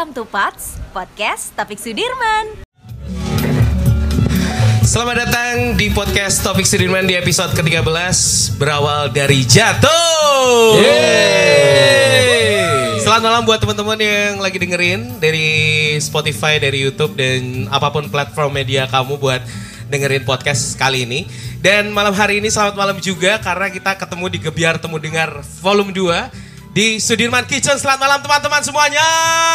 Welcome to POTS, Podcast Topik Sudirman. Selamat datang di podcast Topik Sudirman di episode ke-13 berawal dari jatuh. Selamat malam buat teman-teman yang lagi dengerin dari Spotify, dari YouTube dan apapun platform media kamu buat dengerin podcast kali ini. Dan malam hari ini selamat malam juga karena kita ketemu di Gebiar Temu Dengar volume 2 di Sudirman Kitchen. Selamat malam teman-teman semuanya.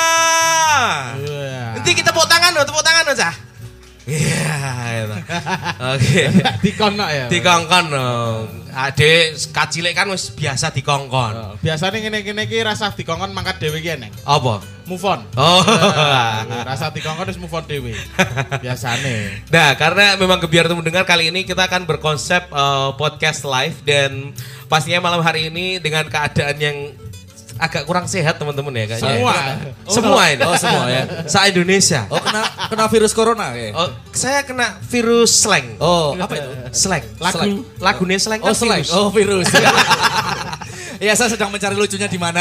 Nanti kita tepuk tangan aja. Iya, oke. Dikongkon ya. Dikongkon dong. Adek kacilek kan wis biasa dikongkon. Biasanya ngene-ngene iki rasa dikongkon mangkat dhewe iki eneng. Apa? Move on. Oh. Rasa dikongkon wis move on dhewe. Biasane. Nah, karena memang Gebiar Temu Dengar kali ini kita akan berkonsep podcast live dan pastinya malam hari ini dengan keadaan yang agak kurang sehat teman-teman ya kayaknya. Semua ini. Oh, semua ya. Se-Indonesia. Oh, kena virus corona ya. Oh, saya kena virus slang. Oh, apa itu? Slang. Lagunya slang kan slang. virus. Oh, virus. Ya, saya sedang mencari lucunya di mana.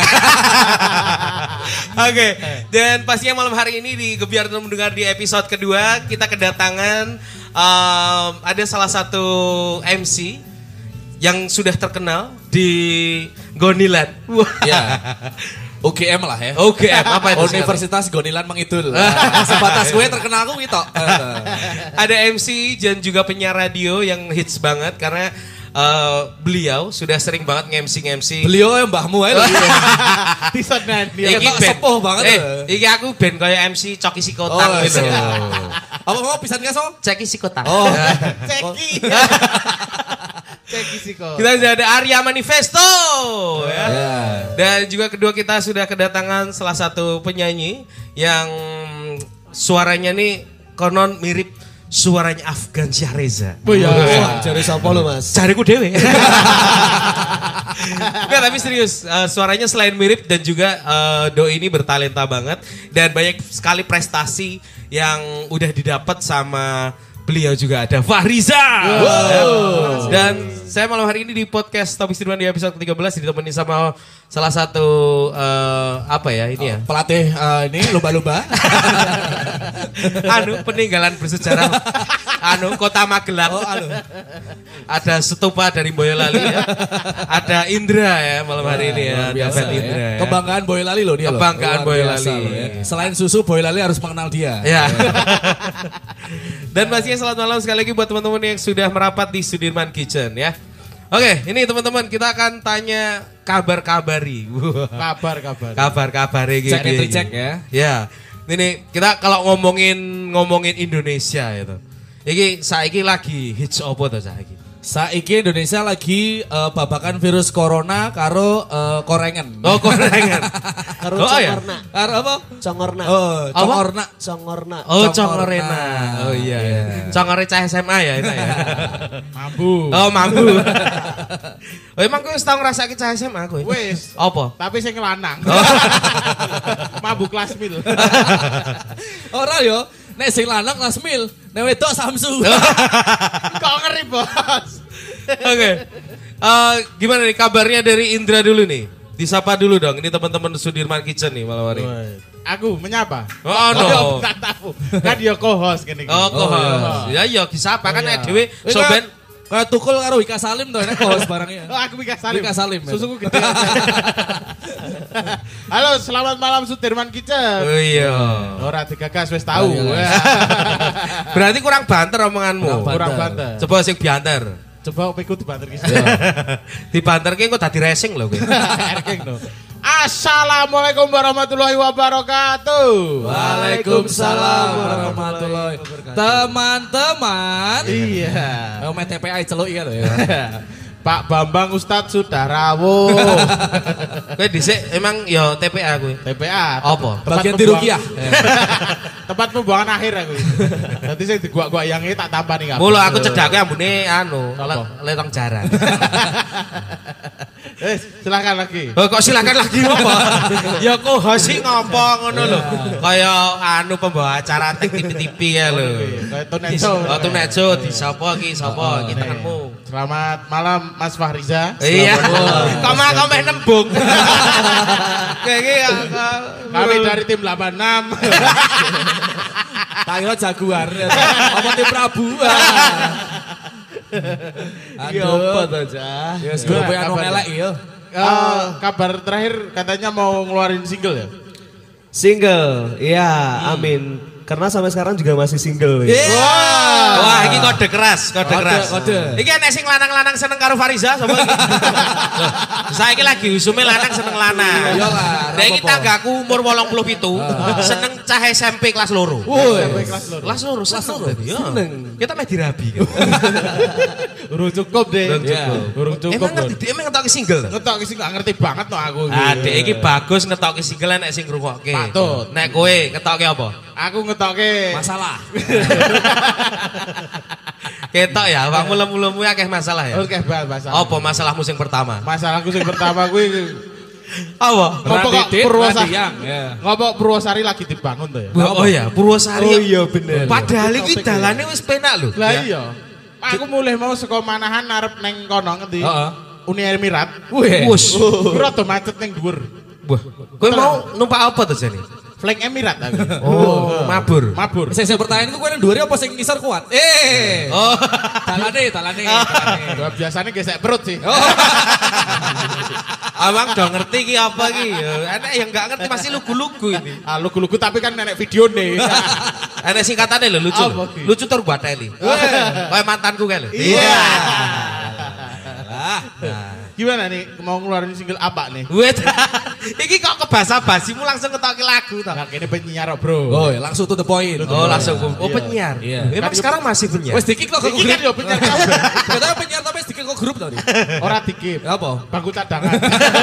Oke, dan pastinya malam hari ini di Gebiar Temu Dengar di episode kedua kita kedatangan ada salah satu MC yang sudah terkenal di Gonilan. Ya. UGM lah ya. UGM apa itu? Universitas Gonilan Mangidul. Sebatas gue terkenal aku gitu. Ada MC dan juga penyiar radio yang hits banget karena beliau sudah sering banget nge-MC. Beliau yang mbahmu aja. Tisonan dia. Iki sepuh banget. Iki aku ben kayak MC Coki Sikotang gitu. Apa mau pisan gak so? Coki Sikotang. Oh. Ceki. Ceki Siko. Kita sudah ada Arya Manifesto ya. Yeah. Dan juga kedua kita sudah kedatangan salah satu penyanyi yang suaranya nih konon mirip suaranya Afgan Syahreza. Oh iya. Cari sapa lu, Mas? Cariku dewe. Enggak, tapi serius, suaranya selain mirip dan juga Doi ini bertalenta banget dan banyak sekali prestasi yang udah didapat sama beliau juga. Ada Fahriza. Wow. Dan saya malam hari ini di podcast Topik Sudirman di episode ke-13 ditemani sama salah satu apa ya ini ya? Pelatih ini lumba-lumba. Peninggalan bersejarah Kota Magelang. Oh, Ada stupa dari Boyolali ya. Ada Indra ya malam hari ini ya. Biasa Indra ya. Ya. Kebanggaan Boyolali loh dia. Kebanggaan Boyolali. Ya. Selain susu, Boyolali harus mengenal dia. Ya. Dan pastinya selamat malam sekali lagi buat teman-teman yang sudah merapat di Sudirman Kitchen ya. Oke, ini teman-teman kita akan tanya kabar-kabari. Kabar-kabari gitu. Cek ya. Ya. Ini kita kalau ngomongin Indonesia itu. Iki saiki lagi hits opo to saiki? Saiki Indonesia lagi babakan virus corona karo korengan. Oh, korengan. Karo congorna. Karo apa? Congorna. Oh, congorna. Congorna. Oh, congorena. Oh iya. Congore cah SMA ya itu ya. Mambu. Oh, mambu. Oh, emang kowe wis tau ngrasake cah SMA kowe? Wis. Apa? Tapi sing lanang. Mambu kelas mil. Ora yo, nek sing lanang kelas mil, nek wedok Samsu. Kok ngeri, Bos? Oke. Gimana nih kabarnya dari Indra dulu nih? Disapa dulu dong. Ini teman-teman Sudirman Kitchen nih malam hari. Aku menyapa. Oh no. Tak tahu. Kan dia co-host kene iki. Oh, co-host. Ya disapa kan dhewe soben kayak tukul karo Wika Salim tuh, nek host barangnya. Oh, aku Wika Salim. Wika Salim. Susuku gede. Halo, selamat malam Sudirman Kitchen. Oh iya. Ora digagas wis tahu. Berarti kurang banter omonganmu. Kurang banter. Coba sing banter. Coba pikir dibanter ki. Dibanterke kok dadi racing lho kowe. Erking no. Assalamualaikum warahmatullahi wabarakatuh. Waalaikumsalam warahmatullahi wabarakatuh. Teman-teman. Iya. Main TPA celuk ya. Pak Bambang Ustadz sudah rawuh. Kowe dhisik emang ya TPA kowe. TPA. Apa? Bagian di Rukiah. Tempat pembuangan akhir aku. Dadi sing diguak-guayangi tak tampani kabeh. Mula aku cedake ambune letong jaran. Silakan lagi. Oh, kok silakan lagi apa? Ya kok hosi ngopo ngono lho. Kaya pembawa acara tek TV-TV ya lho. Kayak Tunejo. Oh, Tunejo di sapa iki? Sapa iki tengenmu? Selamat malam Mas Fahriza. Iya. Koma nembung. Kayak Kami dari tim 86. Tak kira jaguar. Apa tim Prabu? Apa aja? Ya, sebelum punya nong elek ya. Kabar terakhir katanya mau ngeluarin single ya? Single, iya, amin. Karena sampai sekarang juga masih single. Wah, ini kode keras. Kode. Iki enek sing lanang-lanang seneng karo Fariza sapa iki? Saiki lagi usume lanang seneng lanang. Iyalah, Lah iki tanggaku umur 87, seneng cah SMP kelas loro. Kelas loro seneng. Kita meh dirabi. Urung cukup deh. Urung cukup. Emang ngerti dia emang ngetoki single. Ngetok sih gak ngerti banget no aku. Adek iki bagus ngetoki single nek sing ngrungokke. Patut. Nek kowe ngetoki apa? Aku ngetoke Masalah. Ketok ya, awakmu lemu-lemu akeh masalah ya. Oke, masalah. Apa masalahmu sing pertama? Masalahku sing pertama kuwi Apa? ngopo kok Radit, Purwosari? Radiang, ya. Ngopo Purwosari lagi dibangun tuh ya? Oh iya, Purwosari. Oh iya bener. Padahal iki dalane wis penak lho. Lah Ya. iya. Aku mulai mau saka Manahan arep neng kono ngendi? Heeh. Uni Emirat. Wus. Kuwi rada macet ning dhuwur. Wah, kowe mau numpak apa tuh jane? Flank Emirat aku. Oh, mabur. Mabur. Saya pertanyaanku kowe nang dhuwur apa sing ngisor kuat? Oh. Talane. Gua biasanya gesek perut sih. Abang udah ngerti ki apa ki? Enak yang enggak ngerti masih lugu-lugu ini. Ah lugu-lugu tapi kan nenek video nih. Enak singkatannya lho lucu. Apa ki? Lucu tur bateli. Kayak mantanku kae lho. Iya. Gimana nih mau ngeluarin single apa nih? Wait. Iki kok kebasa-basimu langsung ketoki lagu toh. Nah, ini penyiar bro. Oh, ya, langsung to the point. Oh, langsung. Oh, penyiar. Iya. Emang sekarang masih penyiar? Wes dikik kok Iki grup. kan yo penyiar kabeh. Katanya penyiar tapi dikik kok grup tadi. Ora dikip. Apa? Bangku cadangan.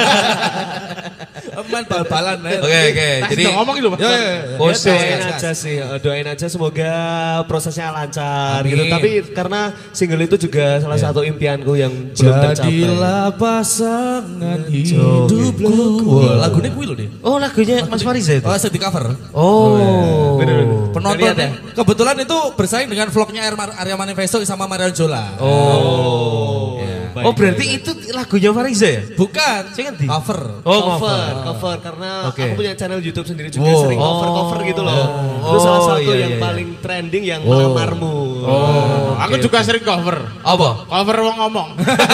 Eman bal-balan ya. Oke. Jadi Jadi ngomong gitu, Mas. Ya. khusus. Doain aja sih, doain aja semoga prosesnya lancar Amin. gitu. Tapi karena single itu juga salah satu impianku yang belum tercapai. Jadilah pasangan hidupku. Wah, lagunya kuwi lho, Dik. Oh, lagunya Mas Fariza itu. Oh, saya di cover. Oh. Penonton Lihat ya? kebetulan itu bersaing dengan vlognya Arya Manifesto sama Marion Jola. Oh. Oh, berarti itu lagunya Fariza ya? Bukan, Sing endi? cover. Oh, cover karena Oke. aku punya channel YouTube sendiri juga Wow. sering cover gitu loh. Itu Oh, salah satu iya, yang iya. paling trending yang melamarmu. Oh, aku juga sering cover. Apa? Cover wong ngomong.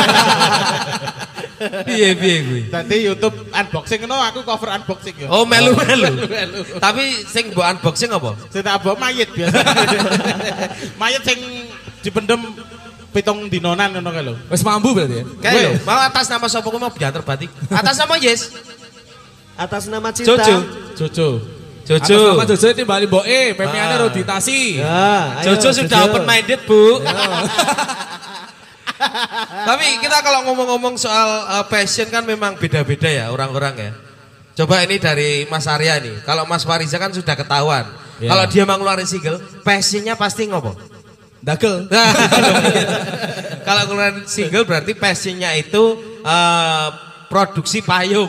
Piye kuwi? Tadi YouTube unboxing no aku cover unboxing ya. Oh, melu. Tapi sing mbok unboxing apa? Saya tak bawa mayit biasa. Mayit sing dipendem pitung dinonan ngono kae lho. Wes mambu berarti ya. Kayak lho, mau atas nama sapa kuwi mau biantar batik. Atas nama Yes. Atas nama cinta. Jojo. Jojo. Atas nama Jojo timbali mboke, pemeane Roditasi. Ya, ayo, Jojo sudah open minded, Bu. Tapi kita kalau ngomong-ngomong soal passion kan memang beda-beda ya orang-orang ya. Coba ini dari Mas Arya nih. Kalau Mas Fariza kan sudah ketahuan. Ya. Kalau dia mau ngeluarin single, passionnya pasti ngopo? Dagel. Kalau ngeluarin single berarti passionnya itu produksi payung.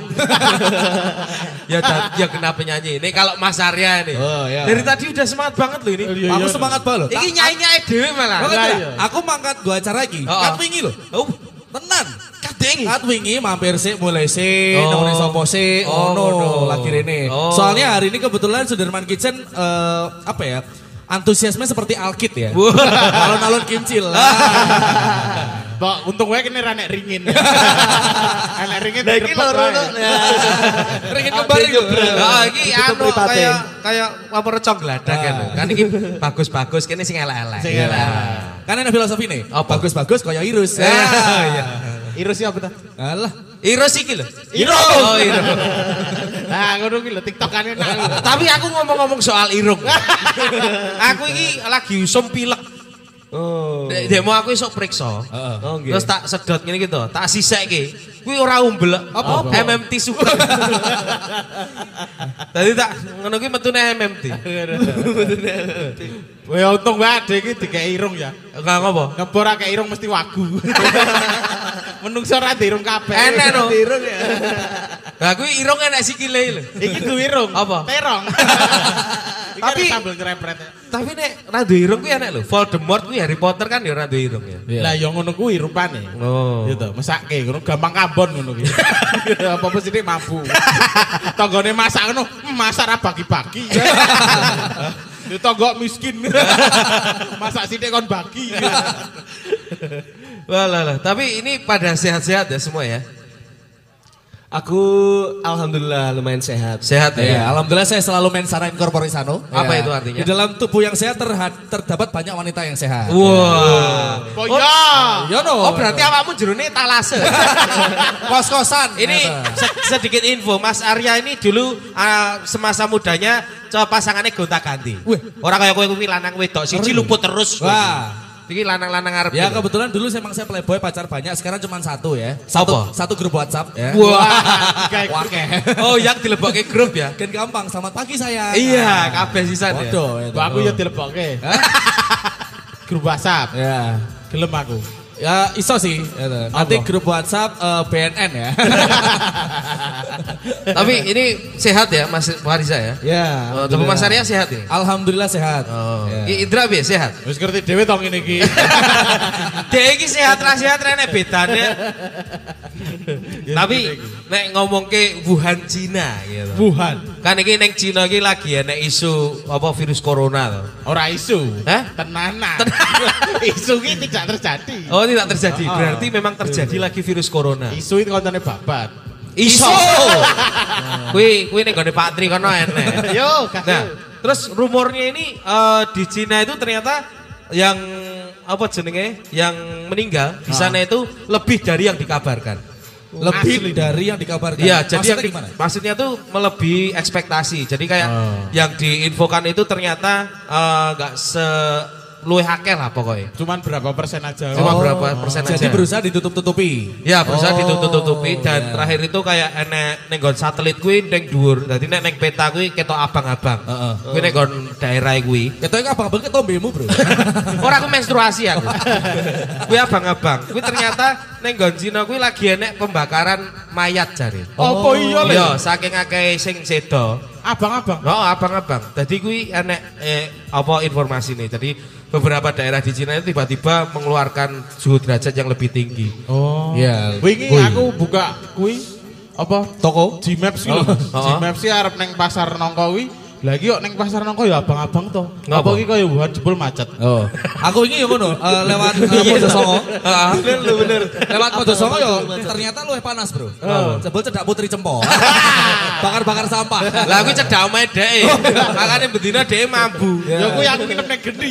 ya kenapa nyanyi? Ini kalau Mas Arya nih. Oh, iya. Dari tadi udah semangat banget loh ini. Aku semangat banget loh. Ini nyanyi dhewe malah. Aku mangkat gua acara iki. Oh, Kat oh. wingi lho. Oh, Tenan. kadeng. Kat wingi mampir sik mulai sik, Oh. nomor sopo sik, Oh, ono ngono. lagi rene. Oh. Soalnya hari ini kebetulan Sudirman Kitchen apa ya? Antusiasme seperti Alkit ya. Wah. Alun-alun kincil. Mbak, untung wae kene ra nek ringin. Nek ringin Nah, iki loro no. Ringin kembar iku. Nah, iki Itu anu mripate. kayak apa recong gladak kan. Kan iki bagus-bagus kene sing elek-elek. Sing elek. Kan ada filosofi nih. Apa? Bagus-bagus kaya Irus. Iya. Irusnya apa ta? Alah. Iros iki lho. Irung. Oh, Irung. Nah, ngono ki lho TikTokane nak. Tapi aku ngomong-ngomong soal irung. Aku iki lagi usum pilek. Oh. Demo aku esuk periksa. Oh, nggih. Terus tak sedot ngene iki to, tak sisekke. Kuwi ora umbel. Apa? MMT suka. Tadi tak ngono kuwi metune MMT. Wah, untung wae ade iki dikek irung ya. Enggak ngopo? Ngebor akeh irung mesti wagu. Menungso ra dirung kabeh. Enak no. Irung ya. Lah kuwi irung enak sikile lho. Iki duwe irung. Apa? Terong. Tapi sambil ngerepret. tapi nek rada irung kuwi enak lho. Voldemort kuwi Harry Potter kan ya rada irung ya. Lah ya ngono kuwi rupane. Oh. Gitu, mesake ngono gampang kabon ngono kuwi. Apa mesti mampu. Tanggane masak ngono, masak ra bagi-bagi. Yo tonggo miskin. Masak sithik kon bagi. Walah, tapi ini pada sehat-sehat ya semua ya. Aku alhamdulillah lumayan sehat. Sehat Ya, ya. alhamdulillah saya selalu mensana incorpore sano. Apa Ya. itu artinya? Di dalam tubuh yang sehat terdapat banyak wanita yang sehat. Wah. Oh ya. Ya no. Oh berarti awakmu jerone talase. kos-kosan. Ini sedikit info, Mas Arya ini dulu semasa mudanya coba pasangannya gonta-ganti. Orang kayak kowe kuwi lanang wedok siji luput terus. Wah. Iki lanang-lanang arep. Ya kebetulan dulu memang saya playboy pacar banyak, sekarang cuma satu ya. Apa? Satu grup WhatsApp ya. Wah. Wakeh. Oh, yang dilebokke grup ya. Kan gampang, selamat pagi saya. Iya, kabeh sisan ya. Waduh, itu. Aku ya dilebokke. Grup WhatsApp. Ya. Gelem aku. Ya iso sih. Gitu. Nanti Allah. grup WhatsApp BNN ya. Tapi ini sehat ya Mas Wariza ya? Ya. Oh, tapi Mas Arya sehat ini? Alhamdulillah sehat. Oh. Ya. Indra bi sehat? Wis ngerti dhewe to ngene iki. Dek iki sehat ra sehat rene bedane. Tapi nek ngomong ke Wuhan Cina gitu. Wuhan. Kan iki ning Cina iki lagi enek isu apa virus corona to. Ora isu. Hah? Tenanan. Isu iki tidak terjadi. Oh, tidak terjadi. Berarti memang terjadi lagi virus corona. Isu itu kontone babat. Iso. Kuwi ning gone Pak Tri kono enek. Yo, Nah, terus rumornya ini di Cina itu ternyata yang apa jenenge yang meninggal di sana itu lebih dari yang dikabarkan. Lebih dari yang dikabarkan. Iya, jadi Maksudnya yang gimana? maksudnya tuh melebihi ekspektasi. Jadi kayak yang diinfokan itu ternyata nggak luwih akeh lah pokoknya. Cuman berapa persen aja. Cuma berapa persen aja. Jadi berusaha ditutup-tutupi. Ya berusaha ditutup-tutupi dan iya. terakhir itu kayak enek ning nggon satelit kuwi ning dhuwur. Dadi nek ning peta kuwi ketok abang-abang. Heeh. Kuwi ning nggon daerah kuwi. Ketoknya abang-abang ketombemu, Bro. Ora aku menstruasi aku. Kuwi abang-abang. Kuwi ternyata ning nggon Cina kuwi lagi enek pembakaran mayat jare. Apa iya le? Iya, saking akeh sing sedo. Abang-abang. Oh, abang-abang. Jadi kuwi enek apa informasi nih. Jadi beberapa daerah di Cina itu tiba-tiba mengeluarkan suhu derajat yang lebih tinggi. Oh. Iya. Wingi aku buka kuwi apa Toko? Gmaps kuwi lho. Gmaps sih arep neng pasar nongko kuwi. Lagi kok neng pasar nongko ya abang-abang to. Ngapa? Apa iki kaya Wuhan jebul macet. Oh. Aku ini ya ngono, lewat Mojosongo. Bener. Lewat Mojosongo ya ternyata luwih panas, Bro. Jebul cedak Putri Cempo. Bakar-bakar sampah. Lah kuwi cedak omahe dhek. Makane bendina dhek mambu. Ya kuwi aku nginep neng geni.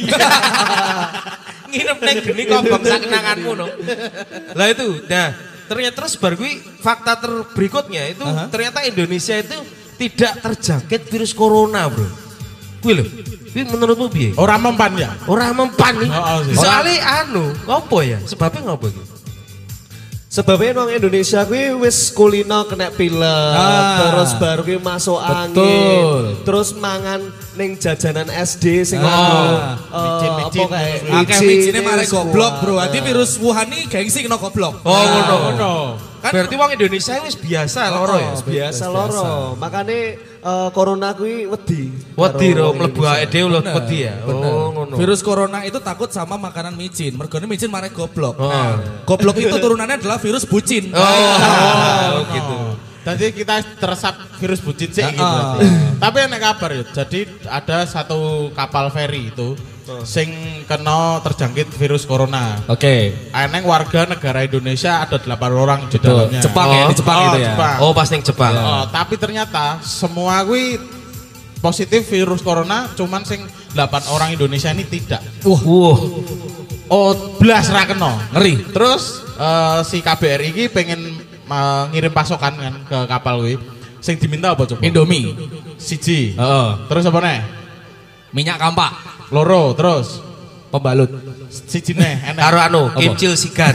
Nginep ning geni kok bangsa kenanganmu no. Lah itu, nah ternyata terus baru kuwi fakta berikutnya itu ternyata Indonesia itu tidak terjangkit virus corona, Bro. Kuwi lho. Kuwi menurutmu piye? Ora mempan ya. Ora mempan nih. sih. Soalnya ngopo ya? Sebabnya ngopo iki? Sebabnya nang Indonesia kuwi wis kulino kena pilek, terus baru kuwi masuk angin, terus mangan ning jajanan SD sing Micin-micin. Akeh micine mare goblok, Bro. Ati virus Wuhan iki gengsi kena goblok. Oh, ngono. Ngono. Kan berarti wong Indonesia wis biasa loro ya. Biasa loro. Makane corona kuwi wedi. Wedi ro Karo mlebu Indonesia. awake dhewe lho Bener, wedi ya. bener. Oh, ngono. Virus corona itu takut sama makanan micin. Mergone micin mare goblok. Oh. Nah, goblok itu turunannya adalah virus bucin. Oh, gitu. Tadi kita teresap virus bucin sih gitu. Tapi enak kabar ya. Jadi ada satu kapal feri itu sing kena terjangkit virus corona. Oke. Eneng warga negara Indonesia ada 8 orang di dalamnya. Jepang ya, di Jepang itu ya. Jepang. Oh, pas ning Jepang. Oh, tapi ternyata semua gue positif virus corona, cuman sing 8 orang Indonesia ini tidak. Wah. Oh, belas ra kena. Ngeri. Terus si KBRI ini pengen ngirim pasokan kan ke kapal gue. Sing diminta apa coba? Indomie. Siji. Heeh. Terus apa nih? Minyak kampak. Loro, terus Pembalut. siji nih, enak. Karo kimcil sigar.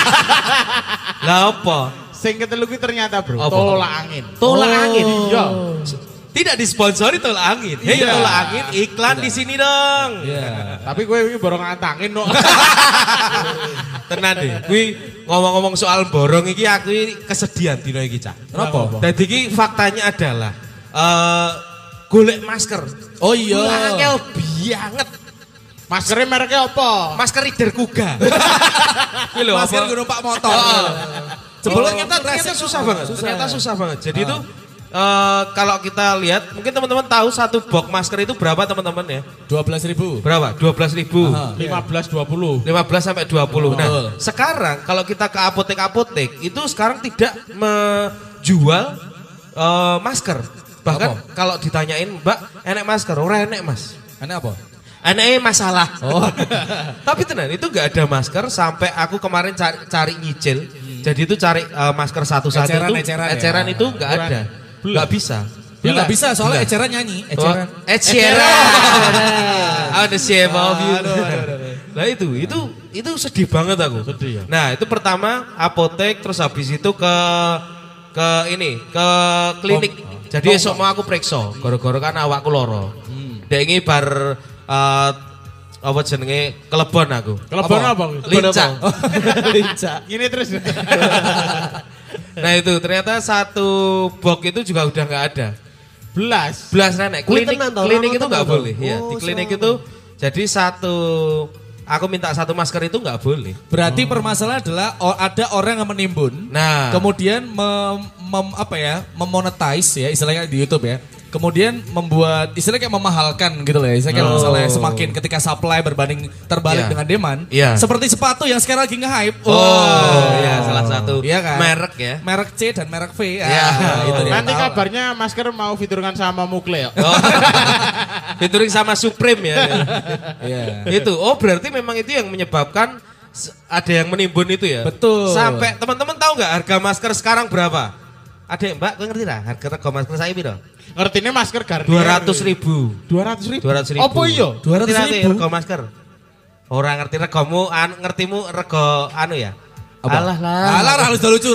Lah apa? Sing ketelu kuwi ternyata, Bro, Apa? tolak angin. Tolak angin. Iya. Tidak disponsori tolak angin. Hei, Iya. tolak angin iklan di sini dong. Iya. Tapi gue ini borong angin no. Tenan deh. Kuwi ngomong-ngomong soal borong iki aku ini kesedihan dino iki, Cak. Kenapa? Dadi iki faktanya adalah golek masker. Oh iya. Angel banget. Maskernya mereknya apa? Masker Reader Kuga. Kuwi lho, Masker apa? gue numpak motor. Jebol ternyata susah banget. Ternyata susah banget. Jadi itu kalau kita lihat, mungkin teman-teman tahu satu box masker itu berapa teman-teman ya? 12.000. Berapa? 12.000. 15-20. 15 sampai 20. Nah, sekarang kalau kita ke apotek-apotek itu sekarang tidak menjual masker. Bahkan kalau ditanyain, "Mbak, enek masker?" Ora enek, Mas. Enak apa? Eneknya masalah. Tapi tenan itu nggak ada masker sampai aku kemarin cari nyicil. Jadi itu cari masker satu-satu itu eceran itu nggak ada. Nggak bisa. Ya nggak bisa soalnya eceran nyanyi. Eceran. Ada siapa of you. Nah itu sedih banget aku. Sedih ya. Nah itu pertama apotek, terus habis itu ke klinik. Jadi esok mau aku periksa. Gara-gara kan awakku loro. Dek ini bar apa jenenge kelebon aku. Kelebon apa? Lincah. Lincah. Gini terus. Nah itu ternyata satu box itu juga udah nggak ada. Belas Nenek. Kuwi Klinik tenan toh, itu tenan nggak toh. boleh. Ya, di Oh, klinik itu jadi aku minta satu masker itu nggak boleh. Berarti permasalahan adalah ada orang yang menimbun. Nah. Kemudian memonetize ya istilahnya di YouTube ya. Kemudian membuat istilahnya kayak memahalkan gitu loh ya. Istilahnya kayak misalnya semakin ketika supply berbanding terbalik Iya. dengan demand. Iya. Seperti sepatu yang sekarang lagi nge-hype. Ya salah satu Iya kan? merek ya. Merek C dan merek V. Iya. Itu dia. Nanti Tahu. kabarnya masker mau fiturkan sama Mukle ya. Oh. Featuring sama Supreme ya. Iya. Itu. Oh berarti memang itu yang menyebabkan ada yang menimbun itu ya. Betul. Sampai teman-teman tahu nggak harga masker sekarang berapa? Ada yang Mbak, kau ngerti lah harga masker saya piro? Ngertinya masker Garnier. 200.000. 200.000. 200.000. Apa iya? 200.000? Rego masker. Orang ngerti regomu, ngertimu rego anu ya? Apa? Alah lah. Alah harus lucu.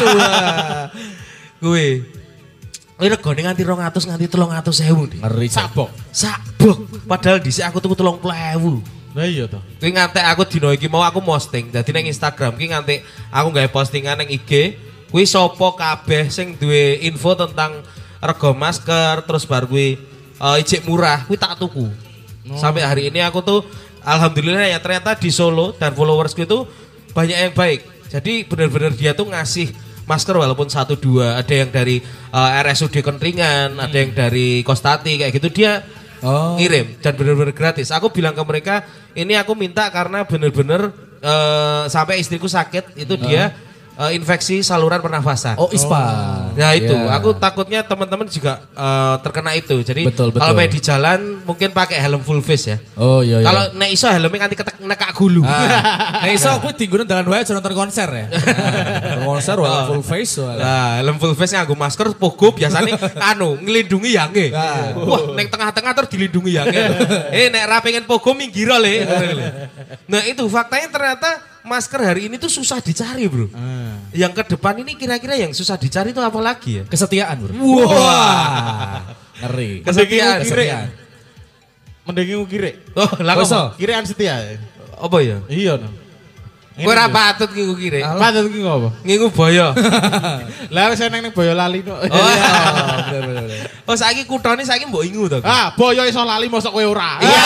Gue. Ini regone nganti 200 nganti 300.000 deh. Ngeri. Sabok. Sabuk. Padahal dhisik aku tuku 30.000. Nah iya toh. Kuwi ngantek aku dino iki mau aku posting. Dadi ning Instagram ki ngantek aku gawe postingan ning IG. Kuwi sapa kabeh sing duwe info tentang rego masker terus bar kuwi ijek murah kuwi tak tuku. Sampai hari ini aku tuh alhamdulillah ya ternyata di Solo dan followersku itu banyak yang baik. Jadi benar-benar dia tuh ngasih masker walaupun 1-2, ada yang dari RSUD Kentringan, ada yang dari Kostati kayak gitu dia ngirim dan benar-benar gratis. Aku bilang ke mereka, ini aku minta karena benar-benar sampai istriku sakit itu dia infeksi saluran pernafasan. Oh ISPA. Nah itu, Ya. aku takutnya teman-teman juga terkena itu. Jadi Betul. kalau main di jalan mungkin pakai helm full face ya. Oh iya. Kalau nek iso helmnya nganti nekak gulu. Nah iso aku tinggunan dalan wae aja nonton konser ya. Nonton konser wala full face soalnya. Nah, helm full face nganggo masker pogo biasanya ngelindungi yange. Wah, nek tengah-tengah terus dilindungi yange. Nek ra pengen pogo minggir le. Nah, itu faktanya ternyata masker hari ini tuh susah dicari, Bro. Yang ke depan ini kira-kira yang susah dicari itu apa lagi ya? Kesetiaan bro. Wah. Ngeri. Kesetiaan. Mendingi ukire. Oh, lah Kok iso? kok. Kirean setia. Apa ya? Iya no. Kowe ora patut ki kire. Patut ki ngopo? Ngingu boyo. Lah wis nang Boyolali no. Oh, oh saiki kuthane saiki mbok ingu to. Ah, boyo iso lali mosok kowe ora. Iya.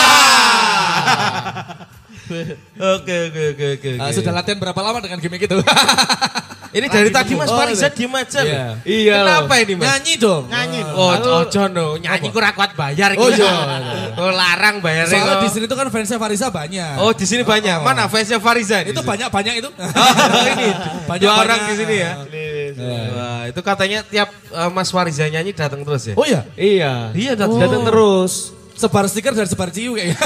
Oke. Sudah latihan berapa lama dengan gimmick itu? Ini dari tadi Mas Oh, Fariza iya. diem aja. Iya. loh. Iya. Kenapa ini Mas? Nyanyi dong. Nyanyi. Oh, ojo no, nyanyi kurang kuat bayar. Oh, gitu. iya. Oh, larang bayarnya. Soalnya kok. di sini tuh kan fansnya Fariza banyak. Oh, di sini banyak. Mana fansnya Fariza? di Itu sini? banyak itu. Oh, ini Banyak dua orang di sini ya. Iya. Wah, itu katanya tiap Mas Fariza nyanyi datang terus ya. Oh iya. Iya. Iya, Datang terus. Sebar stiker dan sebar ciu kayaknya.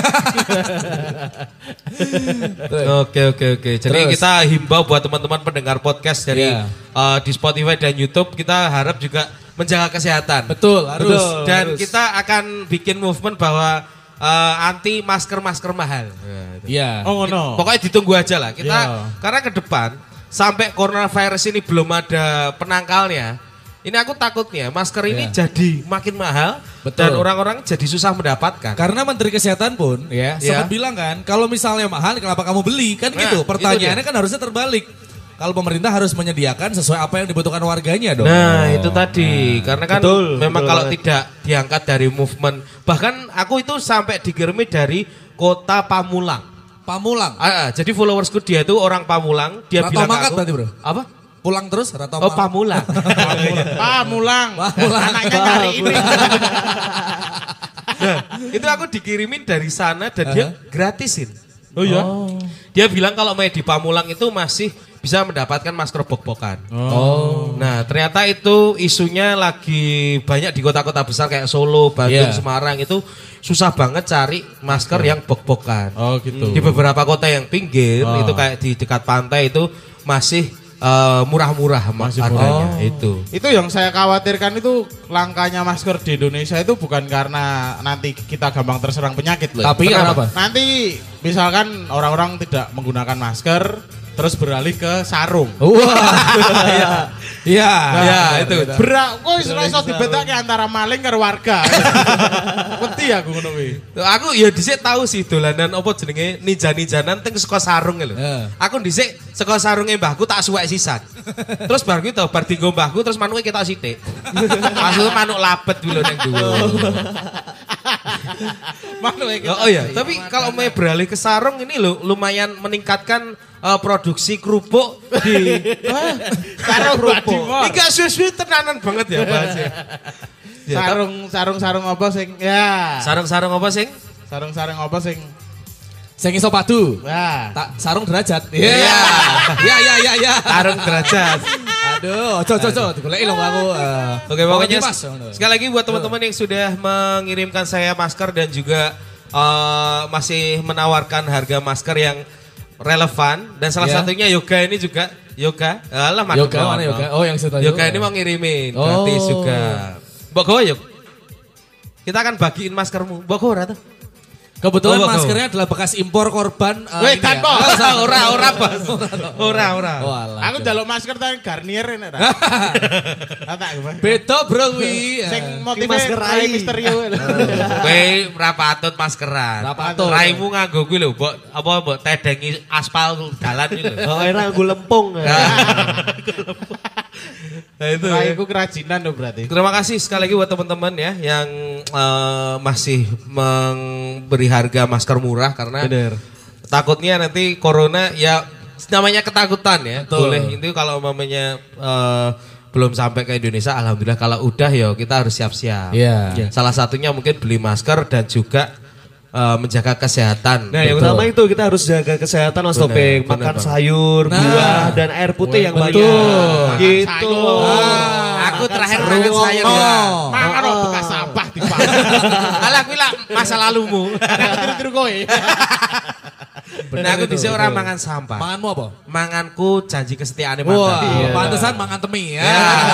Oke. Jadi Terus. kita himbau buat teman-teman pendengar podcast dari Iya. di Spotify dan YouTube, kita harap juga menjaga kesehatan. Betul, harus. Dan kita akan bikin movement bahwa anti masker mahal. Iya. Oh ngono. Pokoknya ditunggu aja lah. Kita Iya. karena ke depan sampai coronavirus ini belum ada penangkalnya. Ini aku takutnya masker ini Iya. jadi makin mahal Betul. dan orang-orang jadi susah mendapatkan. Karena Menteri Kesehatan pun ya Iya. sempat bilang kan, kalau misalnya mahal kenapa kamu beli? Kan Nah, gitu. itu Pertanyaannya dia. kan harusnya terbalik. kalau pemerintah harus menyediakan sesuai apa yang dibutuhkan warganya dong. Nah, itu tadi. Karena kan memang betul kalau banget. tidak diangkat dari movement. Bahkan aku itu sampai dikirimi dari kota Pamulang. Pamulang. Jadi followersku dia itu orang Pamulang. Dia Rantau bilang ke mangkat aku. berarti, Bro? Apa? Pulang terus Rantau Oh, Pamulang. Pamulang. Pamulang. Anaknya nyari ini. Nah, itu aku dikirimin dari sana dan dia gratisin. Oh iya. Dia bilang kalau main di Pamulang itu masih bisa mendapatkan masker bok-bokan. Nah, ternyata itu isunya lagi banyak di kota-kota besar kayak Solo, Bandung, Semarang itu susah banget cari masker yang bok-bokan. Oh gitu. Di beberapa kota yang pinggir itu kayak di dekat pantai itu masih murah-murah harganya itu. Itu yang saya khawatirkan itu langkanya masker di Indonesia itu bukan karena nanti kita gampang terserang penyakit loh. Tapi kenapa? Nanti misalkan orang-orang tidak menggunakan masker terus beralih ke sarung. Wah. Iya. Ya, itu. Kok iso dibedakake antara maling karo warga. Wedi aku ngono kuwi. Aku ya dhisik tahu sih dolanan apa jenenge ninja-ninjanan teng saka sarung lho. Aku dhisik saka sarunge mbahku tak suwek sisan. Terus bar kuwi to bar dienggo mbahku terus manuke ketok sithik. Maksudnya manuk labet dulu ning dhuwur. Oh iya, tapi kalau mau beralih ke sarung ini lo lumayan meningkatkan produksi kerupuk di Sarung kerupuk. Ini gak suwe-suwe tenanan banget ya bahasnya. Sarung apa sing ya. Sarung-sarung apa sing? Sarung-sarung apa sing Sing iso padu. ya. Tak sarung derajat. Iya. Sarung derajat. Aduh, ojo digoleki lho aku. Oke, pokoknya Mas. sekali lagi buat teman-teman yang sudah mengirimkan saya masker dan juga masih menawarkan harga masker yang relevan dan salah satunya Yoga ini juga Yoga. Alah, Yoga mana Yoga? Oh, yang situ. Yoga ini mau ngirimin gratis juga. Mbok gowo yuk. Kita akan bagiin maskermu. Mbok gowo ora tuh? Kebetulan Oh, maskernya adalah bekas impor korban. Weh, ini kan ya. kok. Ora, Bos. Ora. Oh, alah. Aku njaluk masker tang Garnier enak ta. Tak gimana? Beda bro wi. Sing masker motifnya rai. rai misterio. Kowe ora patut maskeran. Ora patut. Raimu nganggo kuwi lho, mbok tedengi aspal dalan iki lho. Oh, era nggo lempung. Nah, itu. Raiku kerajinan loh berarti. Terima kasih sekali lagi buat teman-teman ya yang masih memberi harga masker murah karena takutnya nanti corona ya namanya ketakutan ya. Betul. Boleh itu kalau mamanya belum sampai ke Indonesia, alhamdulillah. Kalau udah ya kita harus siap-siap. Iya. Salah satunya mungkin beli masker dan juga menjaga kesehatan. Nah, yang utama itu kita harus jaga kesehatan Mas Benar, Topeng, benar, makan benar. sayur, buah dan air putih yang banyak. Gitu. Aku terakhir sayur. makan sayur ya. Mangan kok bekas sampah di pasar. Alah kuwi lah masa lalumu. Tiru-tiru kowe. Nah, aku dhisik ora mangan sampah. Manganmu apa? Manganku janji kesetiaane Wah, mantan. pantesan mangan temi ya.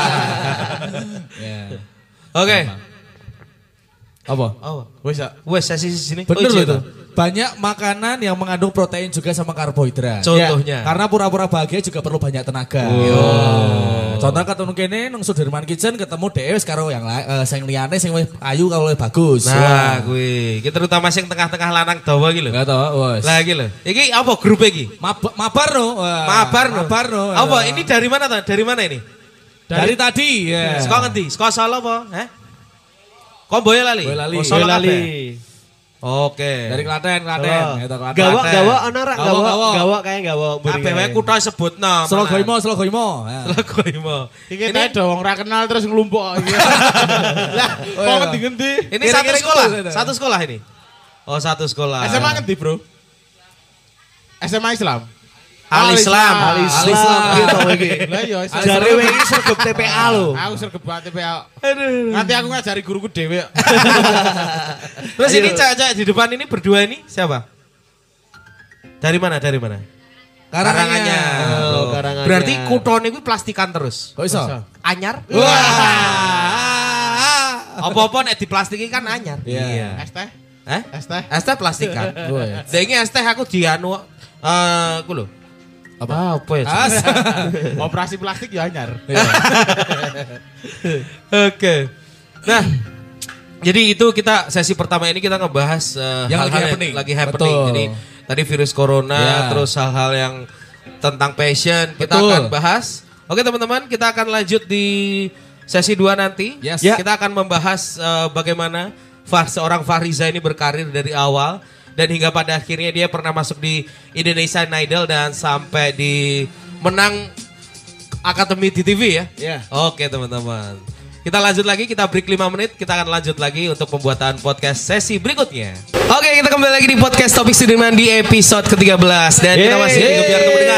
Oke. Apa? Wes ya. Wes sesi sini. Bener loh iya, itu. Pak. Banyak makanan yang mengandung protein juga sama karbohidrat. Contohnya. Karena pura-pura bahagia juga perlu banyak tenaga. Contoh ketemu kene nang Sudirman Kitchen ketemu dhewe karo yang sing liyane sing wis ayu karo wis bagus. Nah, kuwi. Iki terutama sing tengah-tengah lanang dawa iki lho. Enggak tahu, wes. Lah iki lho. Iki apa grup iki? Mabar no. Mabar no. Mabar no. Apa ini dari mana tuh? Dari mana ini? Dari tadi ya. Saka ngendi? Saka Solo apa? Hah? Kok Boyolali? Boyolali. Oh, Solo Boyolali. kabeh. Oke. Dari Klaten. Itu Klaten. Gawa ana ra Gawa. gawa kayak gawa. Kabeh wae kutha sebutno. Slogoimo. Slogoimo. Iki teh do wong ra kenal terus nglumpuk iki. Lah, kok ngendi-ngendi? Ini Kira-kira satu sekolah. gitu. Satu sekolah ini. Oh, satu sekolah. SMA ngendi, Bro? SMA Islam. Al-Islam. Al-Islam gitu iki. Lah iya, Jare wingi sregep TPA lho. aku sregep banget TPA. Nanti aku ngajari guruku dhewe. Terus ini cewek-cewek di depan ini berdua ini siapa? Dari mana? Karanganyar. Oh, Karanganyar. Berarti kutone kuwi plastikan terus. Kok iso? Anyar? Wah. Apa-apa nek diplastiki kan anyar. Iya. Es teh. Hah? Es teh. Es teh plastikan. Wah. Dengi es teh aku dianu aku lho. Apa ya? Operasi plastik ya anyar. Oke. Nah, jadi itu kita sesi pertama ini kita ngebahas Yang lagi hal-hal happening. lagi happening. Betul. Jadi tadi virus corona, Ya. terus hal-hal yang tentang passion kita Betul. akan bahas. Oke teman-teman, kita akan lanjut di sesi 2 nanti. Yes. Kita akan membahas bagaimana seorang Fahriza ini berkarir dari awal dan hingga pada akhirnya dia pernah masuk di Indonesian Idol dan sampai di menang Akademi di TV ya. Ya. Oke teman-teman. Kita lanjut lagi, kita break 5 menit, kita akan lanjut lagi untuk pembuatan podcast sesi berikutnya. Oke, kita kembali lagi di podcast Topik Sudirman di episode ke-13 dan kita masih di biar mendengar.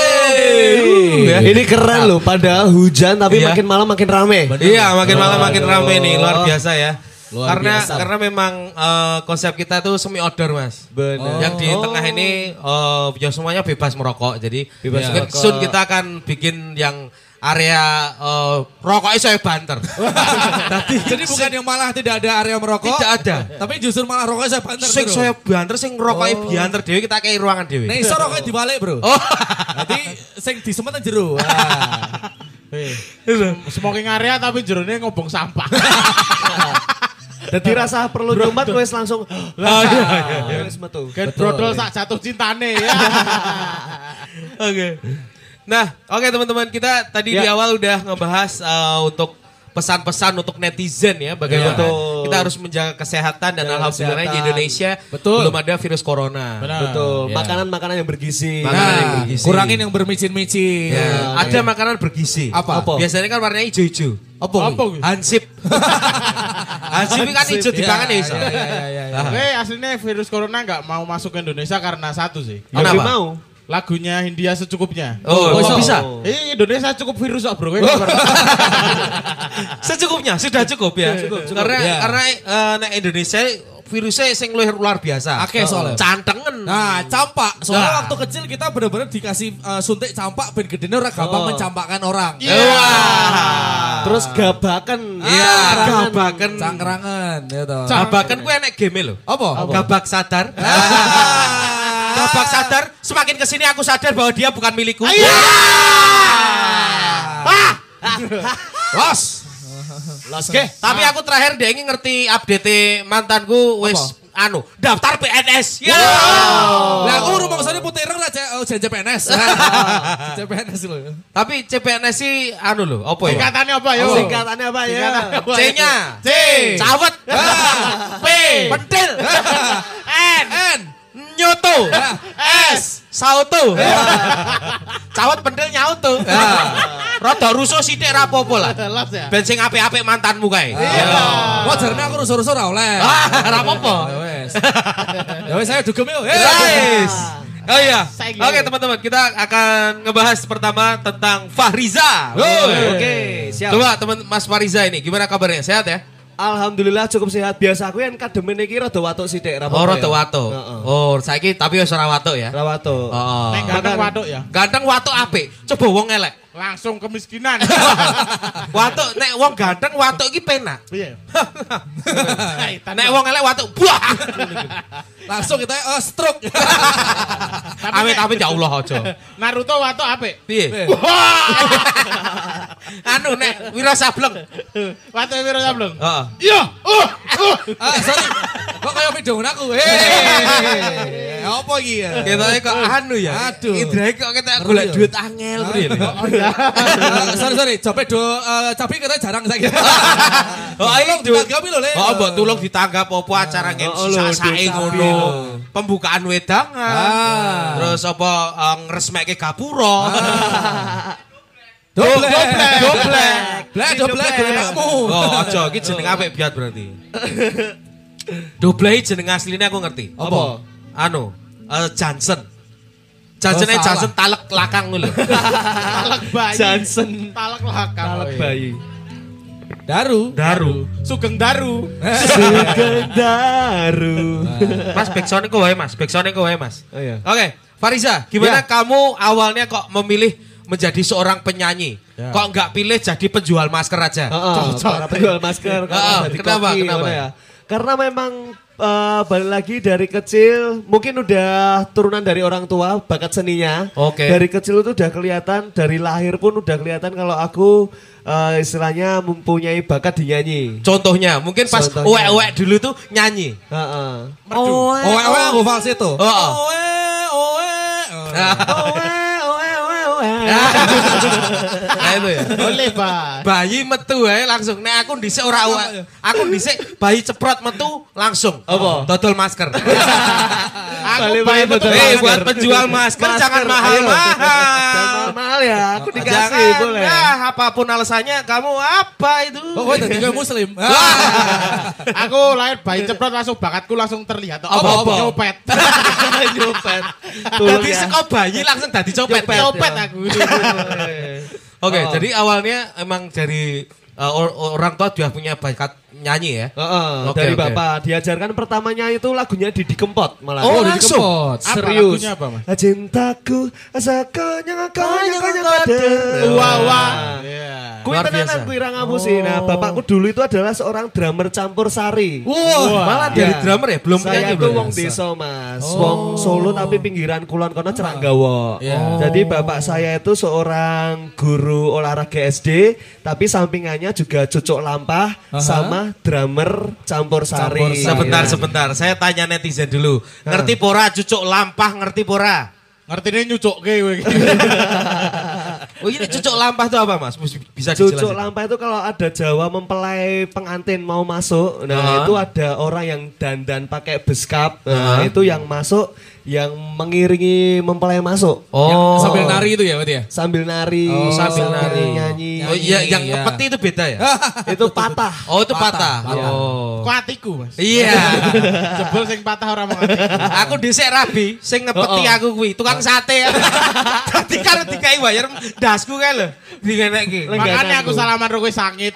Ini keren loh, padahal hujan tapi Iya. makin malam makin rame. Iya, makin malam makin rame nih, luar biasa ya. Luar biasa. Karena memang konsep kita tuh semi outdoor mas. Benar. Yang di tengah ini ya semuanya bebas merokok. Jadi Bebas mungkin merokok. soon kita akan bikin yang area rokoknya saya banter. Jadi bukan yang malah tidak ada area merokok. Tidak ada. Tapi justru malah rokoknya saya banter. Sing bro. saya banter, sing rokoknya bianter dewe kita kayak ruangan dewe. Nah iso rokoknya dibalik bro. Oh, Nanti sing disemet nang jero. Smoking area tapi jerone ngobong sampah. Jadi rasa perlu nyumat wes langsung. Wes metu. Kan brodol sak jatuh cintane ya. Oke. Nah, oke teman-teman, kita tadi di awal udah ngebahas untuk pesan-pesan untuk netizen ya, bagaimana Betul. kita harus menjaga kesehatan dan Menjaga alhamdulillah di kesehatan. Indonesia Betul. belum ada virus corona. Betul. Ya. Makanan-makanan yang bergizi. Makanan yang Nah, bergizi. kurangin yang bermicin-micin. Ya, ada makanan bergizi. Apa? Biasanya kan warnanya hijau-hijau. Apa? Apa kuwi? Hansip. Hansip kan hijau di pangan ya iso. Aslinya virus corona nggak mau masuk ke Indonesia karena satu sih. Yang Kenapa? mau. Lagunya Hindia secukupnya. Oh, Oh, bisa. Indonesia cukup virus kok bro. Secukupnya, sudah cukup ya. Karena Ya. nek Indonesia virusnya sing luar biasa. Akeh soalnya. Cantengen. Nah, campak. Soalnya Nah. waktu kecil kita benar-benar dikasih suntik campak ben gedene ora gampang mencampakkan orang. Wah. Terus gabakan. Iya, gabaken. Cangkrangan ya toh. Gabaken ku enek game lho. Apa? Gabak sadar. Gabak sadar, semakin kesini aku sadar bahwa dia bukan milikku. Los. Los ke. Tapi aku terakhir dia ingin ngerti update mantanku wis daftar PNS. Ya. Lah aku rumangsane putih ireng lah CPNS. CPNS lho. Tapi CPNS sih lho, apa ya? Singkatannya apa yo? Singkatannya apa ya? C-nya. C. Cawet. P. Pentil. N. Nyoto. S. Sauto. Cawet pentil nyauto. Rada rusuh sithik ra apa-apa lah. Los ya. Ben sing apik-apik mantanmu kae. Wah jarene aku rusuh-rusuh ora oleh. Ra apa-apa. Ya wes. Ya wes saya dugem yuk. Guys. Oh iya. Saya Oke teman-teman, kita akan ngebahas pertama tentang Fahriza. Oke, siap. Coba teman Mas Fahriza ini gimana kabarnya? Sehat ya? Alhamdulillah cukup sehat. Biasa aku yang kademen iki rada watuk sithik ra Oh, apa-apa rada ya. watuk. Heeh. Oh, saiki tapi wis ora watuk ya. Ra watuk. Oh. Neng ganteng waduk ya. Ganteng watuk apik. Coba wong elek. Langsung kemiskinan. Watuk nek wong ganteng watuk iki penak. Iya. Nek wong elek watuk buah. Langsung kita stroke. Amit-amit ya Allah aja. Naruto watuk apik. Piye? Nek Wira Sableng. Watuk piro sableng? Heeh. Iya. Sorry. Kok kayak video aku. Apa iki ya? Ketoknya kok ya. Aduh. Idrake kok kita golek duit angel kuwi lho. Sorry. Coba cabai kita jarang saiki. Oh, Tolong ditanggapi lho, Le. Oh, mbok tulung ditanggap apa acara MC sak-sake ngono. Pembukaan wedangan. Terus apa ngresmekke gapura. Doblek kamu. Oh, aja iki jeneng apik biat berarti. Doblek jeneng asline aku ngerti. Apa? Johnson. Johnson talek lakang ngono lho. Talak bayi. Johnson. Talak lakang. Talak bayi. Daru. Sugeng Daru. Sugeng Daru. Mas backsound kok wae Mas. Backsound kok wae Mas. Oh, iya. Oke, Fahriza, gimana kamu awalnya kok memilih menjadi seorang penyanyi? Kok enggak pilih jadi penjual masker aja? Para penjual masker. jadi Kenapa? koki, Kenapa? mana ya? Karena memang balik lagi dari kecil, mungkin udah turunan dari orang tua bakat seninya. Oke. Dari kecil itu udah kelihatan, dari lahir pun udah kelihatan kalau aku istilahnya mempunyai bakat di nyanyi. Contohnya, mungkin pas Contohnya. uwek-uwek dulu tuh nyanyi. Heeh. Owe aku falsetto. Oh. Owe. Owe, owe, Nah itu ya. Boleh, Pak. Bayi metu ae langsung. Nek aku dhisik ora aku dhisik bayi ceprot metu langsung. Apa? Dodol masker. Aku Balik-balik betul. betul. Buat penjual masker jangan mahal-mahal. Mahal ya, aku dikasih Jangan, boleh. apapun alasannya kamu apa itu? Oh, kowe dadi kowe muslim. Aku lahir bayi ceprot langsung bakatku langsung terlihat. Apa? Nyopet. Nyopet. Jadi seko bayi langsung dadi copet. Nyopet aku. Oke, jadi awalnya emang dari orang tua sudah punya bakat nyanyi ya? Oke, dari oke. bapak diajarkan pertamanya itu lagunya Didi Kempot malah. Oh, Didi langsung? Kempot. Apa Serius. lagunya apa, Mas? Cintaku asakonya konya Wah, wah. Kui Luar tenanan biasa. kui ra ngapusi. Nah, bapakku dulu itu adalah seorang drummer campur sari. Wah, malah dari Ya. drummer ya? Belum Saya penyanyi itu belum? wong desa, Mas. Wong Solo tapi pinggiran kulon kono Ceranggawa. Iya. Jadi bapak saya itu seorang guru olahraga SD, tapi sampingannya juga cucuk lampah sama drummer campur sari. Campur sari. Sebentar, Iya. sebentar. Saya tanya netizen dulu. Ngerti pora cucuk lampah, ngerti pora? Ngertine nyucuk kowe. Oh ini cucuk lampah itu apa mas? Bisa Cucuk dijelasin? lampah itu kalau ada Jawa mempelai pengantin mau masuk, nah itu ada orang yang dandan pakai beskap, nah itu yang masuk, yang mengiringi mempelai masuk. Oh. Sambil nari itu ya berarti ya? Sambil nari, sambil nari. nyanyi. Oh iya, yang Iya. kepeti itu beda ya? Itu patah. Oh itu patah. Patah. Oh. Kok atiku, Mas? Iya. Jebol sing patah ora mau atiku. Aku dhisik rabi, sing ngepeti aku kuwi, tukang sate. Dadi karo dikai bayar dasku kae lho. Dingenekke. Makanya aku salaman karo kowe sangit.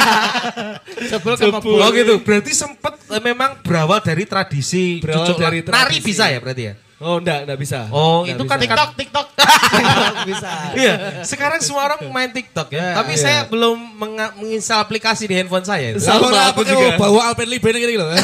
Jebol kemebul. Oh gitu. Berarti sempet memang berawal dari tradisi Berawal cucuk dari nari tradisi. bisa ya berarti ya? Oh enggak bisa. Oh, Nggak itu bisa. kan TikTok. bisa. Iya, sekarang semua orang main TikTok ya. Tapi saya belum menginstal aplikasi di handphone saya. itu. Sama aku juga. Bawa Alpenlibe ini loh.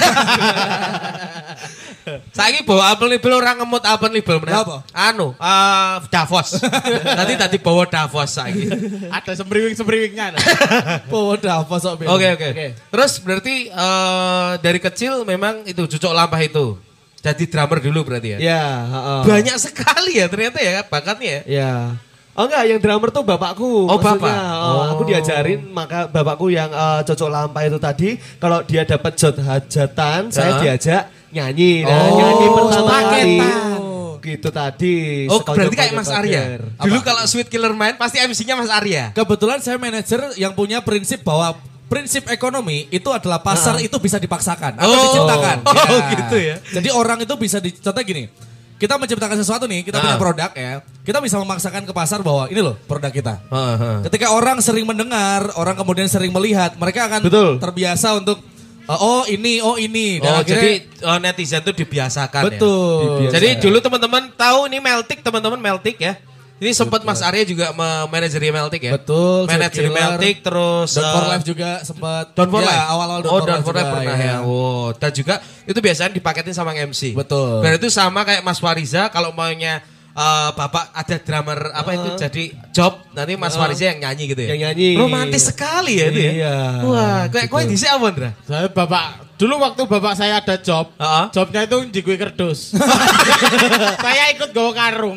Saiki bawa Alpenlibe orang ngemut Alpenlibe meneh. Apa? Anu, Davos. Nanti tadi bawa Davos saiki. Ada sembriwing-sembriwingnya. Bawa Davos sok. Oke. Terus berarti dari kecil memang itu cucuk lampah itu. Jadi drummer dulu berarti ya? Ya, heeh. Banyak sekali ya ternyata ya bakatnya ya. Ya. Oh enggak, yang drummer tuh bapakku. Oh, maksudnya. bapak. Aku diajarin, maka bapakku yang cocok lampah itu tadi, kalau dia dapat hajatan, saya diajak nyanyi. Nah, nyanyi pertama kali. Gitu tadi. Oh sekonyol-konyol berarti kayak Mas Arya. bager. Dulu kalau Sweet Killer main pasti MC-nya Mas Arya. Kebetulan saya manajer yang punya prinsip bahwa prinsip ekonomi itu adalah pasar itu bisa dipaksakan atau diciptakan. Oh, gitu ya. Jadi orang itu bisa contoh gini. Kita menciptakan sesuatu nih, kita punya produk ya. Kita bisa memaksakan ke pasar bahwa ini loh produk kita. Ketika orang sering mendengar, orang kemudian sering melihat, mereka akan Betul. terbiasa untuk oh ini. Dan Oh akhirnya- jadi netizen tuh dibiasakan betul. ya. Jadi dulu teman-teman tahu ini Meltik, teman-teman Meltik ya. Ini sempat Mas Arya juga memanajeri Meltik ya. Betul, Manajeri Sweet Killer. Meltik terus Don for Life juga sempat. Don for Ya, Life. awal-awal Oh, Don for Life juga, pernah ya. Oh, dan juga itu biasanya dipaketin sama MC. Betul. Dan itu sama kayak Mas Wariza kalau maunya Bapak ada drummer apa itu jadi job nanti Mas Wariza yang nyanyi gitu ya. Yang nyanyi. Romantis sekali ya itu ya. Iya. Wah, kayak kowe dhisik apa, Ndra? Saya dulu waktu bapak saya ada job, Heeh. jobnya itu di kue kerdus. Saya ikut gawa karung.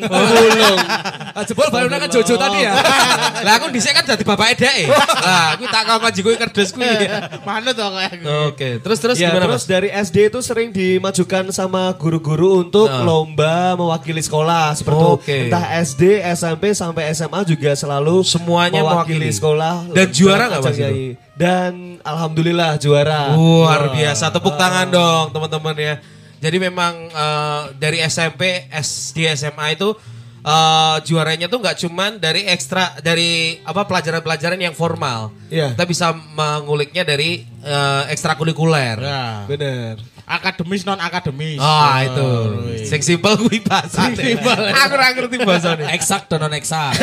Jebol baru kan Jojo tadi ya. Lah aku dhisik kan dadi bapake dhek. Lah aku tak kok jiku kerdus kuwi. Mana tuh kayak Oke, terus Ya, gimana terus Mas? dari SD itu sering dimajukan sama guru-guru untuk lomba mewakili sekolah seperti itu. Oke. Entah SD, SMP sampai SMA juga selalu Semuanya mewakili. sekolah. Dan juara nggak, ajang Mas, itu? nyanyi. Dan alhamdulillah juara. Luar biasa, tepuk tangan dong teman-teman ya. Jadi memang dari SMP, SD, SMA itu juaranya tuh nggak cuman dari pelajaran-pelajaran yang formal. Iya. Kita bisa menguliknya dari ekstrakurikuler. Ya. Bener. Akademis non akademis. Ah itu, sing simpel kuwi bahasa. Aku ora ngerti bahasane. Eksak dan non eksak.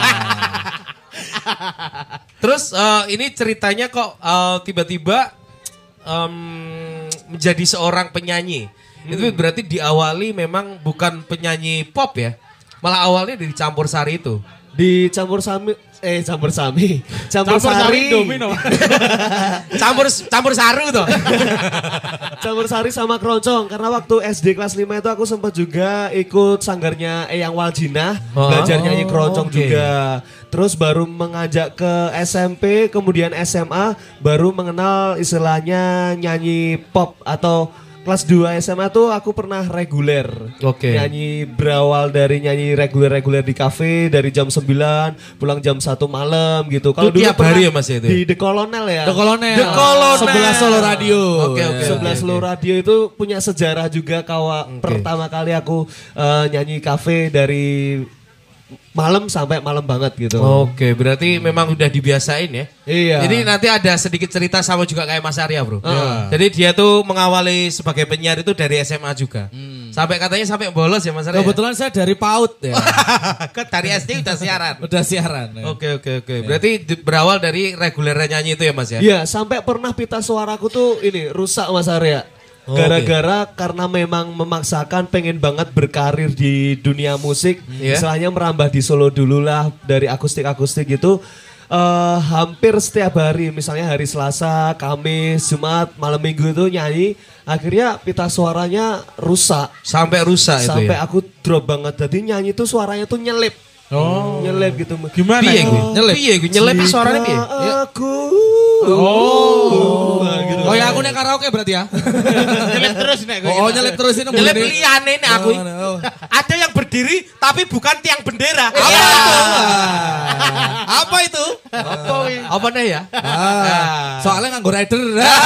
Terus ini ceritanya kok tiba-tiba menjadi seorang penyanyi. Itu berarti diawali memang bukan penyanyi pop ya. Malah awalnya dari campur sari itu. Di campur campur sami. Campur sari. domino. Campur saru tuh. Campur sari sama keroncong. Karena waktu SD kelas 5 itu aku sempat juga ikut sanggarnya Eyang Waljina. Belajar nyanyi keroncong juga. Terus baru mengajak ke SMP, kemudian SMA. Baru mengenal istilahnya nyanyi pop atau... Kelas 2 SMA tuh aku pernah reguler. Nyanyi berawal dari nyanyi reguler di kafe dari jam 9 pulang jam 1 malam gitu. Kalau dulu tiap hari ya Mas ya itu. Di The Colonel ya. The Colonel. Sebelah Solo Radio. Sebelah Solo Radio itu punya sejarah juga pertama kali aku nyanyi kafe dari malam sampai malam banget gitu. Oke, berarti memang udah dibiasain ya. Iya. Jadi nanti ada sedikit cerita sama juga kayak Mas Arya, Bro. Jadi dia tuh mengawali sebagai penyiar itu dari SMA juga. Sampai bolos ya Mas Arya. Kebetulan saya dari PAUD ya. Dari SD udah siaran. Udah siaran. Ya. Oke. Berarti berawal dari regulernya nyanyi itu ya Mas ya? Iya, sampai pernah pita suaraku tuh ini rusak Mas Arya. Gara-gara karena memang memaksakan pengen banget berkarir di dunia musik. Misalnya merambah di Solo dulu lah dari akustik-akustik gitu. Hampir setiap hari, misalnya hari Selasa, Kamis, Jumat, malam Minggu itu nyanyi. Akhirnya pita suaranya rusak. Sampai rusak itu Sampai ya? aku drop banget. Jadi nyanyi tuh suaranya tuh nyelip. Nyelip gitu. Gimana? Nyelip suaranya piye? Aku. Gitu. Oh ya aku nek karaoke berarti ya. Nyelip terus nek. Nyelip terus ini. Nyelip liyane nek aku. Ada yang berdiri tapi bukan tiang bendera. Apa itu? Apa nih ya? Soalnya nganggo rider.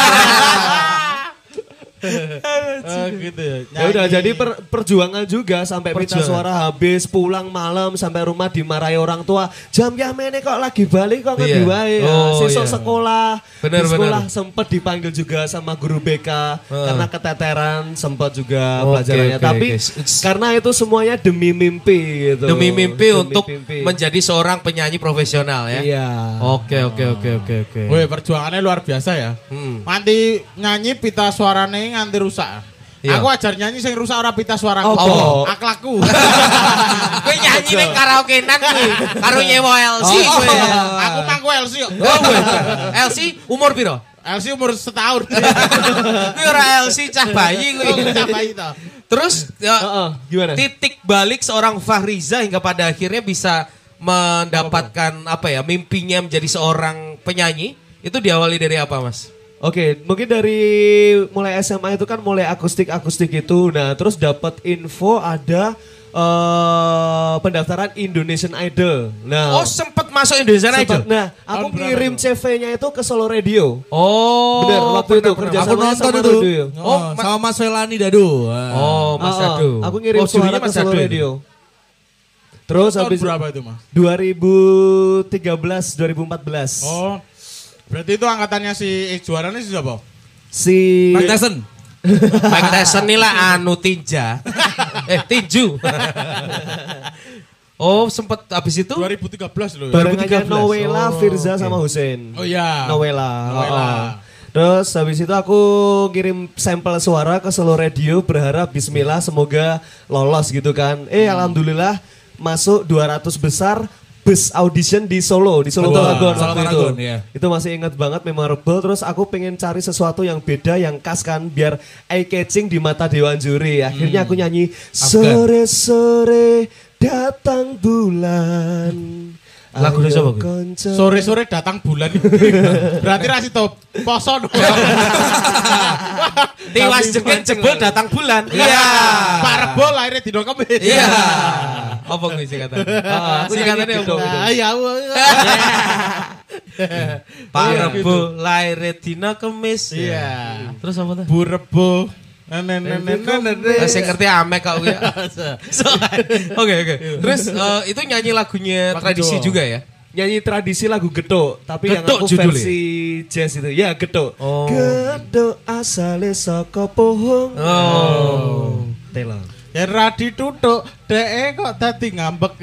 Gitu ya. Ya udah jadi perjuangan juga sampai pita suara habis, pulang malam sampai rumah dimarahi orang tua. Jam mene kok lagi balik kok ngendi wae. Sesuk sekolah. Di sekolah sempat dipanggil juga sama guru BK karena keteteran sempat juga pelajarannya. Tapi karena itu semuanya demi mimpi gitu. Demi mimpi untuk menjadi seorang penyanyi profesional ya. Iya. Oke. Woi, perjuangannya luar biasa ya. Nanti nyanyi pita suarane nganti rusak. Iya. Aku ajar nyanyi sing rusak ora pita suaraku. Akhlakku. Kowe nyanyi ning karaokean kuwi karo nyewa LC kowe. Aku mangku LC kok. LC umur piro? LC umur setahun. Kuwi ora LC cah bayi kuwi. Cah bayi to. Terus gimana? Titik balik seorang Fahriza hingga pada akhirnya bisa mendapatkan mimpinya menjadi seorang penyanyi itu diawali dari apa Mas? Oke, mungkin dari mulai SMA itu kan mulai akustik itu. Nah, terus dapat info ada pendaftaran Indonesian Idol. Nah, sempat masuk Indonesian Idol. Nah, aku ngirim CV-nya itu ke Solo Radio. Bener, waktu itu kerja sama nonton itu. Radio. Sama Mas Welani Dadu. Mas Dadu. Aku ngirim suara ke Solo Radio. Terus habis berapa itu, Mas? 2013, 2014. Berarti itu angkatannya si juaranya si siapa? Si Mike Tyson. Mike Tyson ini lah tinja. Tinju. Sempat habis itu 2013 loh. Barengannya Nowela, Firza sama Hussein. Oh iya. Nowela. Terus habis itu aku kirim sampel suara ke Solo Radio berharap bismillah semoga lolos gitu kan. Alhamdulillah masuk 200 besar. Bus audition di Solo Paragon waktu itu. Iya. Itu masih ingat banget, memorable. Terus aku pengen cari sesuatu yang beda, yang khas kan, biar eye catching di mata dewan juri. Akhirnya aku nyanyi sore-sore datang bulan. Lagu siapa? Sore-sore datang bulan. Berarti rasi to poso dong. Tiwas jebol datang bulan. Iya. Pak Rebo lahirnya di Kemis. Iya. Apa kuwi singkatan? Singkatannya apa? Ya. Pak Rebo lahirnya dina Kemis. Iya. Terus apa tuh? Bu Rebo. Saya ngerti ame kau ya. Oke. Terus itu nyanyi lagunya tradisi juga ya? Nyanyi tradisi lagu Getuk, tapi yang Getuk aku judulnya? versi jazz itu. Ya, Getuk. Getuk asale saka pohong. Oh. Telo. Ya Era ditutuk, dek kok tadi ngambek.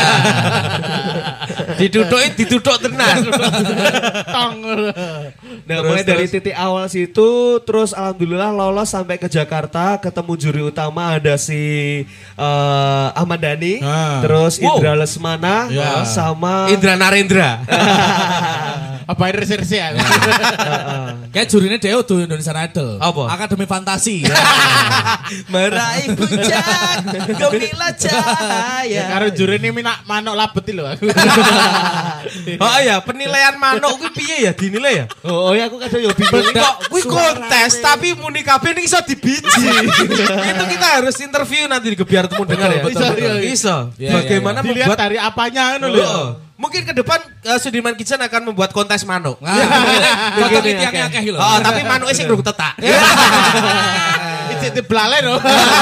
Ditutuk tenan. Tong. Nah, mulai dari titik awal situ, terus alhamdulillah lolos sampai ke Jakarta, ketemu juri utama ada si Ahmad Dhani, terus Indra Lesmana, sama Indra Narendra. Apa reserse ya? Kayak jurinya Deo tuh Indonesian Idol. Apa? Akademi Fantasi. Meraih puncak gemilang cahaya. Karo juri ini minak manuk labet lho aku. Oh iya, penilaian manuk kuwi piye ya dinilai ya? Oh ya aku kadang yo bingung. Kok kuwi kontes tapi muni kabeh ning iso dibiji. Itu kita harus interview nanti biar temu dengar ya. Iso. Bagaimana Dilihat membuat dari apanya ngono lho. Mungkin ke depan Sudirman Kitchen akan membuat kontes manuk. Foto tiangnya akeh lho. Oh, tapi manuknya sing durung tetak. Itu belalai loh.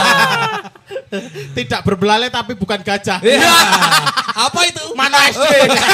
Tidak berbelalai tapi bukan gajah. Apa itu? Mana SD?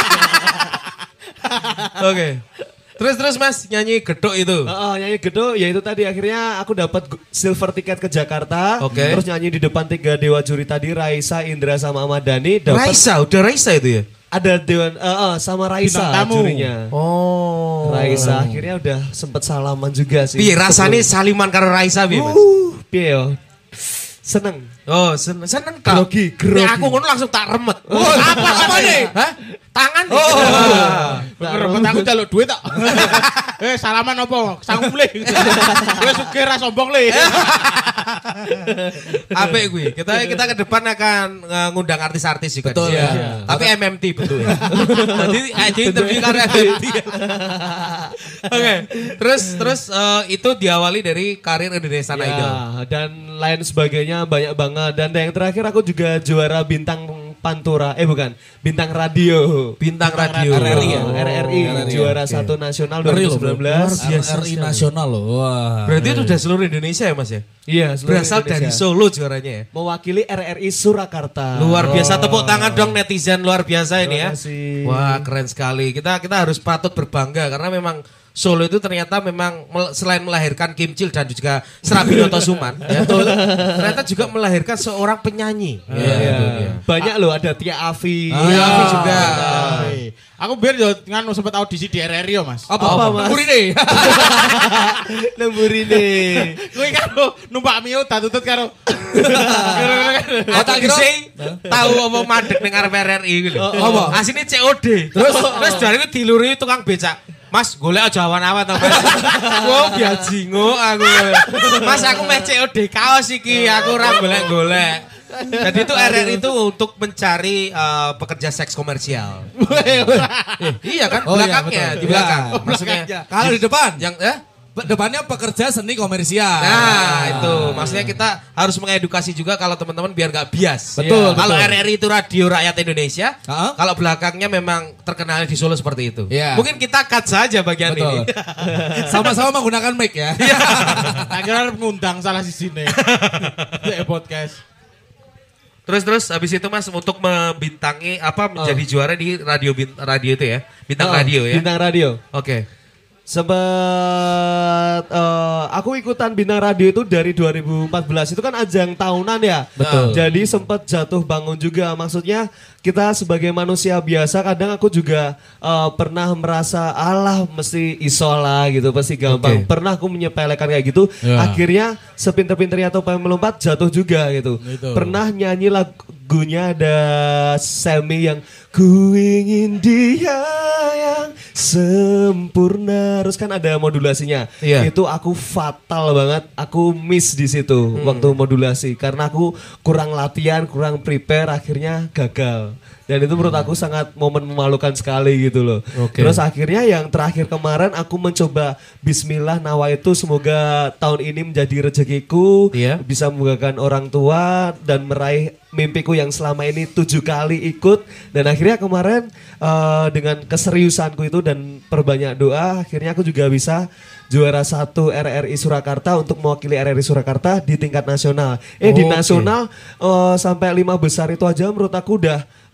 Oke. Terus Mas nyanyi gedok itu. Nyanyi gedok, ya itu tadi akhirnya aku dapat silver tiket ke Jakarta. Oke. Terus nyanyi di depan 3 dewa juri tadi, Raisa, Indra sama Ahmad Dhani. Dapat Udah Raisa itu ya? ada dewan sama Raisa Bintang tamu. jurinya. Oh. Raisa akhirnya udah sempet salaman juga sih. Piye rasane saliman karo Raisa piye, Mas? Piye yo? Seneng. Oh, seneng kau. Grogi. Nek aku ngono langsung tak remet. Apa nih? Hah? Tangan. Rebut aku jaluk duit tak. Salaman apa? Sanggup le. Gue sugih ra sombong le. Apik kuwi. Kita ke depan akan ngundang artis-artis juga. Betul, di sini. ya. Tapi MMT betul. Jadi interview karena MMT. Oke. Terus itu diawali dari karir Indonesian Idol. Ya, dan lain sebagainya banyak banget. Dan yang terakhir aku juga juara bintang Pantura, bukan, bintang radio. Bintang radio. RRI ya? RRI, juara satu nasional 2019. RRI nasional loh. Wah. Berarti itu udah seluruh Indonesia ya, Mas ya? Iya, seluruh Berasal Indonesia. dari Solo juaranya ya. Mewakili RRI Surakarta. Luar biasa, tepuk tangan dong netizen luar biasa ini ya. Terima kasih. Wah, keren sekali. Kita harus patut berbangga karena memang Solo itu ternyata memang selain melahirkan Kim Chil dan juga Srabinoto Suman, ya, ternyata juga melahirkan seorang penyanyi. Iya. Banyak loh, ada Tia Afi. Afi juga. Aku biar yo nganu sempat audisi di RRI yo, Mas. Apa, Mas? Kurine. Lembur ini. Kuwi karo numpak Mio tak tutut karo. Oh, tak kira tahu apa madeg ning arep RRI gitu. Apa? Asine COD. Terus dari itu diluri tukang becak. Mas, golek aja awan-awan to, Mas. Wo biajingo aku. Mas, aku meh COD kaos iki, aku ora golek-golek. Jadi itu RRI itu untuk mencari pekerja seks komersial. Iya kan, Oh, iya, belakangnya, betul. di belakang. Iya. Maksudnya Kalau di depan, yang depannya pekerja seni komersial. Nah itu maksudnya kita harus mengedukasi juga kalau teman-teman biar nggak bias. Betul, Kalau betul. RRI itu radio rakyat Indonesia, Ha-ha. kalau belakangnya memang terkenal di Solo seperti itu. Iya. Mungkin kita cut saja bagian Betul. ini. Sama-sama menggunakan mic ya. Tak kira ngundang salah sisine. Ya podcast. Terus habis itu Mas untuk membintangi menjadi juara di radio itu ya, bintang radio ya. Bintang radio. Oke. Sempat aku ikutan bintang radio itu dari 2014, itu kan ajang tahunan ya. Betul. Jadi sempat jatuh bangun juga. Maksudnya kita sebagai manusia biasa kadang aku juga pernah merasa alah mesti isola gitu, pasti gampang. Oke. Pernah aku menyepelekan kayak gitu. Ya. Akhirnya sepinter-pinternya atau pengen melompat jatuh juga gitu. Itu. Pernah nyanyi lagunya ada Semi yang ku ingin dia yang sempurna, terus kan ada modulasinya. Iya. Itu aku fatal banget, aku miss di situ waktu modulasi karena aku kurang latihan, kurang prepare, akhirnya gagal. Dan itu menurut aku sangat momen memalukan sekali gitu loh. Oke. Terus akhirnya yang terakhir kemarin aku mencoba Bismillah nawaitu semoga tahun ini menjadi rezekiku, Iya. bisa membanggakan orang tua dan meraih mimpiku yang selama ini 7 kali ikut. Dan akhirnya kemarin dengan keseriusanku itu dan perbanyak doa, akhirnya aku juga bisa juara 1 RRI Surakarta untuk mewakili RRI Surakarta di tingkat nasional. Di Oke. nasional sampai 5 besar itu aja menurut aku udah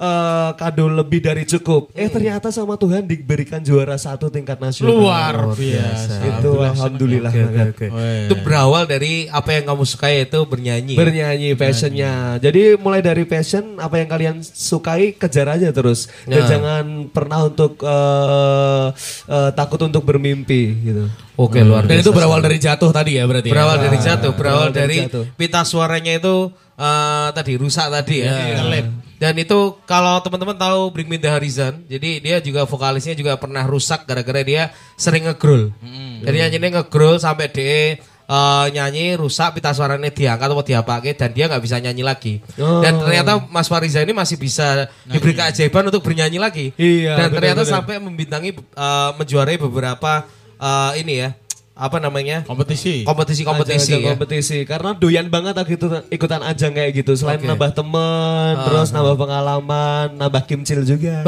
kado lebih dari cukup. Ternyata sama Tuhan diberikan juara 1 tingkat nasional. Luar biasa. Itu alhamdulillah. Oke. Itu berawal dari apa yang kamu sukai itu bernyanyi. Bernyanyi passionnya. Jadi mulai dari passion apa yang kalian sukai kejar aja terus. Dan jangan pernah untuk takut untuk bermimpi gitu. Oke, luar biasa. Dan itu berawal dari jatuh tadi ya berarti. Berawal dari jatuh, berawal dari jatuh. pita suaranya itu tadi rusak tadi ya. Dan itu kalau teman-teman tahu Bring Me The Horizon, jadi dia juga vokalisnya juga pernah rusak gara-gara dia sering ngegrol. Jadi nyanyinya ngegrol sampai dia nyanyi rusak pita suaranya diangkat atau diapake dan dia nggak bisa nyanyi lagi. Dan ternyata Mas Fariza ini masih bisa diberi keajaiban untuk bernyanyi lagi. Iya, dan ternyata benar-benar. sampai membintangi menjuarai beberapa ini ya. Apa namanya? Kompetisi Kompetisi ya. Kompetisi karena doyan banget aku itu ikutan ajang kayak gitu. Selain nambah teman, terus nambah pengalaman, nambah kimcil juga.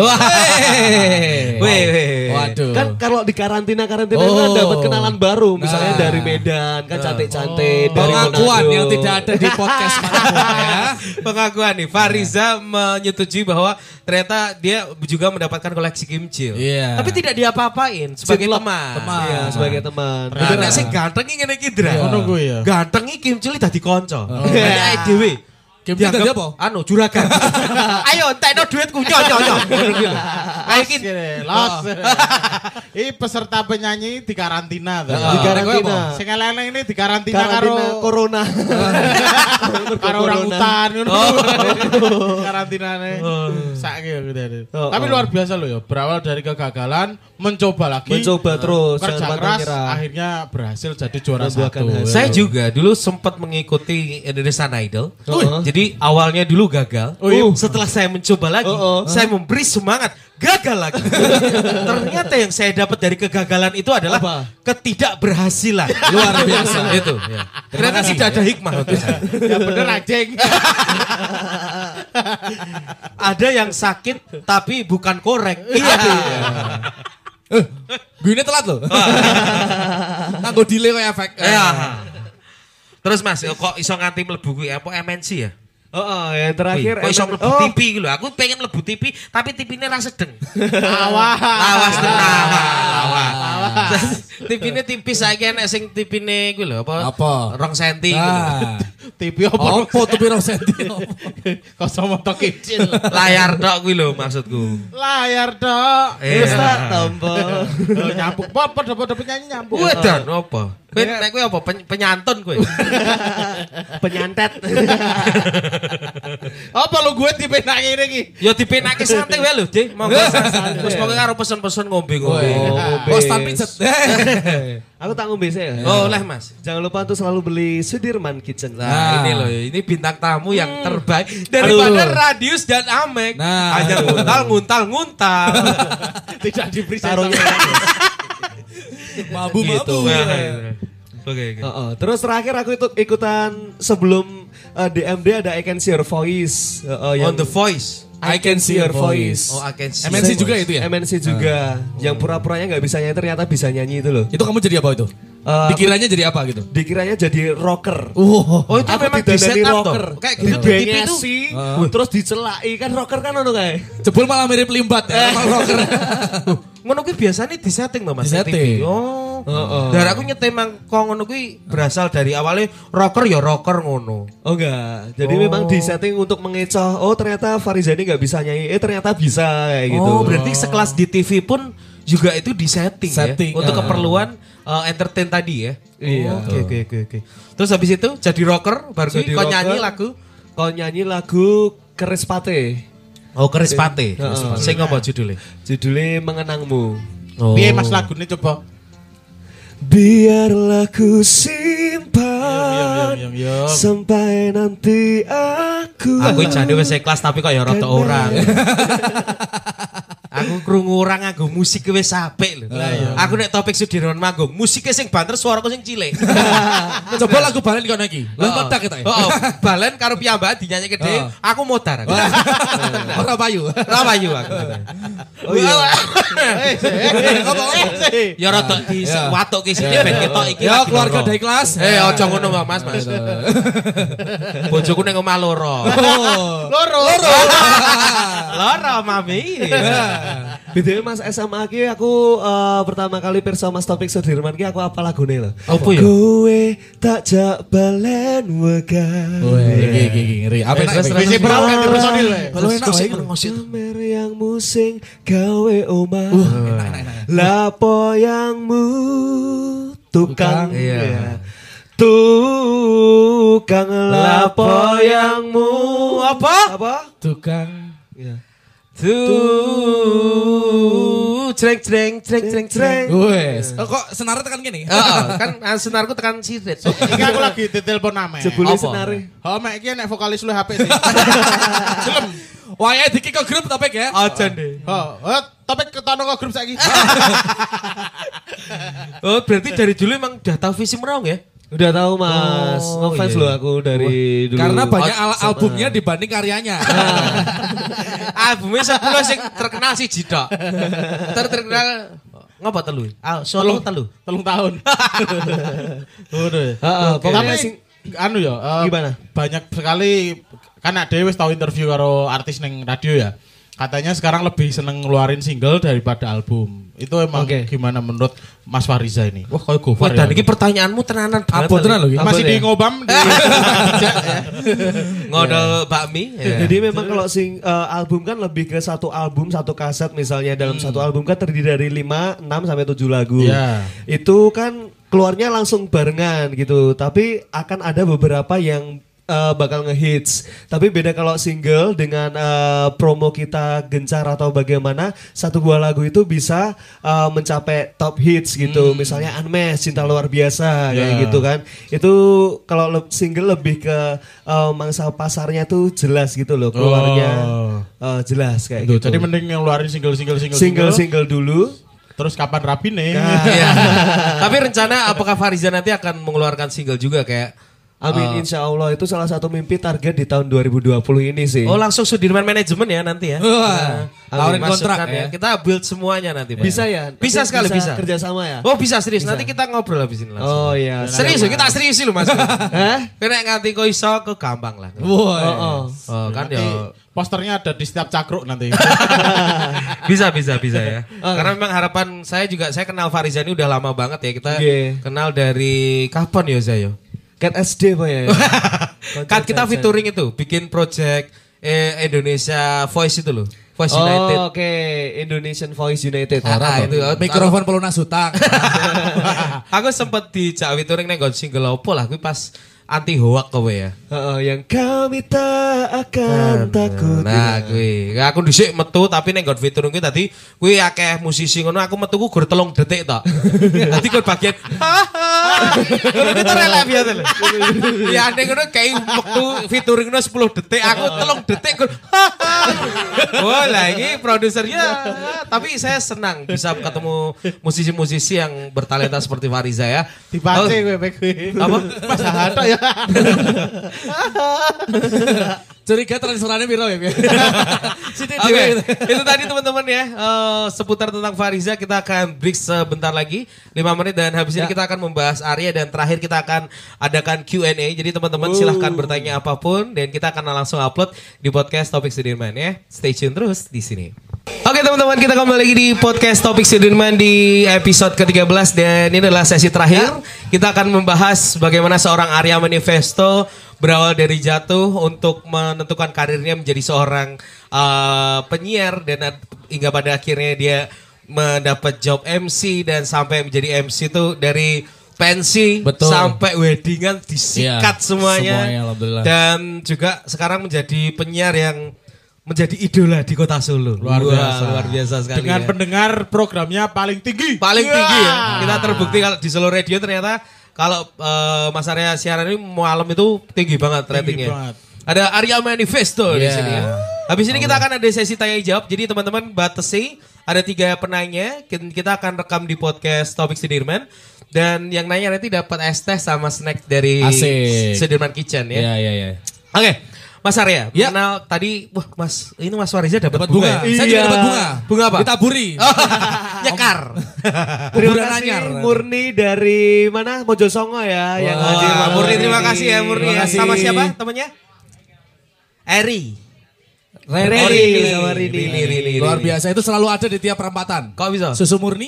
Weh. Waduh. Kan kalau di karantina kan dapat kenalan baru, misalnya dari Medan kan cantik-cantik, dari Pengakuan Manado. yang tidak ada di podcast manapun ya. Pengakuan nih, Fariza menyetujui bahwa ternyata dia juga mendapatkan koleksi kimchi. Iya. Tapi tidak diapa-apain sebagai teman. Iya, sebagai teman. Nah, nek sing ganteng iki ngene iki, Dra. Ngono kuwi ya. Ganteng iki kimchi dadi kanca. Nek dhewe Kimchi dianggap tadi apa? Anu, juragan. Ayo entekno dhuwitku nyonya. Kayak iki. Los. Ini peserta penyanyi di karantina tuh. Di karantina. Sing elek ini di karantina Karantina karo corona. karo orang hutan ngono. Karantinane. Saiki ya gitu. Tapi luar biasa loh ya. Berawal dari kegagalan, mencoba lagi. Mencoba terus, Kerja jangan keras, menyerah. akhirnya berhasil jadi juara Membuahkan 1. hasil. Saya juga dulu sempat mengikuti Indonesian Idol. Jadi awalnya dulu gagal. Setelah saya mencoba lagi, saya memberi semangat. Gagal lagi. Ternyata yang saya dapat dari kegagalan itu adalah ketidakberhasilan. Luar biasa. Itu. Ya. Ternyata tidak ada hikmah untuk saya. Ya bener anjing. Ada yang sakit tapi bukan korek. Iya. Gue telat loh. Nganggo delay kayak efek. Ya. Terus Mas, kok iso nganti mlebu kuwi apa MNC ya? Yang terakhir Kok iso mlebu TV iki lho. Aku pengen mlebu TV tapi TV-ne ra sedeng. Awas tenang. TV-ne tipis saiki enek sing TV-ne kuwi lho apa? Apa? 2 cm kuwi lho. Nah. TV apa? Apa tuh piro senti? Kacamata kecil. Layar tok kuwi lho maksudku. Layar dok. Terus tak tombol. Nyampuk. Apa penyanyi nyampuk. Wedan apa? Kowe nek kowe apa penyantun kowe? Penyantet. Apa lu gue dipenak ngene iki? Ya dipenake santai wae lho, Dik. Monggo. Terus pokoke karo pesen-pesen ngombe-ngombe. Kok stand pijet. Aku tak ngombe sih ya. Oh, oleh Mas. Jangan lupa untuk selalu beli Sudirman Kitchen. Nah, ini loh, ini bintang tamu yang terbaik daripada Radius dan Amek. Nah, hanya nguntal. Tidak diberi Tarungnya. Mabu-mabu. Oke. Terus terakhir aku ikutan sebelum DMD ada I Can See Your Voice. On The Voice. I Can See Your Voice. Oh, I Can See. MNC juga itu ya? MNC juga. Yang pura-puranya nggak bisa nyanyi ternyata bisa nyanyi itu loh. Itu kamu jadi apa itu? Dikiranya jadi apa gitu? Dikiranya jadi rocker. Oh, itu Aku memang di didandani set up rocker. toh. Kayak gitu di TV itu. Terus dicelai kan rocker kan ono kae. Jebul malah mirip limbat ya, rocker. Ngono kuwi biasanya di setting Mbak Mas. Di-setting. TV. Oh. Dan aku nyetemang kok ngono kuwi berasal dari awalnya rocker ya rocker ngono. Oh enggak. Jadi memang di setting untuk mengecoh. Oh ternyata Fariza ini nggak bisa nyanyi. Ternyata bisa kayak gitu. Oh, berarti sekelas di TV pun juga itu di setting ya. Untuk keperluan entertain tadi ya. Iya. Oke. Terus habis itu jadi rocker baru Jadi kau nyanyi rocker. lagu. Kau nyanyi lagu Kerispate. Oh, Kerispate. Sing apa judulnya? Judulnya Mengenangmu. Piye Mas lagune coba? Biarlah ku simpan Yo. sampai nanti aku. Aku jadi wis kelas tapi kok ya rada orang. Aku Aku krungu ora nganggo musik wis apik lho. Aku nek Topik Sudirman manggung, musiknya sing banter suaraku sing cilik. Coba lagu balen kono iki. Lah metak kita. Heeh, balen karo piyambak dinyanyike dhewe, aku modar. Ora payu. Ora payu aku. Oh iya. Ya rada di watuk ki sini ben ketok iki. Ya keluarga dari kelas. Aja ngono Mas. Bojoku ning omah loro. Loro. Loro mami. BTW Mas SMA ki aku pertama kali pirsa Mas Topik Sudirman ki aku apa lagune lho. Apa ya? Kowe tak jak balen wegah. Iki ngeri. Apa Visi pro ganti personil wae. Kalau enak wae Kamer yang musing gawe omah. Lapo yangmu tukang. Iya. Tukang lapo yangmu apa? tukang. Iya. Jreng. Wes. Kok senarnya tekan gini? Heeh, kan senarku tekan sirit. Iki aku lagi ditelepon ame. Jebule Apa? senare. Oh, mek iki nek vokalis lu HP sih. Wah, diki ke grup Topik ya. Aja deh. Topik ketono kok grup saiki. Oh, berarti dari dulu emang udah tahu visi merong ya? Udah tahu Mas, ngefans iya. loh aku dari dulu. Karena banyak albumnya dibanding karyanya. Albumnya 10 sing terkenal sih Jidok. Terkenal ngapa telu? Solo telu. 3 tahun. Pokoknya Tapi anu ya, Gimana? banyak sekali kan ada wis tahu interview karo artis neng radio ya. Katanya sekarang lebih seneng ngeluarin single daripada album. Itu emang gimana menurut Mas Fariza ini? Wah, kayak Gofar ya. Dan ini pertanyaanmu tenanan banget. Apa tenan lho iki? Masih di ngobam di Ngodol bakmi. Jadi memang kalau album kan lebih ke satu album, satu kaset misalnya dalam satu album kan terdiri dari 5, 6 sampai 7 lagu. Iya. Itu kan keluarnya langsung barengan gitu. Tapi akan ada beberapa yang bakal ngehits. Tapi beda kalau single dengan promo kita gencar atau bagaimana satu buah lagu itu bisa mencapai top hits gitu. Misalnya Unmesh, Cinta Luar Biasa kayak gitu kan. Itu kalau single lebih ke mangsa pasarnya tuh jelas gitu loh keluarnya. Jelas kayak gitu. Jadi mending ngeluarin single dulu. Terus kapan rapi nih? Iya. Tapi rencana apakah Fariza nanti akan mengeluarkan single juga kayak Amin, insya Allah itu salah satu mimpi target di tahun 2020 ini sih. Oh langsung Sudirman Manajemen ya nanti ya. Tawarin kontrak ya. Kita build semuanya nanti Pak. Bisa ya? Bisa sekali bisa. Kerjasama ya? Oh bisa serius. Nanti kita ngobrol habis ini langsung. Oh iya. Serius kita serius sih lu Mas. Hah? Kena nganti kok iso ke gampang lah. Wah. Oh kan ya. Posternya ada di setiap cakruk nanti. bisa ya. Karena memang harapan saya juga, saya kenal Fariza ini udah lama banget ya. Kita kenal dari kapan ya Zayo? Cat SD Pak ya? Kan kita featuring itu, bikin project Indonesia Voice itu loh. Voice United. Oh oke, Indonesian Voice United. Itu Mikrofon pelunas hutang. Aku sempet dijak featuring neng single opo lah, gue pas anti hoak kowe ya. Yang kami tak akan takut. Nah, gue aku dhisik metu tapi neng god featuring gue tadi gue akeh musisi ngono aku metu ku gur 3 detik tok. Dadi gue bagian ngono kita relak biasa lho. Ya ning ngono kayak waktu featuring 10 detik aku 3 detik gur. Oh, lah ini produsernya tapi saya senang bisa ketemu musisi-musisi yang bertalenta seperti Fariza ya. Dipace gue. Apa? Mas Hato ya. Curiga transferannya piro ya? Oke, itu tadi teman-teman ya seputar tentang Fariza. Kita akan break sebentar lagi 5 menit dan habis ini kita akan membahas Arya dan terakhir kita akan adakan Q&A. Jadi teman-teman silahkan bertanya apapun dan kita akan langsung upload di podcast Topik Sudirman ya. Stay tune terus di sini. Oke teman-teman, kita kembali lagi di podcast Topik Sudirman di episode ke-13 dan ini adalah sesi terakhir. Kita akan membahas bagaimana seorang Arya Manifesto berawal dari jatuh untuk menentukan karirnya menjadi seorang penyiar dan hingga pada akhirnya dia mendapat job MC dan sampai menjadi MC itu dari pensi sampai weddingan disikat semuanya alhamdulillah. Dan juga sekarang menjadi penyiar yang menjadi idola di kota Solo. Luar biasa sekali. Dengan ya. pendengar programnya paling tinggi. Paling tinggi ya. Kita terbukti kalau di Solo Radio ternyata kalau Mas Arya siaran ini malam itu tinggi banget ratingnya. Ada Arya Manifesto di sini ya. Habis ini kita akan ada sesi tanya jawab. Jadi teman-teman batasi ada 3 penanya. Kita akan rekam di podcast Topik Sudirman. Dan yang nanya nanti dapat es teh sama snack dari Asik. Sudirman Kitchen ya. Iya. Oke, Mas Arya, Ya. mengenal tadi, wah Mas, ini Mas Fariza dapat Dapat bunga. bunga. Saya juga dapat bunga. Bunga apa? Ditaburi. Nyekar. Terima Kuburan kasih anyar. Murni dari mana? Mojosongo ya yang Wah, hadir. malam Murni ini. terima kasih ya Murni. Terima Ya. kasih. Sama siapa temannya? Eri. Rini sama Rini. Rini. Luar biasa, itu selalu ada di tiap perempatan. Kok bisa? Susu murni.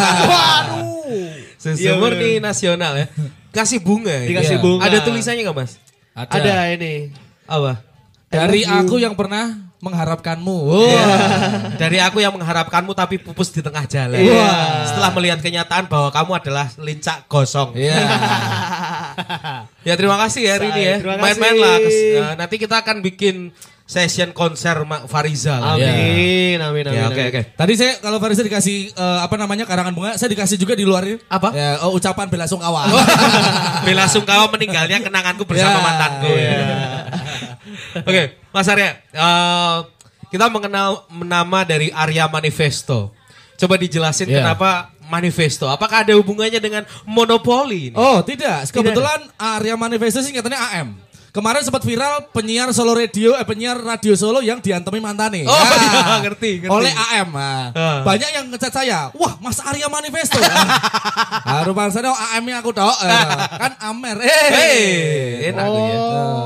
Susu Iya, murni nasional ya. Kasih bunga. ya? Dikasih Iya. bunga. Ada tulisannya nggak Mas? Ada ini. Apa? Dari aku yang pernah mengharapkanmu. Dari aku yang mengharapkanmu tapi pupus di tengah jalan. Iya. Setelah melihat kenyataan bahwa kamu adalah lincak gosong. Iya. Ya terima kasih ya Rini ya. Terima kasih. Main-main lah. Nanti kita akan bikin session konser Fariza lah. Amin, amin, amin. Ya, oke amin. oke. Tadi saya kalau Farisa dikasih karangan bunga, saya dikasih juga di luar ini. Apa? Ya, ucapan bela sungkawa. Bela sungkawa meninggalnya kenanganku bersama Ya, mantanku. Ya. Oke, Mas Arya, kita mengenal nama dari Arya Manifesto. Coba dijelasin Ya. kenapa Manifesto? Apakah ada hubungannya dengan monopoli? Ini? Oh, tidak. Kebetulan Arya Manifesto singkatannya AM. Kemarin sempat viral penyiar radio Solo yang diantemi mantane. Oh, iya, ngerti. Oleh AM. Nah, banyak yang ngecat saya. Wah, Mas Arya Manifesto. Harupan saya AM-nya aku tok. Kan Amer. Enak tuh ya.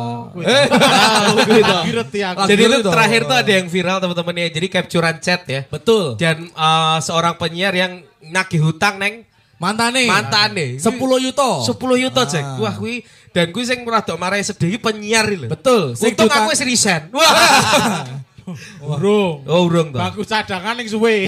Ngerti aku. Jadi itu Gitu dong. terakhir tuh ada yang viral teman-teman ya. Jadi capturean chat ya. Betul. Dan seorang penyiar yang nagih hutang neng Mantane. 10 yuto. 10 yuto cek. Wah kuwi dan kuwi sing rada marahi sedih penyiar lho. Betul. Sing Untung diutang- aku wis resign. Wah. Urung. Oh urung toh. Bagus cadangan yang suwe.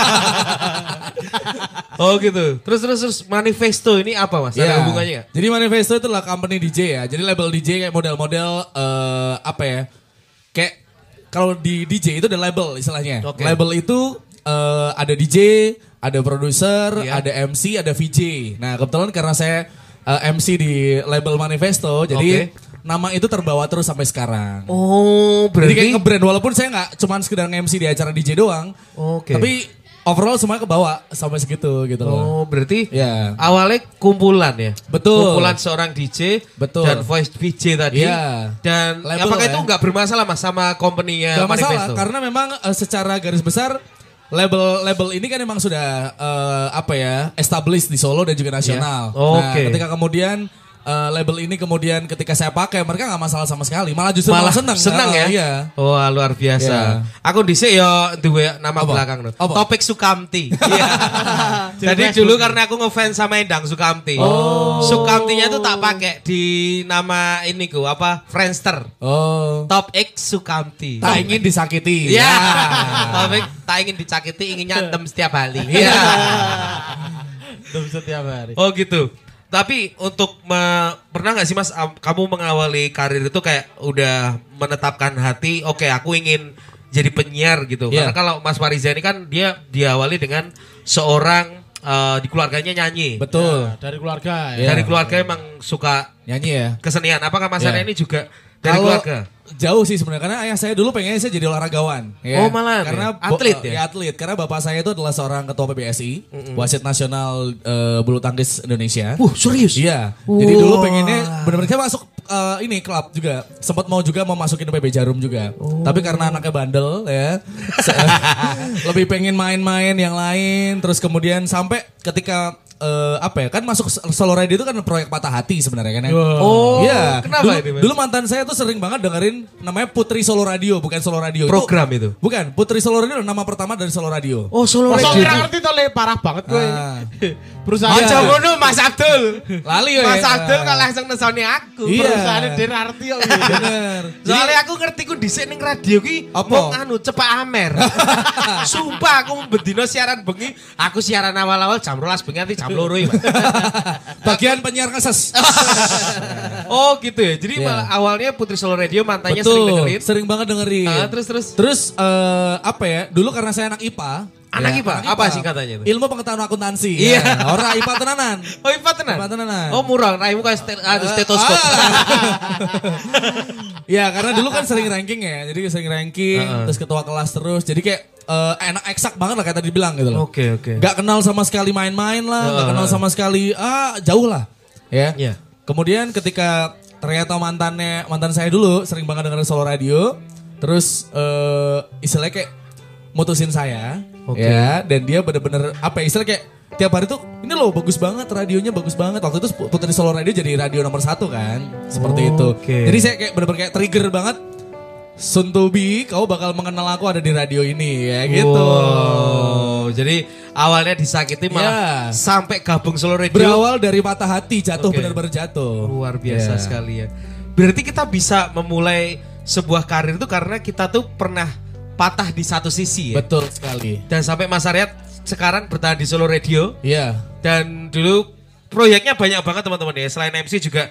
Oh gitu. Terus Manifesto ini apa Mas? Ada Ya. hubungannya nggak? Jadi Manifesto itu adalah company DJ ya. Jadi label DJ kayak model-model apa ya? Kayak kalau di DJ itu ada label istilahnya. Oke. Label itu ada DJ, ada produser, Iya. ada MC, ada VJ. Nah kebetulan karena saya MC di label Manifesto, jadi nama itu terbawa terus sampai sekarang. Oh Jadi kayak nge-brand walaupun saya nggak cuman sekedar nge-MC di acara DJ doang. Oke. Tapi overall semuanya kebawa sampai segitu gitu loh. Oh berarti Ya. awalnya kumpulan ya? Betul. Kumpulan seorang DJ Betul. dan voice VJ tadi. Iya. Dan Label apakah ya. itu nggak bermasalah Mas sama company-nya Gak masalah Manifesto? karena memang secara garis besar label ini kan memang sudah established di Solo dan juga nasional. Iya. Oh, Nah, oke. ketika kemudian label ini kemudian ketika saya pakai mereka nggak masalah sama sekali, malah justru malah senang. ya? Iya. Wah luar biasa. Iya. Aku dhisik ya duwe nama Apa? belakang no. Apa? Topik Sukamti. Iya. Jadi dulu karena aku ngefans sama Endang Sukamti. Sukamtinya tuh tak pakai di nama ini ku apa? Friendster. Oh. Top X Sukamti. Tak ingin disakiti. Iya. Ya. Topik tak ingin dicakiti, ingin nyantem setiap hari. Iya. Belum setiap hari. Oh gitu. Tapi untuk pernah nggak sih Mas kamu mengawali karir itu kayak udah menetapkan hati, oke aku ingin jadi penyiar gitu. Iya. Karena kalau Mas Fariza ini kan dia diawali dengan seorang di keluarganya nyanyi. Betul. Dari keluarga Iya. ya. Dari keluarga emang suka Nyanyi ya. kesenian. Apakah Mas Iya. Arya ini juga dari Kalau keluarga? jauh sih sebenarnya karena ayah saya dulu pengennya saya jadi olahragawan. Oh, malah karena ya? Atlet ya? atlet. Karena bapak saya itu adalah seorang ketua PBSI, wasit nasional bulu tangkis Indonesia. Serius? Iya. Jadi dulu pengennya benar-benar saya masuk ini klub juga. Sempat mau masukin PB Jarum juga. Tapi karena anaknya bandel ya. Lebih pengen main-main yang lain. Terus kemudian sampai ketika kan masuk Solo Radio itu kan proyek Patah Hati sebenarnya kan ya. Oh, Iya. kenapa dulu, ini, Mas? dulu mantan saya tuh sering banget dengerin namanya Putri Solo Radio, bukan Solo Radio. Program itu? Bukan, Putri Solo Radio nama pertama dari Solo Radio. Oh Solo Masa Radio. kira ngerti tuh le parah banget gue. Ah. Perusahaan Aja ngono Mas Abdul. Lali Mas Abdul kok langsung nesoni aku. Iya. perusahaan Den Arti kok. Bener. Soalnya aku ngerti ku dhisik ning radio ki Apa? mau anu cepak amer. Sumpah aku bendino siaran bengi, aku siaran awal-awal jam 12 bengi nanti jam 2 ya. Bagian penyiar ngeses. Oh gitu ya. Jadi Iya. malah awalnya Putri Solo Radio mantannya Betul, sering dengerin. sering banget dengerin. Terus. Terus Dulu karena saya anak IPA, Anak Ya, IPA, apa singkatannya itu? Ilmu pengetahuan akuntansi. Iya. Ya. Ora IPA tenanan. Oh IPA tenan? IPA tenanan. Oh murah, raimu kayak stetoskop. Ya karena dulu kan sering ranking ya. Jadi sering ranking, terus ketua kelas terus. Jadi kayak enak eksak banget lah kayak tadi bilang gitu loh. Oke. Gak kenal sama sekali main-main lah, gak kenal sama sekali jauh lah. Ya. Iya. Kemudian ketika ternyata mantan saya dulu sering banget dengerin Solo Radio, terus istilahnya kayak mutusin saya, ya, dan dia bener-bener apa ya, istilahnya kayak tiap hari tuh ini loh bagus banget radionya bagus banget. Waktu itu Putri Solo Radio jadi radio nomor 1 kan, seperti itu. Jadi saya kayak bener-bener kayak trigger banget. Soon to be, kau bakal mengenal aku ada di radio ini ya gitu. Wow. Jadi awalnya disakiti malah sampai gabung Solo Radio. Berawal dari patah hati, jatuh benar-benar jatuh. Luar biasa sekali ya. Berarti kita bisa memulai sebuah karir itu karena kita tuh pernah patah di satu sisi ya. Betul sekali. Dan sampai Mas Aryat sekarang bertahan di Solo Radio. Iya. Dan dulu proyeknya banyak banget teman-teman ya. Selain MC juga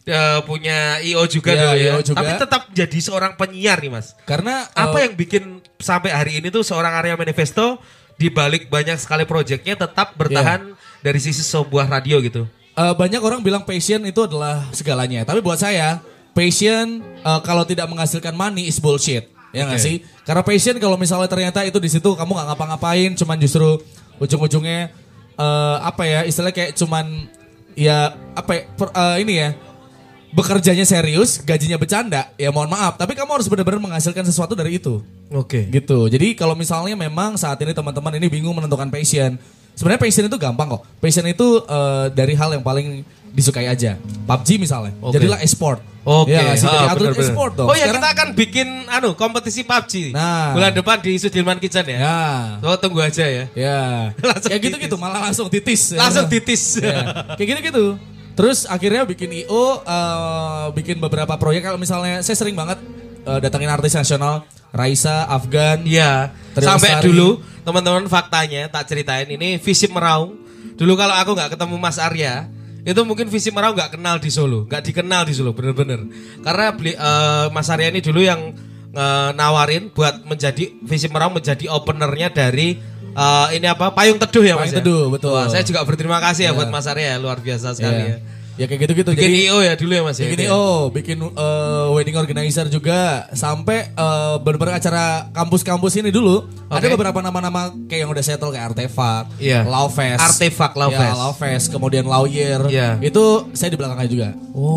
punya IO juga dulu ya. IO juga. Tapi tetap jadi seorang penyiar nih Mas. Karena Apa yang bikin sampai hari ini tuh seorang Arya Manifesto di balik banyak sekali proyeknya tetap bertahan dari sisi sebuah radio gitu? banyak orang bilang passion itu adalah segalanya. Tapi buat saya, passion kalau tidak menghasilkan money is bullshit. Ya nggak sih? Karena passion kalau misalnya ternyata itu di situ kamu nggak ngapa-ngapain, cuman justru ujung-ujungnya apa ya? Istilahnya kayak cuman ya apa ya, ini ya. Bekerjanya serius, gajinya bercanda, ya mohon maaf. Tapi kamu harus benar-benar menghasilkan sesuatu dari itu. Oke. Gitu. Jadi kalau misalnya memang saat ini teman-teman ini bingung menentukan passion. Sebenarnya passion itu gampang kok. Passion itu dari hal yang paling disukai aja. PUBG misalnya. Jadilah e-sport. Oke. Ya, jadi atlet e-sport dong. Oh ya, sekarang, kita akan bikin kompetisi PUBG. Nah. Bulan depan di Sudirman Kitchen ya. Ya. So, tunggu aja ya. Ya. Kayak gitu-gitu malah langsung titis. Langsung titis. Ya. Kayak gitu-gitu. Terus akhirnya bikin IO, bikin beberapa proyek. Kalau misalnya saya sering banget datangin artis nasional, Raisa, Afgan. Iya. Trio Sampai Lestari. dulu teman-teman faktanya tak ceritain ini Visip Meraung. Dulu kalau aku nggak ketemu Mas Arya, itu mungkin Visip Meraung nggak kenal di Solo, nggak dikenal di Solo bener-bener. Karena Mas Arya ini dulu yang nawarin buat menjadi Visip Meraung menjadi openernya dari ini apa Payung Teduh ya Mas. Payung Teduh, betul. Wah, saya juga berterima kasih ya buat Mas Arya, luar biasa sekali ya. Ya kayak gitu-gitu. Bikin Jadi IO ya dulu ya Mas ya. bikin IO, bikin wedding organizer juga, sampai beberapa acara kampus-kampus ini dulu. Ada beberapa nama-nama kayak yang udah settle kayak Artefak, Iya. Lawfest. Artefak, Lawfest. Ya, Lawfest, kemudian Lawyer. Iya. Itu saya di belakangnya juga.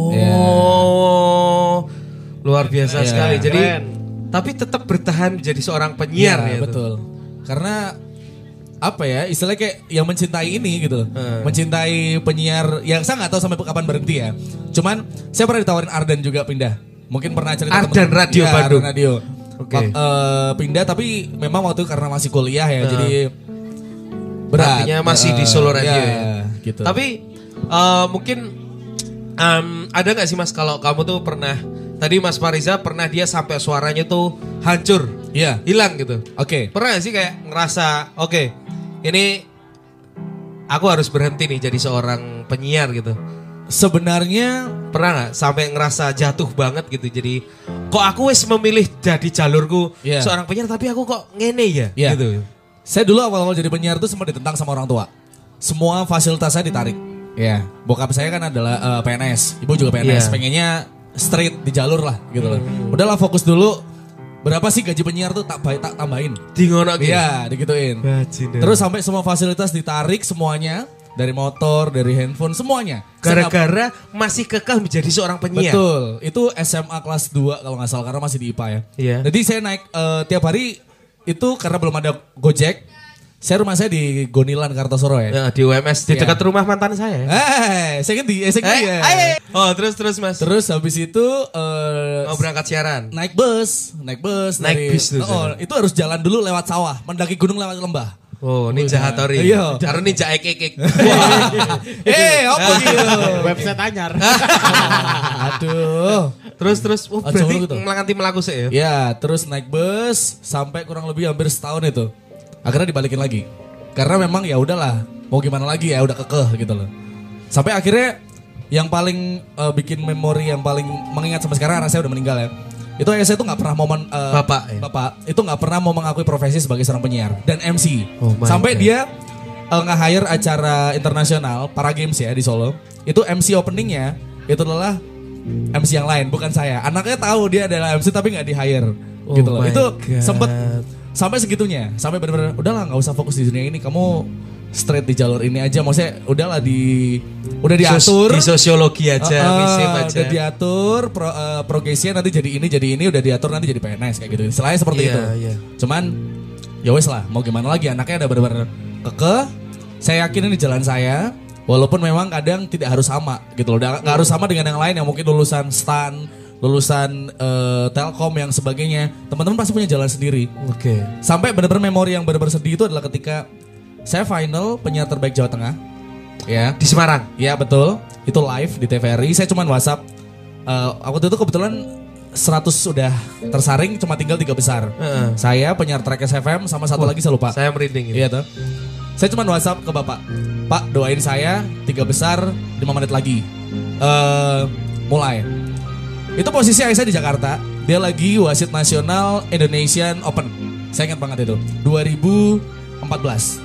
Luar biasa Iya. sekali. Jadi tapi tetap bertahan menjadi seorang penyiar Iya, ya. betul. Karena apa ya, istilahnya kayak yang mencintai ini gitu loh. Mencintai penyiar yang saya nggak tahu sampai kapan berhenti ya. Cuman saya pernah ditawarin Ardan juga pindah. Mungkin pernah cerita Ardan Radio ya, Bandung. Ardan Radio. Oke. Pindah tapi memang waktu itu karena masih kuliah ya, jadi berat. Artinya masih di Solo Radio ya, ya. gitu. Tapi mungkin ada nggak sih Mas kalau kamu tuh pernah tadi Mas Fariza pernah dia sampai suaranya tuh hancur, Iya. hilang gitu. Oke. Pernah gak sih kayak ngerasa oke, ini aku harus berhenti nih jadi seorang penyiar gitu. Sebenarnya Pernah nggak sampai ngerasa jatuh banget gitu. Jadi kok aku wis memilih jadi jalurku Iya. seorang penyiar tapi aku kok ngene ya Iya. gitu. saya dulu awal-awal jadi penyiar tuh sempat ditentang sama orang tua. Semua fasilitas saya ditarik. Ya, bokap saya kan adalah PNS, ibu juga PNS. Iya. Pengennya straight di jalur lah gitu loh. Udahlah fokus dulu. Berapa sih gaji penyiar tuh tak tambahin. Di ngono gitu. Iya, digituin. Terus sampai semua fasilitas ditarik semuanya, dari motor, dari handphone, semuanya. Gara-gara masih kekeh menjadi seorang penyiar. Betul. Itu SMA kelas 2 kalau nggak salah karena masih di IPA ya. Iya. Jadi saya naik tiap hari itu karena belum ada Gojek. Saya rumah saya di Gonilan Kartosuro ya. Ya, di UMS di Iya. dekat rumah mantan saya. Saya kan di SNG ya. Oh, terus Mas. Terus habis itu Mau berangkat siaran. naik bus Naik dari, bis tuh, itu harus jalan dulu lewat sawah, mendaki gunung lewat lembah. Oh, Ninja Hattori. Iya. Karena Ninja Ek. Apa gitu? Website anyar. Aduh. Terus Ah, berarti coba gitu. melanganti melaku sih ya. Ya, terus naik bus sampai kurang lebih hampir setahun itu. Akhirnya dibalikin lagi. Karena memang ya udahlah, mau gimana lagi ya, udah kekeh gitu loh. Sampai akhirnya yang paling bikin memori yang paling mengingat sampai sekarang, anak saya udah meninggal ya. Itu ayah saya tuh nggak pernah Bapak, ya? Bapak itu nggak pernah mau mengakui profesi sebagai seorang penyiar dan MC. Oh my Sampai God. dia nge-hire acara internasional para games ya di Solo. Itu MC openingnya itu adalah MC yang lain, bukan saya. Anaknya tahu dia adalah MC tapi nggak di-hire Oh gitu loh. my Itu God. sempet sampai segitunya, sampai benar-benar udahlah nggak usah fokus di dunia ini, kamu straight di jalur ini aja. Maksudnya udahlah udah diatur Di sosiologi aja, misif aja. udah diatur progresinya nanti jadi ini udah diatur nanti jadi PNS kayak gitu. Istilahnya seperti Iya, itu. iya. Cuman ya wes lah, mau gimana lagi, anaknya ada benar-benar kekeh. Saya yakin ini jalan saya. Walaupun memang kadang tidak harus sama gitu loh. Nggak harus sama dengan yang lain yang mungkin lulusan STAN, lulusan Telkom yang sebagainya. Teman-teman pasti punya jalan sendiri. Oke. Sampai benar-benar memori yang benar-benar sedih itu adalah ketika saya final penyiar terbaik Jawa Tengah. Ya. Di Semarang. Ya betul, itu live di TVRI. Saya cuman WhatsApp. Waktu itu kebetulan 100 sudah tersaring, cuma tinggal 3 besar. Saya penyiar Track SFM sama satu lagi saya lupa. Saya merinding ini. Iya tuh. Saya cuman WhatsApp ke Bapak. Pak, doain saya 3 besar 5 menit lagi. Mulai. Itu posisi ayah saya di Jakarta. Dia lagi wasit nasional Indonesian Open. Saya ingat banget itu. 2014.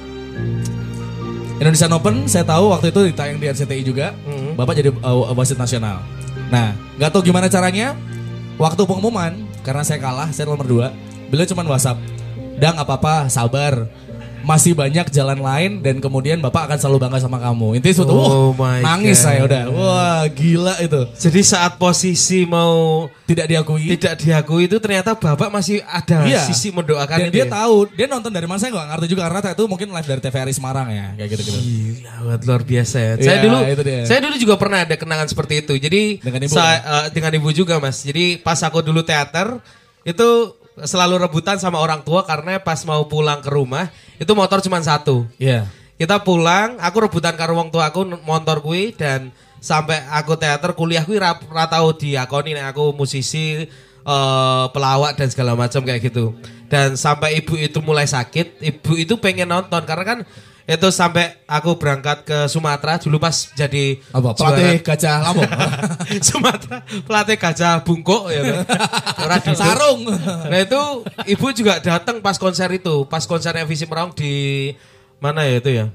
Indonesian Open, saya tahu waktu itu ditayang di RCTI juga. Bapak jadi wasit nasional. Nah, nggak tahu gimana caranya. Waktu pengumuman, karena saya kalah, saya nomor 2. Beliau cuma WhatsApp. Dang, apa-apa, sabar. Masih banyak jalan lain dan kemudian Bapak akan selalu bangga sama kamu. Intinya suatu, Oh my nangis God. saya udah. Wah, gila itu. Jadi saat posisi mau Tidak diakui. tidak diakui itu ternyata Bapak masih ada Iya. sisi mendoakan Dan itu. dia ya? tahu, dia nonton dari mana saya nggak ngerti juga karena itu mungkin live dari TVRI Semarang ya, kayak gitu-gitu. Gila, banget, luar biasa ya. Iya, itu dia. Saya dulu juga pernah ada kenangan seperti itu. Jadi Dengan ibu, dengan ibu juga, Mas. Jadi pas aku dulu teater itu selalu rebutan sama orang tua karena pas mau pulang ke rumah itu motor cuma satu. Iya. Kita pulang, aku rebutan karo wong tua aku motor kui dan sampai aku teater kuliah kui ra tau diakoni nek aku musisi pelawak dan segala macam kayak gitu. Dan sampai ibu itu mulai sakit, ibu itu pengen nonton karena kan itu sampai aku berangkat ke Sumatera dulu pas jadi Apa? Pelatih gajah Lampung. Sumatera, pelatih gajah bungkuk ya kan. Ora duduk. Sarung. Nah itu ibu juga datang pas konser itu, pas konsernya Visi Merong di mana ya itu ya?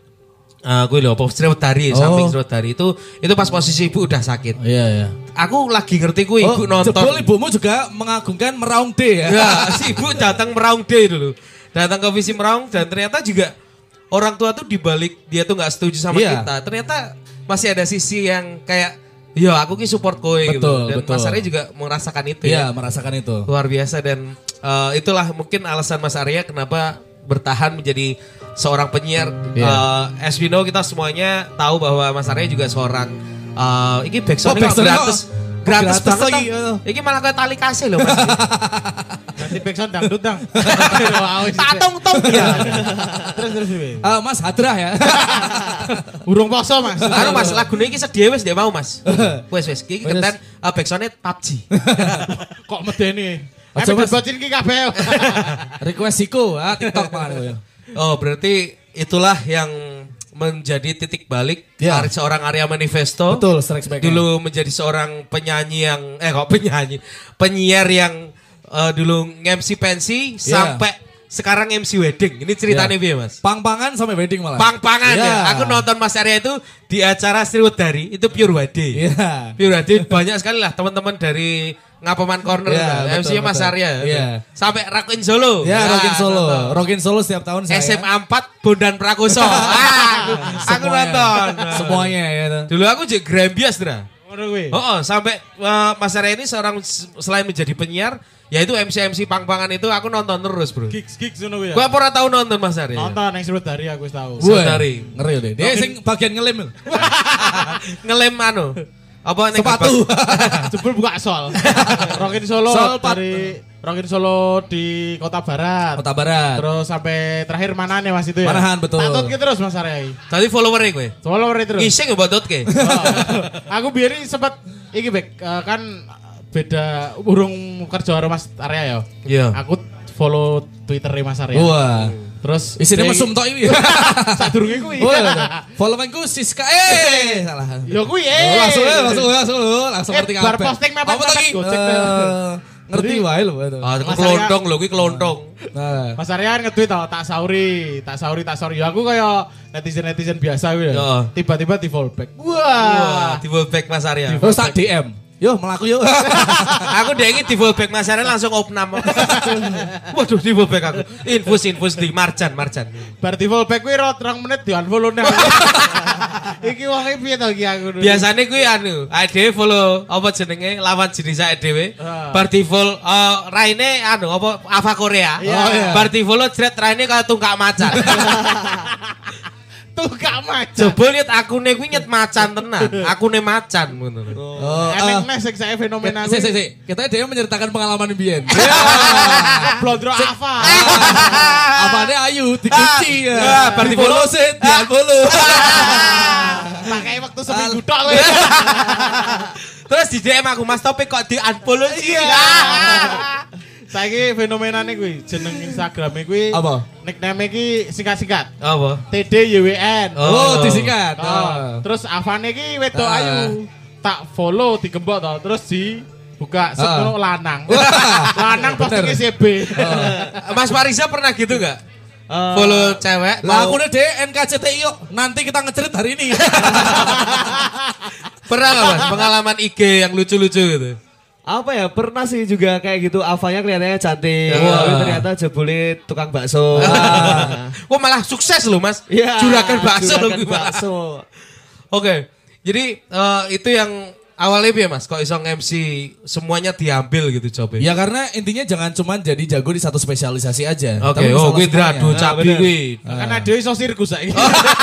Gue lupa, Sriwedari, samping Sriwedari itu pas posisi ibu udah sakit. Iya, iya. Aku lagi ngerti gue ibu nonton. Jebol ibumu juga mengagungkan Meraung D ya. Ya, si ibu datang Meraung D dulu. Datang ke Visi Merong dan ternyata juga orang tua tuh dibalik dia tuh nggak setuju sama Iya. kita. Ternyata masih ada sisi yang kayak, ya aku ki support kowe gitu. Betul, Dan betul. Mas Arya juga merasakan itu Iya, ya. merasakan itu. Luar biasa dan itulah mungkin alasan Mas Arya kenapa bertahan menjadi seorang penyiar. Iya. As we know kita semuanya tahu bahwa Mas Arya juga seorang ini backsound backsound-nya gratis. kok Gratis gratis banget lagi, lagi. Ini malah kayak tali kasih loh Mas. Ganti backsound dangdut dang. Tatong-tong ya. Terus. Mas Hadrah ya. Burung poso Mas. Anu Mas, lagune iki sedih wis dia mau Mas. Wis iki kenten backsound-nya PUBG. Kok medeni? Aja, Ayo Mas. bocin ki kabeh. Request Siko, TikTok mana. Oh, berarti itulah yang menjadi titik balik Ya. seorang Arya Manifesto. Betul, strike back. Dulu menjadi seorang penyanyi yang penyiar yang dulu MC pensi Ya. sampai sekarang MC wedding. Ini ceritanya Ya. piye, Mas? Pang-pangan sampai wedding malah. Pang-pangan Ya. ya. Aku nonton Mas Arya itu di acara Sriwedari itu pure wedding. Iya. Pure wedding banyak sekali lah teman-teman dari Ngapaman Corner Iya, MC-nya betul, Mas betul. Arya. Iya. Sampai Rockin Solo. Ya, Rockin Solo. nonton. Rockin Solo setiap tahun saya. SMA 4 Bondan Prakoso. Aku nonton. Semuanya ya. Dulu aku juga Grambias, Dra. Ngono kuwi. Sampai Mas Arya ini seorang selain menjadi penyiar, yaitu MC pang-pangan itu aku nonton terus, Bro. Gigs ngono kuwi ya. Gua pernah tahu nonton Mas Arya. Nonton yang Sriwedari aku wis tahu. Sriwedari. Ngeri deh. Dia sing bagian ngelem. Ngelem anu. Apa ning Sepatu. Jebul buka sol. Rockin Solo Sol, Pak. dari Rockin Solo di Kota Barat. Kota Barat. Terus sampai terakhir mana nih Mas itu ya? Manahan, betul. Patut ki terus Mas Arya. Tadi follower kowe. Follower terus. Ngising ya buat ke. Aku biar sempat iki Bek kan beda urung kerja karo Mas Arya ya. Iya. Aku follow Twitter Mas Arya. Wah. Terus Isinya mesum tok ini. sadurunge kuwi. Follow ku Siska. Salah. Ya kuwi Langsung ngerti bar kabeh. posting mepet Apa tadi? Gojek. Ngerti wae lho. Ah, kelontong lho kuwi kelontong. Nah. Mas Aryan nge-tweet tau, tak sauri. Ya aku kayak netizen biasa gitu ya. Tiba-tiba di fallback. Wah. Di fallback Mas Arya. Terus tak DM. Yo melaku yo. Aku dengi di fallback Mas Arya langsung opnam. Waduh di fallback aku. Infus di Marjan. Bar di fallback kuwi ro 3 menit di unfollow nih. Iki wong e piye to iki aku. Biasane kuwi dhewe follow apa jenenge lawan jenis dhewe. Bar di follow raine apa Ava Korea. Bar di follow jret raine kaya tungkak macan. Tungkak macan. Jebul nyet akune kuwi nyet macan tenan. Akune macan ngono. Emang sing saya fenomena kuwi. Si. Kita dia menceritakan pengalaman mbiyen. Blondro Ava. Apane ayu dikunci ya. Bar di follow sih, di-unfollow. Pakai waktu seminggu tok kowe. Terus di DM aku Mas Topik kok di unfollow sih. Saiki fenomenane kuwi jeneng Instagrame kuwi Apa? Nickname iki singkat-singkat. Apa? TDYWN. Oh, disingkat. Terus Avane iki wedok ayu. Tak follow digembok to, terus dibuka sekono lanang. Lanang postinge CB. Mas Fariza pernah gitu enggak? Follow cewek. Lah aku udah NKCTI yuk. Nanti kita ngecerit hari ini. Pernah enggak Mas pengalaman IG yang lucu-lucu gitu? Apa ya, pernah sih juga kayak gitu. Avanya kelihatannya cantik, tapi ternyata jebule tukang bakso. Wah malah sukses loh Mas. Ya, Juragan bakso loh. bakso. Oke, jadi itu yang awalnya ya Mas, kok iso MC semuanya diambil gitu jobnya. Ya karena intinya jangan cuma jadi jago di satu spesialisasi aja. Oke, Tapi bisa gue semuanya. drado cabi gue. Karena dia iso sirkus saiki.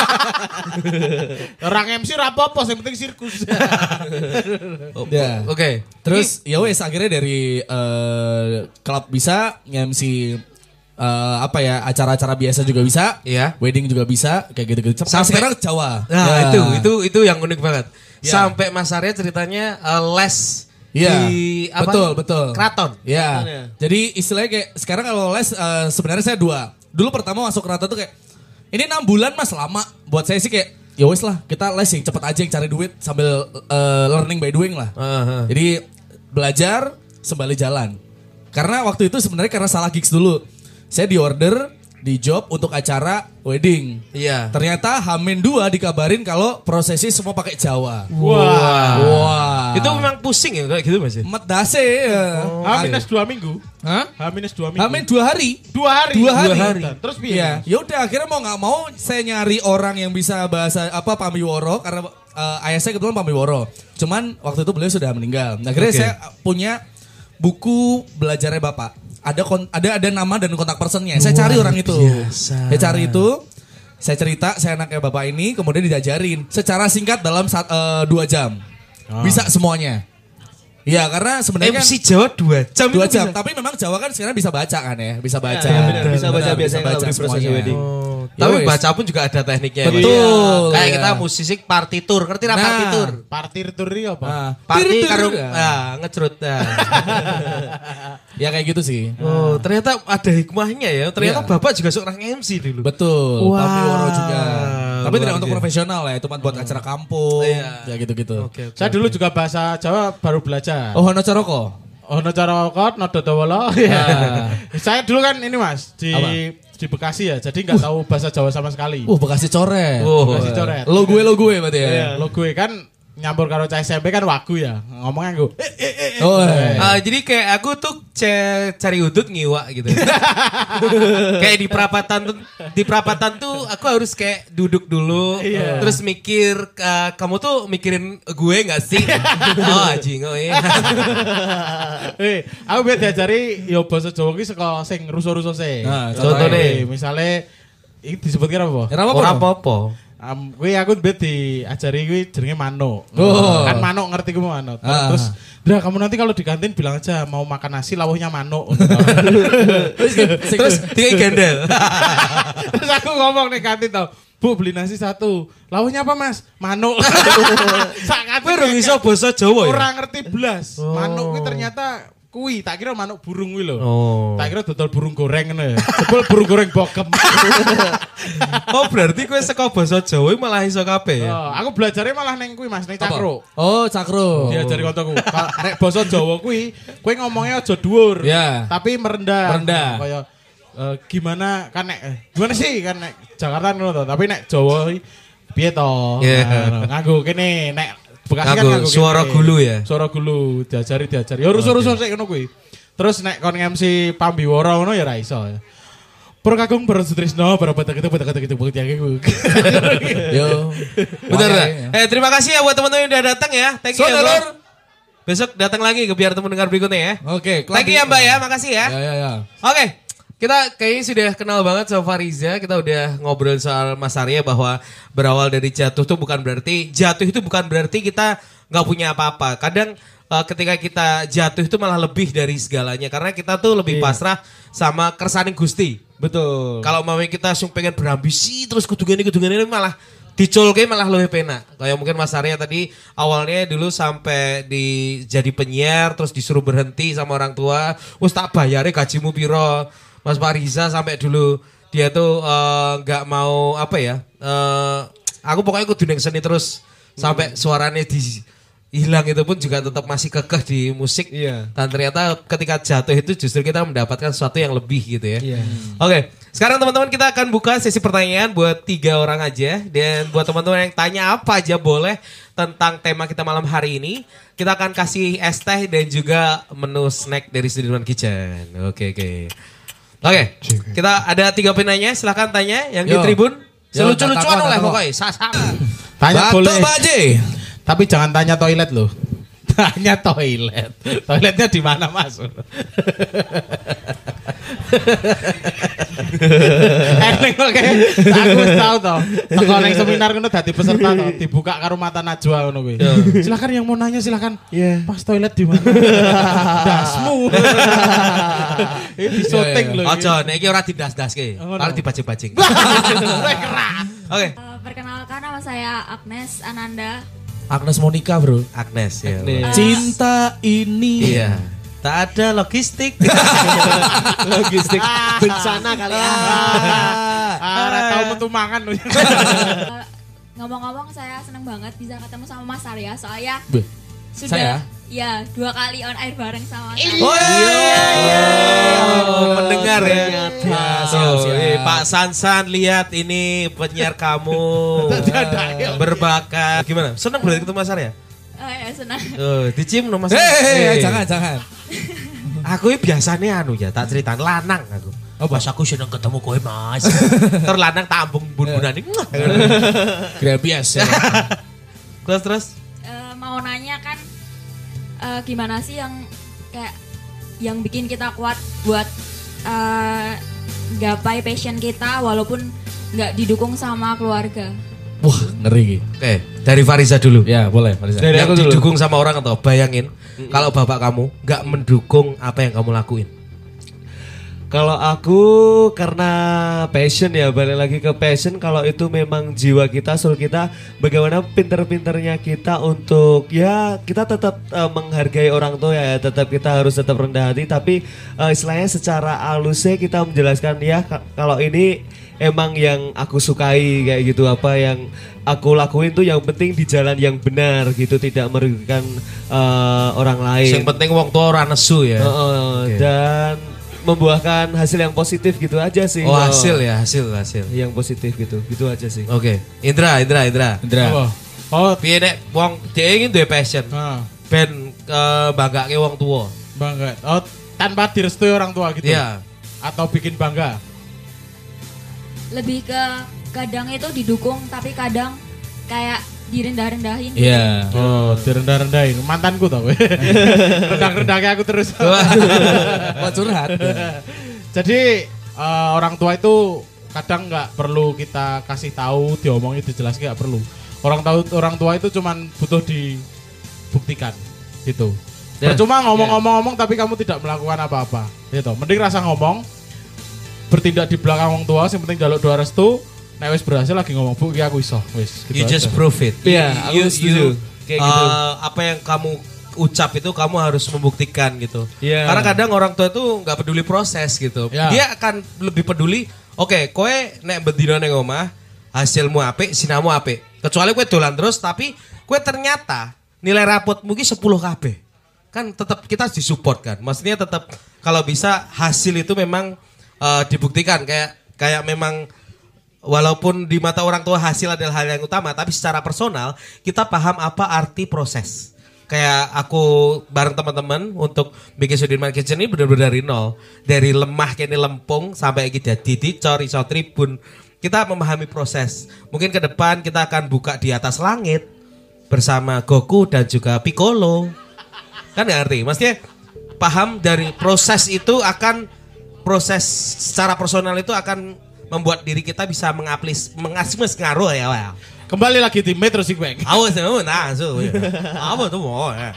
Orang MC ra apa-apa, yang penting sirkus. Ya. Oke. Terus ya wes akhirnya dari klub bisa nge-MC apa ya acara-acara biasa juga bisa, Iya. wedding juga bisa kayak gitu-gitu. Sampai sekarang Jawa. Nah, Ya. itu yang unik banget. Ya. Sampai Mas Arya ceritanya les Iya, di apa? betul. Keraton. Ya. Jadi istilahnya kayak sekarang kalau les sebenarnya saya 2. Dulu pertama masuk keraton tuh kayak ini 6 bulan Mas lama. Buat saya sih kayak ya wes lah kita les yang cepet aja yang cari duit sambil learning by doing lah. Jadi belajar sembari jalan. Karena waktu itu sebenarnya karena salah gigs dulu. Saya di order di job untuk acara wedding. Iya. Ternyata H-2 dikabarin kalau prosesi semua pakai Jawa. Wah. Itu memang pusing ya kayak gitu Mas ya? Medase ya. H-2 minggu. Hah? H-2 minggu. H-2 hari. 2 hari. 2 hari. Terus piye? Iya. Ya udah akhirnya mau nggak mau saya nyari orang yang bisa bahasa apa Pambiworo karena ayah saya kebetulan Pambiworo. Cuman waktu itu beliau sudah meninggal. Nah, akhirnya saya punya buku belajarnya Bapak. Ada nama dan kontak personnya. Saya cari orang itu. Saya cari itu. Saya cerita, saya anaknya Bapak ini, kemudian diajarin secara singkat dalam 2 jam. Bisa semuanya. Iya, karena sebenarnya kan MC Jawa 2 jam. 2 jam, tapi memang Jawa kan sekarang bisa baca kan ya, bisa baca. Iya, benar. Bisa baca biasanya kalau di proses semuanya. wedding. Tapi Yowes. baca pun juga ada tekniknya. Betul. Kayak Iya. kita musisi partitur, ngerti lah Nah. partitur? Partir turi apa? Nah, Parti tir-tir. karung ngecrut. Ya kayak gitu sih. Oh, ternyata ada hikmahnya ya. Ternyata Iya. Bapak juga seorang MC dulu. Betul, Wah, Pambiworo juga. Tapi tidak luar untuk biasa. profesional ya, cuma buat acara kampung, Iya. ya gitu-gitu. Oke. Saya dulu juga bahasa Jawa baru belajar. Oh, Hono Coroko. Ono cara kot, nodo dawala. Saya dulu kan ini Mas di Bekasi ya, jadi nggak tahu bahasa Jawa sama sekali. Bekasi coret. Bekasi coret. Lo gue berarti ya. Lo gue kan nyampur karo cah SMP kan wagu ya, ngomongnya gue. Oh, Jadi kayak aku tuh cari udut ngiwak gitu. Kayak di perapatan tuh aku harus kayak duduk dulu, terus mikir kamu tuh mikirin gue nggak sih? Oh anjing, oh iya. Aku biar diajari yo bahasa Jawa ki saka sing rusuh-rusuh sih. Nah, contohnya. Misalnya ini disebutkan apa? Ora apa-apa. Kuwi aku bet diajari kuwi jenenge manuk. Oh. Kan manuk ngerti ku manuk. Ah. Terus, "Bra, kamu nanti kalau di kantin bilang aja mau makan nasi lawuhnya manuk." Terus dia gendel. Terus aku ngomong nih kantin tau, "Bu, beli nasi 1. Lawuhnya apa, Mas?" Manuk. Sak kantin Kowe ora iso basa Jawa ya? ora ngerti blas. Manuk kuwi ternyata Kuwi tak kira manuk burung kuwi lho. Oh. Tak kira dodol burung goreng ngono ya. Jebul burung goreng bokem. Oh berarti kowe saka basa Jawa malah iso kabeh ya. Oh, aku belajarnya malah neng kuwi Mas, neng cakro. Oh, cakro. Diajari koncoku. Nek basa Jawa kuwi, kowe ngomongnya aja dhuwur. Ya. Tapi merendah. Merendah. Kaya gimana kan nek gimana sih kan nek Jakarta ngono to, tapi nek Jawa piye to? Yeah. Nganggo kene nek Bekasi kan Nganggo nganggo suara kene. gulu ya? Suara gulu diajari. Ya rusuh-rusuh sik ngono kuwi. Terus nek kon MC Pambiwara ngono ya ra iso. Pro kakung pro Sutrisno, pro betek itu bukti aku. Yo. Bener Wah, dah. ya. Terima kasih ya buat teman-teman yang udah datang ya. Thank you ya, Bro. Besok datang lagi ke biar temu dengar berikutnya ya. Oke, Thank you ya Mbak ya, makasih ya. Ya. Oke, kita kayaknya sudah kenal banget sama Fariza. Kita udah ngobrol soal Mas Arya bahwa berawal dari jatuh itu bukan berarti kita nggak punya apa-apa. Kadang ketika kita jatuh itu malah lebih dari segalanya karena kita tuh lebih pasrah sama kersaning Gusti. Betul. Kalau mau kita pengen berambisi terus kudungan ini malah dicolke malah lebih penak. Kayak mungkin Mas Arya tadi awalnya dulu sampai jadi penyiar terus disuruh berhenti sama orang tua. Wes tak bayare gajimu piro. Mas Fariza sampai dulu dia tuh nggak mau apa ya? Aku pokoknya kudu ning seni terus sampai suaranya hilang itu pun juga tetap masih kekeh di musik. Iya. Dan ternyata ketika jatuh itu justru kita mendapatkan sesuatu yang lebih gitu ya. Iya. Oke, sekarang teman-teman kita akan buka sesi pertanyaan buat 3 orang aja. Dan buat teman-teman yang tanya apa aja boleh tentang tema kita malam hari ini. Kita akan kasih es teh dan juga menu snack dari Sudirman Kitchen. Oke. Oke, kita ada 3 penanya, silahkan tanya yang di Yo. tribun. Yo, Selucu-lucuan takut, oleh takut. pokoknya, sasak. Tanya boleh. Baje. Tapi jangan tanya toilet loh. Tanya toilet. Toiletnya di mana, Mas? Eneng oke. Aku wis tau to. Teko ning seminar ngono dadi peserta to, dibuka karo mata najwa ngono kuwi. Silakan yang mau nanya silakan. Iya. Mas toilet di mana? Dasmu. Ini di syuting lho. Ojo, nek iki ora didas-daske. Oh, no. Kalau dibajing-bajing. Keras. Oke, Perkenalkan nama saya Agnes Ananda. Agnes Monica, Bro. Agnes ya. Agnes. Cinta ini. Iya. Tak ada logistik. Logistik bencana kali ya. Ora tau metu mangan lho. Ngomong-ngomong saya seneng banget bisa ketemu sama Mas Arya soalnya Beh, sudah ya 2 kali on air bareng sama Mas Arya. Oh iya. Mendengar ya. Ternyata. Siap. Pak Sansan lihat ini penyiar kamu berbakat. Gimana? Senang berarti ketemu Mas Arya? Oh ya senang. Dicium no Mas. jangan. Aku ini biasanya anu ya, tak cerita lanang aku. Oh, Mas aku seneng ketemu kowe Mas. Terus lanang tambung bun-bunan ini. Grabias. Terus. Mau nanya kan gimana sih yang kayak yang bikin kita kuat buat gapai passion kita walaupun nggak didukung sama keluarga. Wah, ngeri. Oke, dari Fariza dulu. Ya, boleh, Fariza. Dari aku Yang dulu. didukung sama orang atau bayangin kalau bapak kamu nggak mendukung apa yang kamu lakuin. Kalau aku karena passion ya, balik lagi ke passion. Kalau itu memang jiwa kita, soul kita, bagaimana pinter-pinternya kita untuk ya kita tetap menghargai orang tua ya, tetap kita harus tetap rendah hati. Tapi istilahnya secara halusnya kita menjelaskan ya kalau ini emang yang aku sukai kayak gitu, apa yang aku lakuin tuh yang penting di jalan yang benar gitu, tidak merugikan orang lain. Yang penting wong tua ora nesu ya. Oke. Dan membuahkan hasil yang positif gitu aja sih. Oh, hasil ya, hasil. Yang positif gitu aja sih. Oke. Indra. Apa? Oh, Piye nek wong dhek iki duwe passion. Ben banggake wong tua. bangga. Oh, tanpa direstui orang tua gitu. Iya. Atau bikin bangga. Lebih ke kadang itu didukung tapi kadang kayak direndah-rendahin. Iya. Oh, direndah-rendahin. Mantanku tau. Rendah-rendahnya aku terus. Wah, curhat. Jadi orang tua itu kadang nggak perlu kita kasih tahu, diomongin, dijelaskan nggak perlu. Orang tua itu cuman butuh dibuktikan gitu. Percuma ngomong-ngomong tapi kamu tidak melakukan apa-apa. Gitu. Mending rasa ngomong, bertindak di belakang orang tua, yang penting jaluk doa restu. Nek wis berhasil lagi ngomong, "Bu, iki aku iso." Wis, gitu You just aja. prove it. Iya, aku setuju. Kayak gitu. Apa yang kamu ucap itu kamu harus membuktikan gitu. Iya. Karena kadang orang tua itu nggak peduli proses gitu. Ya. Dia akan lebih peduli, oke, kowe nek bedino ning omah, hasilmu apik, sinamu apik. Kecuali kowe dolan terus tapi kowe ternyata nilai rapotmu ki 10 kabeh. Kan tetap kita disupport kan. Maksudnya tetap kalau bisa hasil itu memang dibuktikan kayak memang walaupun di mata orang tua hasil adalah hal yang utama, tapi secara personal kita paham apa arti proses. Kayak aku bareng teman-teman untuk bikin Sudirman Kitchen ini benar-benar dari nol. Dari lemah kene lempung sampai kita dicor iso tribun. Kita memahami proses. Mungkin ke depan kita akan buka di atas langit bersama Goku dan juga Piccolo. Kan gak ngerti? Maksudnya paham dari proses itu akan proses secara personal itu akan membuat diri kita bisa mengasih ngaruh ya. Well. Kembali lagi di Metro Sigbank. Awas ya, apa tuh mau ya.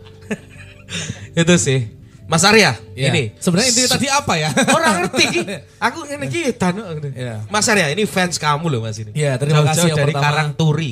Itu sih. Mas Arya, Ya. ini Sebenarnya intinya tadi apa ya? orang ngerti Ki. Aku ngene iki tanu. Ya. Mas Arya, ini fans kamu loh Mas ini. Ya, terima Jauh-jauh kasih yang dari pertama. Karangturi.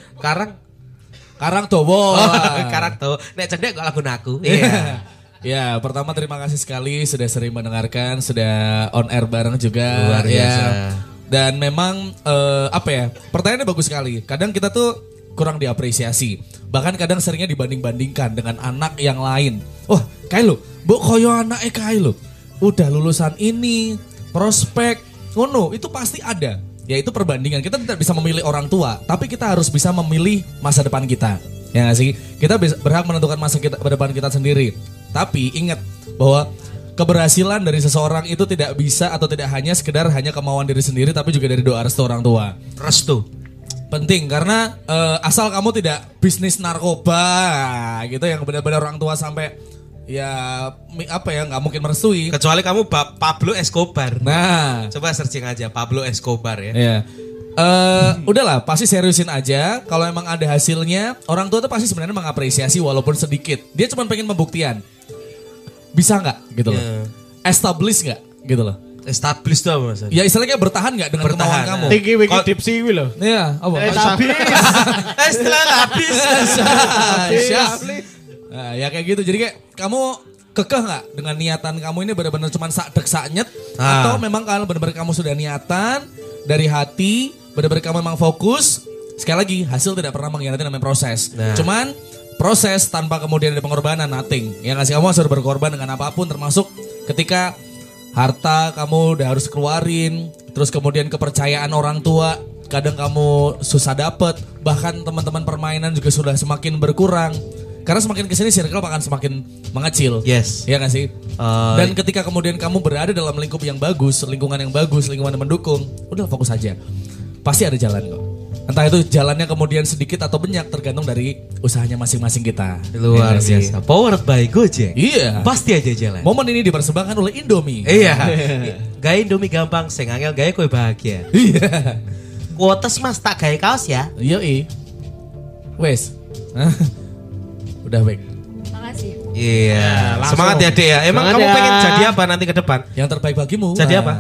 Karang Dowo. Karang tuh. Nek cendek kok lagu aku. Iya. Ya, pertama terima kasih sekali sudah sering mendengarkan, sudah on air bareng juga. Luar biasa. Ya. Dan memang apa ya? Pertanyaannya bagus sekali. Kadang kita tuh kurang diapresiasi. Bahkan kadang seringnya dibanding-bandingkan dengan anak yang lain. Oh, kayak lo, mbok koyo anake kae lo. Udah lulusan ini, prospek, ngono, itu pasti ada. Yaitu perbandingan. Kita tidak bisa memilih orang tua, tapi kita harus bisa memilih masa depan kita. Ya nggak sih? Kita berhak menentukan masa depan kita sendiri. Tapi ingat bahwa keberhasilan dari seseorang itu tidak bisa atau tidak hanya sekedar hanya kemauan diri sendiri, tapi juga dari doa restu orang tua. Restu. Penting karena asal kamu tidak bisnis narkoba gitu yang benar-benar orang tua sampai ya apa ya nggak mungkin merestui. Kecuali kamu Pablo Escobar. Nah, Coba searching aja Pablo Escobar ya. ya. Udahlah, pasti seriusin aja. Kalau emang ada hasilnya, orang tua tuh pasti sebenarnya mengapresiasi walaupun sedikit. Dia cuma pengen pembuktian. Bisa nggak gitu loh. Ya. Establish nggak gitu loh. Establish tuh apa Mas? Ya istilahnya bertahan nggak dengan Bertahan, kemauan kamu. Tinggi wiki tipsi kuwi lho. Iya, apa? Setelah habis. Syah. Nah, ya kayak gitu. Jadi kayak kamu kekeh nggak dengan niatan kamu ini benar-benar cuma sak nyet atau memang kalau benar-benar kamu sudah niatan dari hati, benar-benar kamu memang fokus. Sekali lagi hasil tidak pernah mengkhianati namanya proses. Nah. Cuman proses tanpa kemudian ada pengorbanan nothing. Yang ngasih kamu harus berkorban dengan apapun termasuk ketika harta kamu udah harus keluarin, terus kemudian kepercayaan orang tua kadang kamu susah dapet, bahkan teman-teman permainan juga sudah semakin berkurang. Karena semakin kesini circle akan semakin mengecil. Yes. Iya gak sih? Dan ketika kemudian kamu berada dalam lingkup yang bagus, lingkungan yang bagus, lingkungan yang mendukung, udah fokus aja. Pasti ada jalan kok. Entah itu jalannya kemudian sedikit atau banyak tergantung dari usahanya masing-masing kita. Luar Iya gak sih? biasa. Powered by Gojek. Iya. Pasti aja jalan. Momen ini dipersembahkan oleh Indomie. Iya. Gaya Indomie gampang, sing angel gaya kue bahagia. Iya. Kuotes Mas tak gaya kaos ya. Yoi. Wes. Udah baik. Makasih. Iya. langsung. Semangat ya Dek ya. Emang Semangat kamu ya. pengen jadi apa nanti ke depan? Yang terbaik bagimu. Jadi Nah, apa?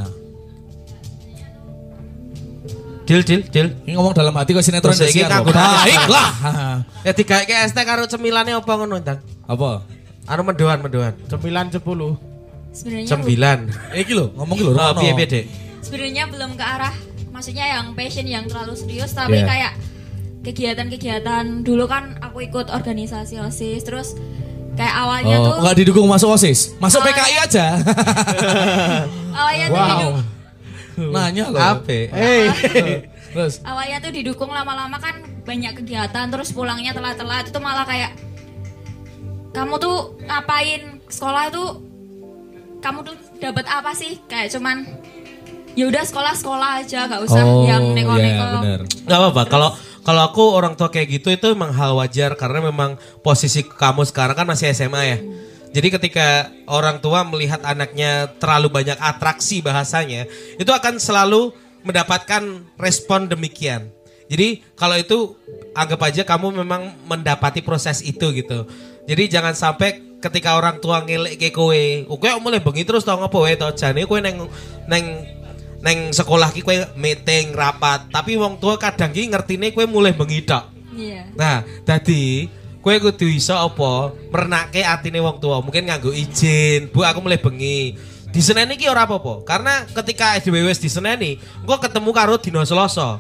Deal. Ini ngomong dalam hati kok sinetron Terus iki dasiar kanggo kok. Baiklah. Ya digawe ST karo cemilane apa ngono Ndang? Apa? Anu mendoan. 9 10. Sebenarnya 9. Iki lho, ngomong iki lho. Oh, Rono. piye Dek? sebenarnya belum ke arah maksudnya yang passion yang terlalu serius tapi Yeah. kayak kegiatan-kegiatan dulu kan aku ikut organisasi OSIS terus kayak awalnya tuh Enggak didukung masuk OSIS. Masuk PKI aja. awalnya tuh Nanya loh. Ape? Terus awalnya tuh didukung lama-lama kan banyak kegiatan terus pulangnya telat-telat itu malah kayak kamu tuh ngapain sekolah itu kamu tuh dapat apa sih kayak cuman ya udah sekolah aja gak usah yang neko-neko. Iya, benar. Gak apa-apa. Kalau aku orang tua kayak gitu itu memang hal wajar karena memang posisi kamu sekarang kan masih SMA ya. Jadi ketika orang tua melihat anaknya terlalu banyak atraksi bahasanya, itu akan selalu mendapatkan respon demikian. Jadi kalau itu anggap aja kamu memang mendapati proses itu gitu. Jadi jangan sampai ketika orang tua ngelek ke kowe, kowe mulai bengi terus tau ngopo wae to jane kowe neng sekolah ki kowe meeting rapat, tapi wong tua kadang ki ngertine kowe mulai bengi tok. Iya. Nah, dadi Kowe kudu iso apa? Merenake atine wong tua. Mungkin nganggo izin. Bu, aku mulai bengi. Diseneni ki ora apa-apa. Karena ketika dhewe wis diseneni, engko ketemu karo dina Selasa.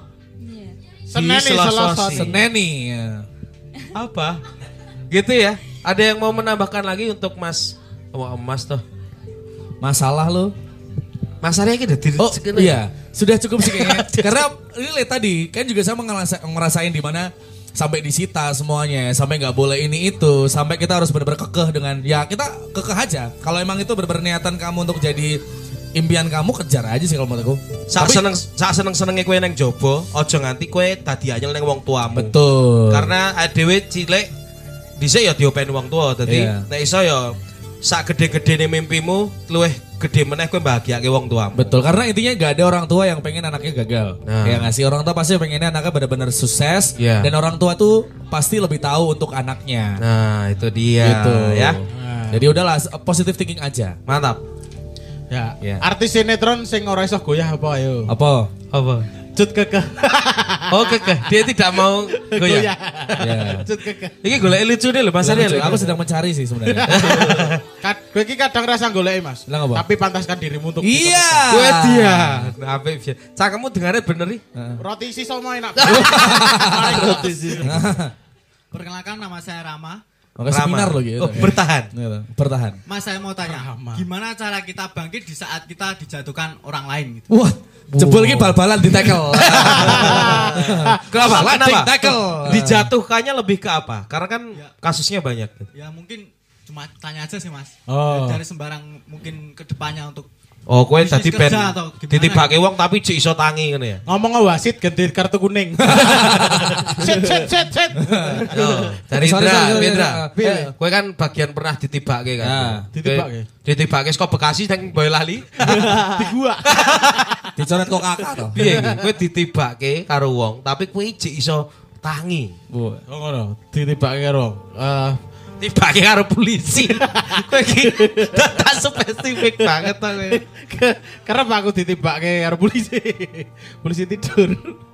Seneni. Ya. Apa? Gitu ya. Ada yang mau menambahkan lagi untuk Mas Mas toh? Masalah lo. Masalahnya kita Oh iya, sudah cukup sih kayaknya. Karena ini tadi kan juga saya ngerasain di mana sampai disita semuanya, sampai nggak boleh ini itu, sampai kita harus benar-benar kekeh dengan ya kita kekeh aja. Kalau emang itu benar-benar niatan kamu untuk jadi impian kamu, kejar aja sih kalau menurutku. Sak seneng-senenge kowe nang jobo, aja nganti kowe dadi anyel nang wong tuamu. Betul. Karena dhewe cilik dhisik ya diopeni wong tua, dadi nek iso ya sak gede-gedene mimpimu luwih gede meneh kowe bahagiake wong tuamu. Betul, karena intinya gak ada orang tua yang pengen anaknya gagal. Ya nggak sih, orang tua pasti pengennya anaknya benar-benar sukses. Dan orang tua tuh pasti lebih tahu untuk anaknya. Nah itu dia gitu. Ya. Jadi udahlah, positive thinking aja. Mantap. Ya. Artis sinetron sing ora iso goyah apa ayo? Apa? Cut Kekeh. Oh Kekeh, dia tidak mau goyah. Ya. Cut Kekeh. Iki golek lucu deh lho Mas Ariel. Aku sedang mencari sih sebenarnya. Kowe iki kadang rasa goleki Mas. Lah, apa? Tapi pantaskan dirimu untuk Iya. Kowe dia. Apik piye? Cangkemmu dengane bener iki. Roti sisa mau enak. Roti sih. Perkenalkan, nama saya Rama. Oke, seminar loh gitu. Oh, bertahan. Bertahan. Mas, saya mau tanya, gimana cara kita bangkit di saat kita dijatuhkan orang lain gitu? Wah, jebol ini bal-balan di tackle. Kenapa? Tackle. Dijatuhkannya lebih ke apa? Karena kan kasusnya banyak. Ya mungkin cuma tanya aja sih Mas. Oh. Dari sembarang mungkin kedepannya untuk Oh, kowe dadi bisnis ben kerja atau gimana? ditibake wong tapi cek iso tangi ngene ya. Ngomong wasit ganti kartu kuning. Set. Dari Sorry, Indra. Piye? Kowe kan bagian pernah ditibake kan. Nah, ditibake. Ditibake saka Bekasi nang Boyolali. Di gua. Dicoret kok kakak toh. Piye iki? Kowe ditibake karo wong tapi kowe cek iso tangi. Oh ngono, ditibake karo Tibake karo polisi. Kowe iki tak spesifik banget to kowe. karena aku ditibake karo polisi. Polisi tidur.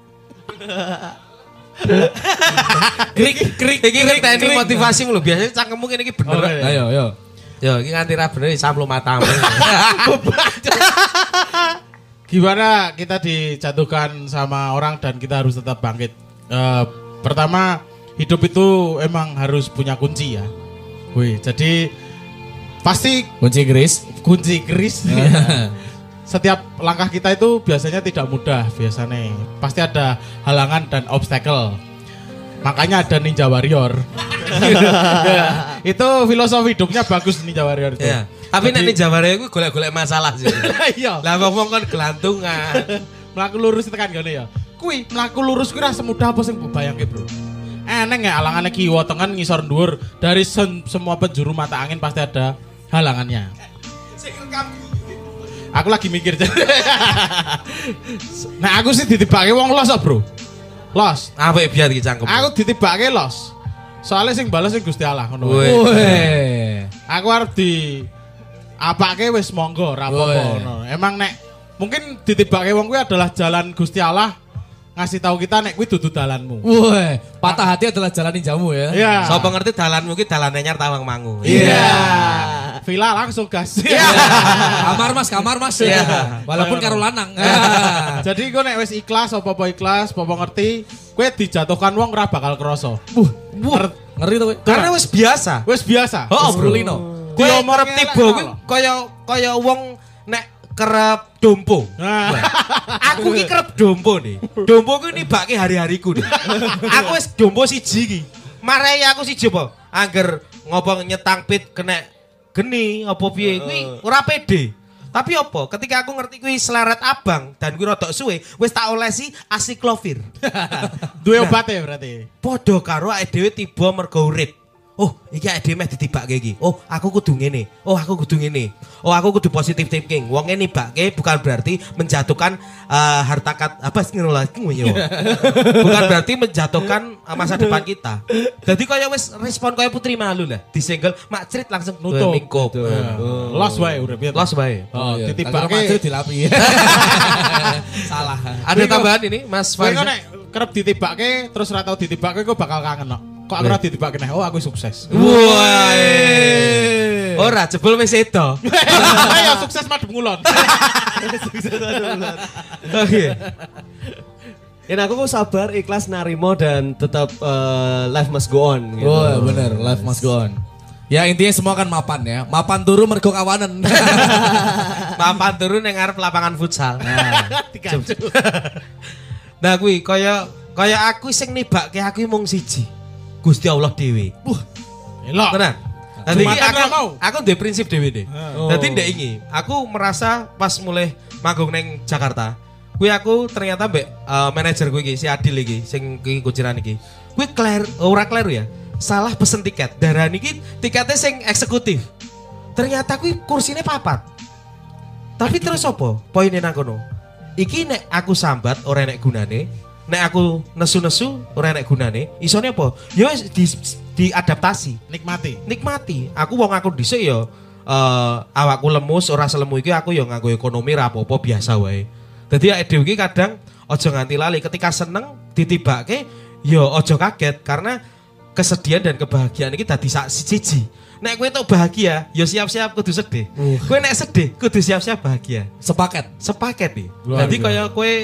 Krik iki ngenteni motivasimu lho. Biasanya cangkemmu ngene iki bener. Ayo. Yo, iki nganti ra bener samlo matamu. Gimana kita dijatuhkan sama orang dan kita harus tetap bangkit. Pertama, hidup itu emang harus punya kunci ya. Wih, jadi pasti Kunci keris. Setiap langkah kita itu biasanya tidak mudah biasanya. Pasti ada halangan dan obstacle. Makanya ada Ninja Warrior. Itu filosofi hidupnya bagus Ninja Warrior itu. Iya. Tapi nek Ninja Warrior iku golek-golek masalah sih. Iya. Lah wong kan gelantungan. Melaku lurus tekan gini ya. Kui melaku lurus kuwi ra semudah apa sing bayangke, Bro. Eneng ya alangane kiwa tengen ngisor dhuwur dari semua penjuru mata angin pasti ada halangannya. Aku lagi mikir. Nah, aku sih ditibake wong los, Bro. Los. Apa biar iki cangkem. Aku ditibake los. Soalnya sing balas sing Gusti Allah ngono. Weh. Aku arep di apake wis monggo ra apa-apa ngono. Emang nek mungkin ditibake wong kuwi adalah jalan Gusti Allah ngasih tahu kita nek kuwi dudu dalanmu. Weh, patah hati adalah jalan ninjamu ya. Iya. Sapa ngerti dalanmu ki dalane nyar tawang mangu. Iya. Villa langsung gas. Iya. Kamar mas. Ya. Walaupun karo lanang. Jadi gue nek wis ikhlas apa-apa ikhlas, apa ngerti, kowe dijatuhkan wong ora bakal krasa. Ngeri tuh. Karena wis biasa. Wis biasa. Oh, Bro. Kowe Diomongke kerep tiba kuwi kaya wong nek kerep dompo. Nah. Aku ki kerep dompo nih. Dompo kuwi nibake hari-hariku nih. Aku wis dompo siji iki. Marai aku siji apa? Angger ngopo nyetang pit kena geni apa piye kuwi ora pede. Tapi apa? Ketika aku ngerti kuwi seleret abang dan kuwi rodok suwe, wis tak olesi asiklovir. Duwe obate berarti. Padha karo awake dhewe tiba mergo urip. Oh, iki awake dhewe meh ditibake iki. Oh, aku kudu ngene. Oh, aku kudu ngene. Oh, aku kudu positive thinking. Wong ngene nibake bukan berarti menjatuhkan harta apa ngono lah yo. Bukan berarti menjatuhkan masa depan kita. Jadi kaya wis respon kaya Putri Malu lah. Disenggol mak crit langsung Nutup. mingkup. Los wae urip. Los bae. Oh, Agar ditibake maju dilapi. Salah. Ada tambahan ini Mas Kowe Faris. nek kerep ditibake terus ora tau ditibake kok bakal kangen kok. Kok aku ora ditibak kene? Oh, aku sukses. Wah. Ora jebul wis edo. Ya sukses madhep ngulon. Oke. Dan aku kok sabar, ikhlas, narimo dan tetap life must go on gitu. Oh, bener, life must go on. Ya intinya semua kan mapan ya. Mapan turu mergo kawanen. Papan turun yang ngarep lapangan futsal. Nah kuwi kaya aku sing nibake aku mung siji. Gusti Allah dhewe. Elok. Tenan. Dadi Jumatan ra mau. aku duwe prinsip dhewe deh. Dadi ndek iki, aku merasa pas mulai manggung neng Jakarta, kuwi aku ternyata mbek manajer gue iki si Adil iki sing iki kuciran iki. Kuwi ora kleru ya. Salah pesen tiket. Darani iki tiketnya sing eksekutif. Ternyata kuwi kursine papat. Tapi terus apa? Poinnya nang kono. Iki nek aku sambat ora enek gunane, nek aku nesu-nesu ora enek gunane, isone apa? Ya wis diadaptasi, nikmati. Aku wong aku dhisik ya awakku lemus ora selemu iki aku ya nganggo ekonomi ra apa-apa biasa wae. Dadi awake dhewe iki kadang aja nganti lali ketika seneng ditibake ya aja kaget karena kesedihan dan kebahagiaan iki dadi sak siji. Nek kowe tok bahagia, ya siap-siap kudu sedih. Kowe nek sedih, kudu siap-siap bahagia. Sepaket nih. Jadi kaya kowe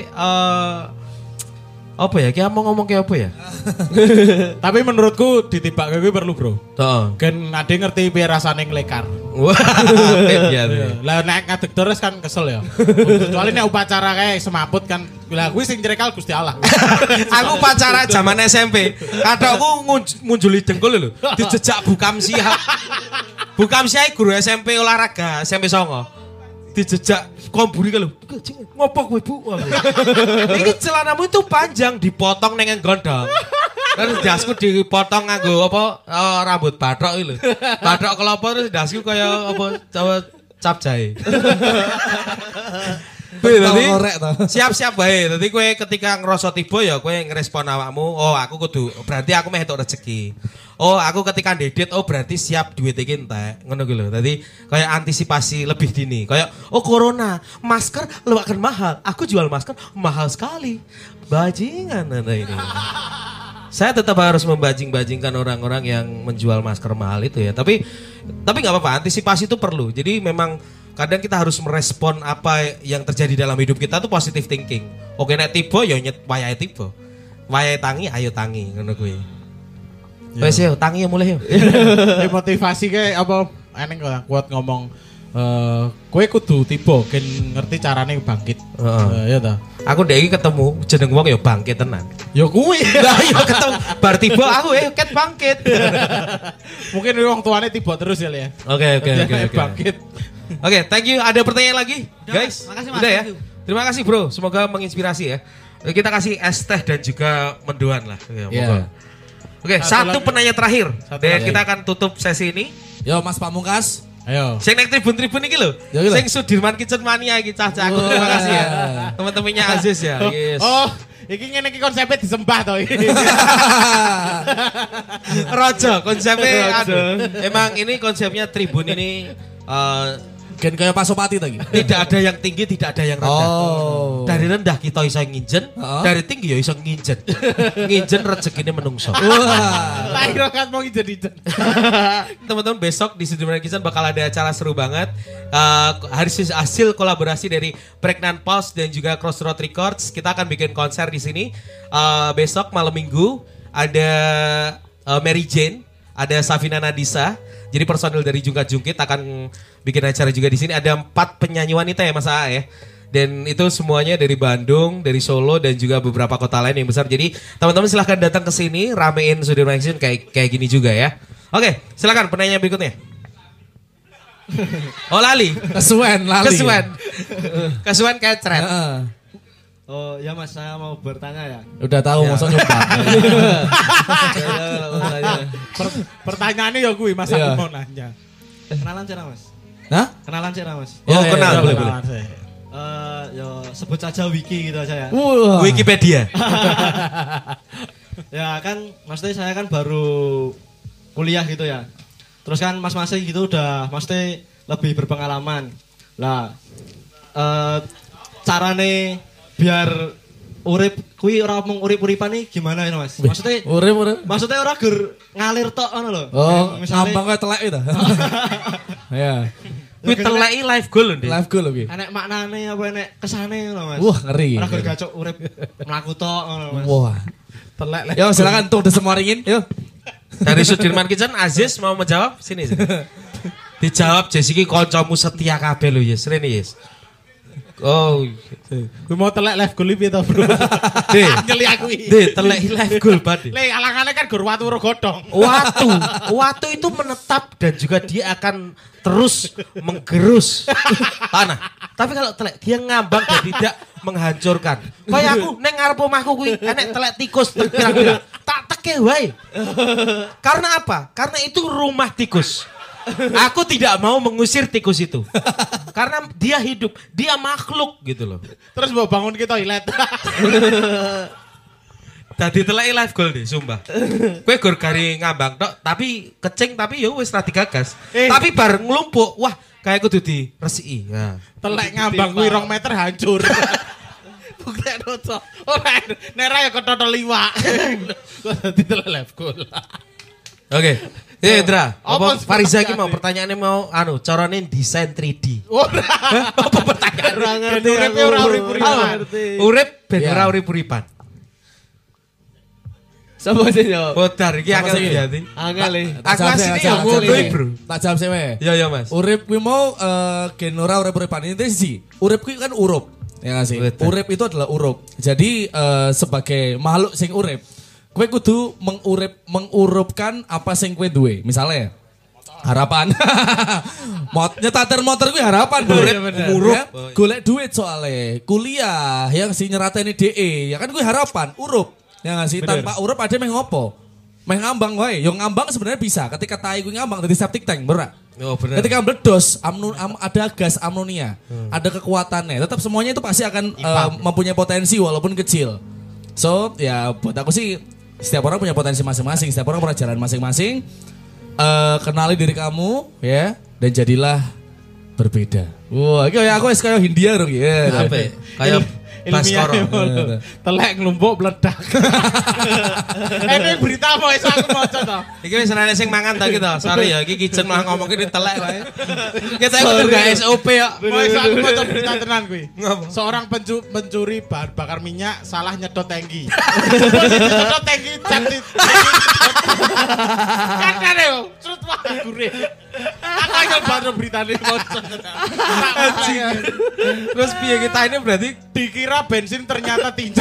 apa ya? Ki ngomong kayak apa ya? Tapi menurutku ditibak kuwi perlu, Bro. Heeh. Kan ade ngerti piye rasane nglekar. Wah, iya. Lah nek ngadeg terus kan kesel ya. Kecuali nek upacara kayak semaput kan. Lah kuwi sing nyrekal Gusti Allah. Aku pacara zaman SMP. Kadangku munjuli dengkul lho. Dijejak Bukam Siap. Bukam Siap guru SMP olahraga, SMP Songo. Dijejak komburi kalau ngopo kowe Bu? Iki celanamu itu panjang dipotong neng gondok. Terus dasku dipotong nganggo apa rambut bathok iki lho. Bathok kelapa terus dasku kaya apa cap jahe. Siap-siap bae. Dadi kowe ketika ngerasa tiba ya kowe ngerespon awakmu, oh aku kudu berarti aku meh entuk rezeki. Oh aku ketika ndedet oh berarti siap duit iki entek. Ngono kuwi lho. Dadi kaya antisipasi lebih dini. Kaya oh corona, masker akan mahal. Aku jual masker mahal sekali. Bajingan Anda ini. Saya tetap harus membajing-bajingkan orang-orang yang menjual masker mahal itu ya. Tapi nggak apa-apa, antisipasi itu perlu. Jadi memang kadang kita harus merespon apa yang terjadi dalam hidup kita tuh positive thinking. Oke nek tiba ya nyet wayahe tiba. Wayahe tangi ayo tangi ngono kuwi. Wes yo tangi ya mulai yo. Motivasi kayak apa eneng kok kuat ngomong kowe kudu tiba kan ngerti carane bangkit. Ya ta. Aku ndek iki ketemu jeneng wong ya bangkit tenan. Ya kuwi. Lah ya ketemu bar tiba aku ket bangkit. Mungkin wong tuane tiba terus ya. Oke. Bangkit. Oke, thank you. Ada pertanyaan lagi, guys? Makasih, Mas. Udah ya. Terima kasih, Bro. Semoga menginspirasi ya. Kita kasih es teh dan juga mendoan lah. Iya. Oke, satu penanya terakhir. Dan lagi. kita akan tutup sesi ini. Yo Mas Pamungkas. Ayo. Sing nek tribun-tribun iki lho. Ya, iki lho. Sing Sudirman Kitchen Mania iki cah-cah. Aku terima kasih ya. Teman-temannya Aziz ya. Yes. Oh, iki ngene iki konsepnya disembah to iki. Rojo konsepnya emang ini konsepnya tribun ini Gen kayak Pasopati tadi. tidak ada yang tinggi, tidak ada yang rendah. Oh. Dari rendah kita iso nginjen, Oh. dari tinggi ya iso nginjen. Nginjen rezekine menungso. Wah. Tak kira kan mau ijen-ijen. Teman-teman besok di Sudirman Kitchen bakal ada acara seru banget. Hasil kolaborasi dari Pregnant Pulse dan juga Crossroad Records. Kita akan bikin konser di sini. Besok malam minggu ada Mary Jane, ada Safina Nadisa. Jadi personil dari Jungkat-Jungkit akan bikin acara juga di sini. Ada 4 penyanyi wanita ya Mas A ya. Dan itu semuanya dari Bandung, dari Solo dan juga beberapa kota lain yang besar. Jadi teman-teman silahkan datang ke sini, ramein Sudirman Kitchen kayak gini juga ya. Oke, silakan penanya berikutnya. Oh lali. Kesuwen kecret. Oh ya Mas, saya mau bertanya ya. Udah tahu masa nyoba. Pertanyaannya ya gue Mas Iya. aku mau nanya. Kenalan cara Mas. Hah? Kenalan cara Mas. Oh kenal, boleh. Ya sebut saja Wiki gitu aja ya. Wah. Wikipedia. Ya kan, maksudnya saya kan baru kuliah gitu ya. Terus kan mas-masnya gitu udah maksudnya lebih berpengalaman. Lah, carane biar urip kuwi ora mung urip-uripan iki gimana ini Mas? Maksudnya maksudnya ora gur ngalir tok ngono lho. Oh, ngambang kaya telek itu. Ya. Kuwi teleki life goal lho, Dik. Live goal lho ki. Enek maknane apa enek kesane ngono Mas. Wah, ngeri. Ora gur gacok urip mlaku tok ngono Mas. Wah. Telek. Yo silakan untuk disemoringin. Yo. Dari Sudirman Kitchen Aziz mau menjawab sini. Dijawab Jess iki kancamu setia kabeh lho, Yes. Rene, Yes. Oh, Gue mau telek live goal piye to, Bro? Dek. Nyeli aku iki. Dek, telek live goal banget. Le alangane kan gur watu ro godhong. Watu itu menetap dan juga dia akan terus menggerus tanah. Tapi kalau telek dia ngambang dan tidak menghancurkan. Kayak aku neng ngarep omahku kuwi enek telek tikus pirang-pirang. Tak teke wae. Karena apa? Karena itu rumah tikus. Aku tidak mau mengusir tikus itu. Karena dia hidup, dia makhluk gitu loh. Terus mau bangun ke toilet. Tadi teleki live goal deh, sumpah. Kowe gur gari ngambang tok, tapi kecing tapi ya wis ra digagas. Tapi bar nglumpuk, wah kayak kudu diresiki. Nah. Telek ngambang kuwi 2 meter hancur. Bukti noto. Ora nera ya ketotol liwak. Kok dadi telek live goal. Oke. Indra, Apa apa Fariza iki mau pertanyaannya mau carane desain 3D. Ora. Apa pertanyaan? Ora ngerti. Uripe ora urip-uripan. Urip ben ora urip-uripan. Sapa sih yo? Bodar iki Sama akeh sih. diati. Angel e. Aku asline ya ngono bro. Tak jawab sih we. Iya ya Mas. Urip kuwi mau gen ora urip-uripan ini sih. Urip kuwi kan urup. Ya nggak sih? Betul. Urip itu adalah urup. Jadi sebagai makhluk sing urip, kowe kudu mengurupkan apa sing kowe duwe. Misalnya harapan. Nyetater motor kuwi harapan, Bro. Ngurup. Ya, golek duit soalnya. Kuliah yang si nyerateni DE, ya kan kuwi harapan, urup. Ya nggak sih? Tanpa urup ada meh ngopo? Meh ngambang wae. Yo ngambang sebenarnya bisa. Ketika tai kuwi ngambang dadi septic tank, bener. Oh benar. Ketika meledos, ada gas ammonia, ada kekuatannya. Tetap semuanya itu pasti akan mempunyai potensi walaupun kecil. So, ya buat aku sih setiap orang punya potensi masing-masing, setiap orang punya jalan masing-masing. Kenali diri kamu, ya, dan jadilah berbeda. Wah, kayak aku kayak Hindia dong, ya. Apa? Kayak Baskoro. Telek nglumpuk meledak. Ini berita mau iso aku maca to. Iki wis ana sing mangan ta gitu. Sorry ya, iki kitchen malah ngomong ini telek wae. Kita kudu gak SOP ya. Mau iso aku maca berita tenan kuwi. Ngapa? Seorang pencuri bahan bakar minyak salah nyedot tangki. Nyedot tangki jadi. Kan kare yo, cerut wae gure. Aku aja baru berita ini maca. Terus piye kita ini berarti Dikira bensin ternyata tinja.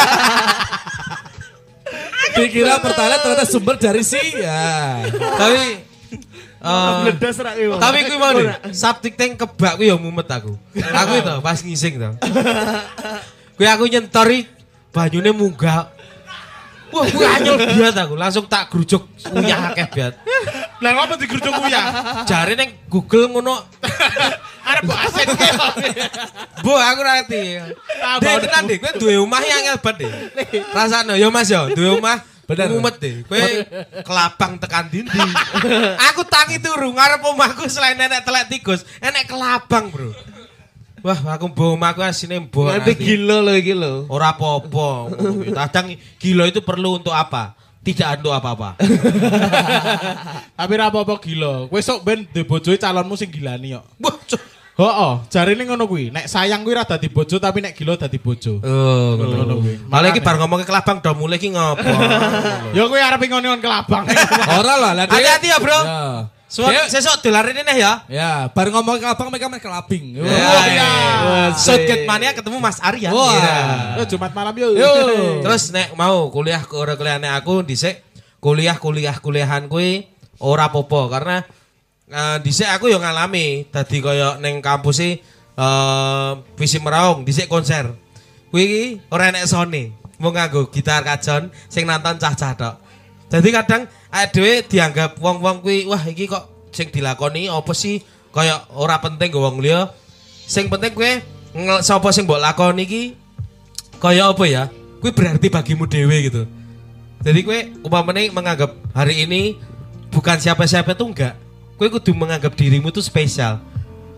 Dikira pertalite ternyata sumber dari ya. tapi Bledas rak iki. tapi kuwi mau nih, septic tank kebak kuwi ya mumet aku. Aku itu pas ngising to. Kuwi aku nyentori banyune munggah. Wah, kuwi anyel biat aku, langsung tak grujuk uyah akeh biat. Lah ngapa digeruduk uyah? Jare ning Google ngono. Arep mbok asen ki. Bu, aku ngerti. Dek, tenan dek, kowe duwe omah yang angel banget dek. Rasane yo Mas yo, duwe omah Bener. mumet dek. Kowe kelabang tekan dindi. Aku tangi turu ngarep omahku selain enek telek tikus, enek kelabang, Bro. Wah, aku mbok omahku asine mbok. Nanti gila lo iki lo. Ora apa-apa. Kadang gila itu perlu untuk apa? Tidak untuk apa-apa. Tapi ra apa-apa gila. Kowe sok ben duwe bojoe calonmu sing gilani kok. Wah, cuk. Heeh, jarine ngono kuwi. Nek sayang kuwi ra dadi bojo tapi nek gila dadi bojo. Oh, Ngono kuwi. malah iki bar ngomong ke kelabang do mulai iki ngopo. Ya kowe arep ngon-ngon kelabang. Ora lah, lah dia- Hati-hati ya, Bro. Ya. Suatu sesuk dolarin ini ya. Ya, baru ngomong ke abang mereka main kelabing. Shotcut mania ketemu Mas Arya. Wah. Iya. Yo Jumat malam yo. Terus nek mau kuliah kuliahane aku dhisik kuliahan kuwi ora apa-apa karena dhisik aku yo ngalami dadi kaya ning kampus visi meraung dhisik konser. Kuwi iki ora enek sone, mung nganggo gitar kajon sing nonton cah-cah tok. Jadi kadang awake dhewe dianggap wong-wong kuwi wah iki kok sing dilakoni apa sih kaya ora penting go wong liya. Sing penting kowe sapa sing mbok lakoni iki kaya apa ya? Kuwi berarti bagimu dhewe gitu. Jadi kowe umpamane menganggap hari ini bukan siapa-siapa tuh enggak. Kowe kudu menganggap dirimu tuh spesial.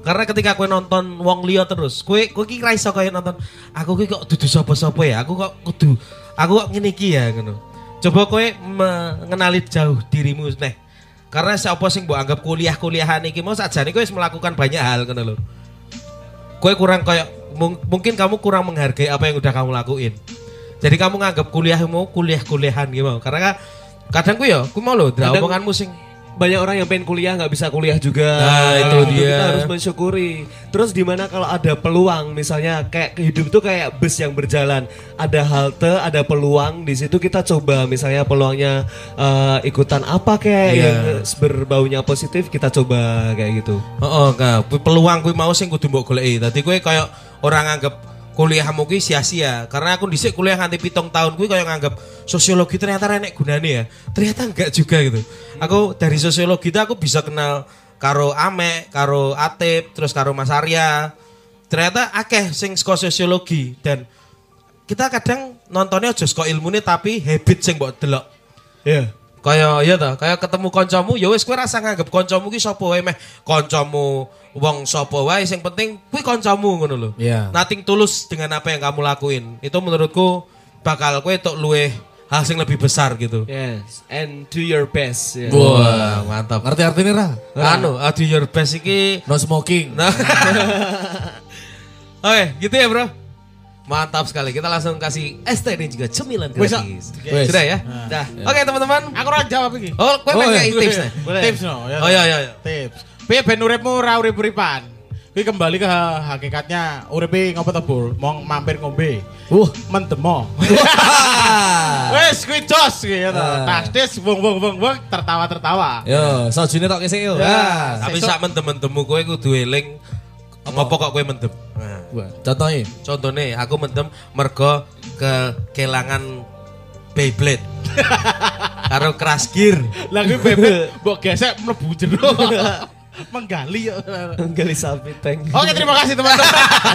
Karena ketika kowe nonton wong liya terus, kowe ki ra iso kaya nonton aku ki kok dudu sapa-sapa ya, aku kok ngene iki ya ngono. Coba kowe mengenali jauh dirimu neh. Karena siapa sing mbok anggap kuliahan iki mau sajane kowe wis melakukan banyak hal ngono lho. Kowe kurang kayak mungkin kamu kurang menghargai apa yang udah kamu lakuin. Jadi kamu nganggap kuliahmu kuliahan gitu mau. Karena kadang ku mau lho omonganmu sing banyak orang yang pengen kuliah nggak bisa kuliah juga. Nah, itu dia. Kita harus mensyukuri. Terus dimana kalau ada peluang, misalnya kayak hidup tuh kayak bus yang berjalan, ada halte, ada peluang di situ kita coba. Misalnya peluangnya ikutan apa kayak yang berbaunya positif kita coba kayak gitu. Peluang kuwi mau sing kudu mbok goleki. Dadi kowe kayak orang anggap kuliahmu ki sia-sia karena aku dhisik kuliah nganti 7 tahun kuwi kayak nganggap sosiologi ternyata enek gunane ya. Ternyata enggak juga gitu. Aku dari sosiologi itu aku bisa kenal karo Ame, karo Atip, terus karo Mas Arya. Ternyata akeh sing saka sosiologi dan kita kadang nontonnya aja saka ilmune tapi habit sing mbok delok. Iya. Kayak ketemu kancamu ya wis kowe rasa nganggep kancamu ki sapa wae meh kancamu wong sapa wae sing penting kuwi kancamu ngono lho. Yeah. Nothing tulus dengan apa yang kamu lakuin. Itu menurutku bakal kowe tok luweh hal sing lebih besar gitu. Yes, and do your best. Yeah. Wah, mantap. Ngerti artinya ra? Do your best iki No smoking. Oke, gitu ya, Bro. Mantap sekali. Kita langsung kasih ST dan juga cemilan gratis. Sudah ya? Dah. Oke, teman-teman. Aku ora jawab iki. Oh, kowe pengen tips nih. Tips no. Oh iya. Tips. Piye ben uripmu ora urip-uripan? Kuwi kembali ke hakikatnya uripe ngopo to, Bul? Mau mampir ngombe. Mendemo. Wes kuwi jos kuwi ya to. Tastis wong tertawa-tertawa. Yo, sojine tok kesik yo. Tapi sak mendem-mendemmu kowe kudu eling ngopo kok kowe mendem. Contohnya aku mendem mergo kelangan Beyblade. Karo Crash Gear. Lah kuwi Beyblade mbok gesek mlebu jero. Menggali sapi tank. Oke, terima kasih teman-teman.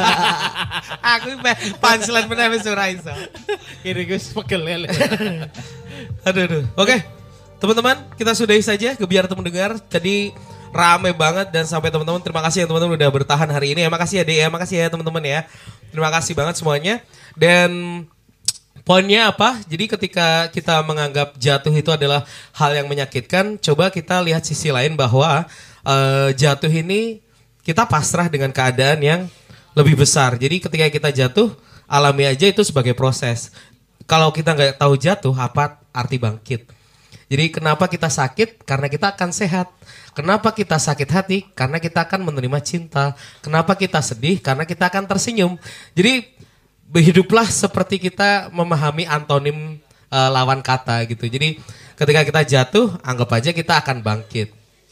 Aku punchline meneh wis ora iso. Kiri Gus pegel ya. Aduh. Oke. Teman-teman, kita sudahi saja Gebiar Temu Dengar. Jadi rame banget dan sampai teman-teman terima kasih yang teman-teman udah bertahan hari ini ya. Makasih ya Dek ya, makasih ya teman-teman ya. Terima kasih banget semuanya. Dan poinnya apa? Jadi ketika kita menganggap jatuh itu adalah hal yang menyakitkan, coba kita lihat sisi lain bahwa jatuh ini kita pasrah dengan keadaan yang lebih besar. Jadi ketika kita jatuh, alami aja itu sebagai proses. Kalau kita nggak tahu jatuh, apa arti bangkit? Jadi kenapa kita sakit? Karena kita akan sehat. Kenapa kita sakit hati? Karena kita akan menerima cinta. Kenapa kita sedih? Karena kita akan tersenyum. Jadi hiduplah seperti kita memahami antonim lawan kata gitu. Jadi ketika kita jatuh, anggap aja kita akan bangkit.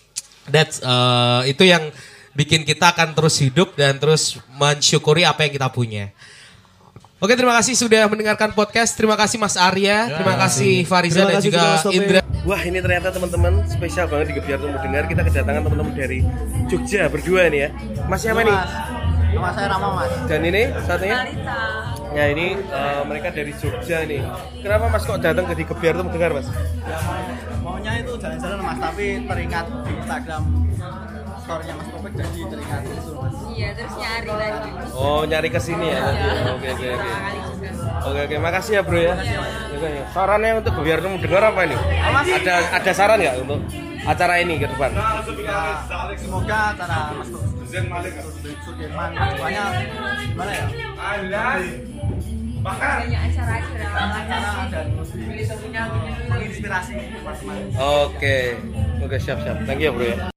Itu yang bikin kita akan terus hidup dan terus mensyukuri apa yang kita punya. Oke, terima kasih sudah mendengarkan podcast. Terima kasih Mas Arya, terima kasih Fariza dan juga Indra. Wah, ini ternyata teman-teman spesial banget di Gebiar Temu Dengar. Kita kedatangan teman-teman dari Jogja berdua nih ya. Mas siapa nih? Nama saya Rama, Mas. Dan ini satunya? Ya ini mereka dari Jogja nih. Kenapa Mas kok datang ke di Gebiar Temu Dengar, Mas? Maunya itu jalan-jalan, Mas, tapi teringat di Instagram story-nya Mas Kopek jadi teringat itu, Mas. Iya, terus nyari lagi. Oh, nyari ke sini ya. Oke, makasih ya, Bro ya. Sarannya untuk Gebiar Temu Dengar apa ini? Ada saran nggak untuk acara ini ke depan? Semoga acara Mas Sudirman banyak gimana ya? Banyak acara Dan menginspirasi teman-teman. Oke, siap. Thank you, Bro ya.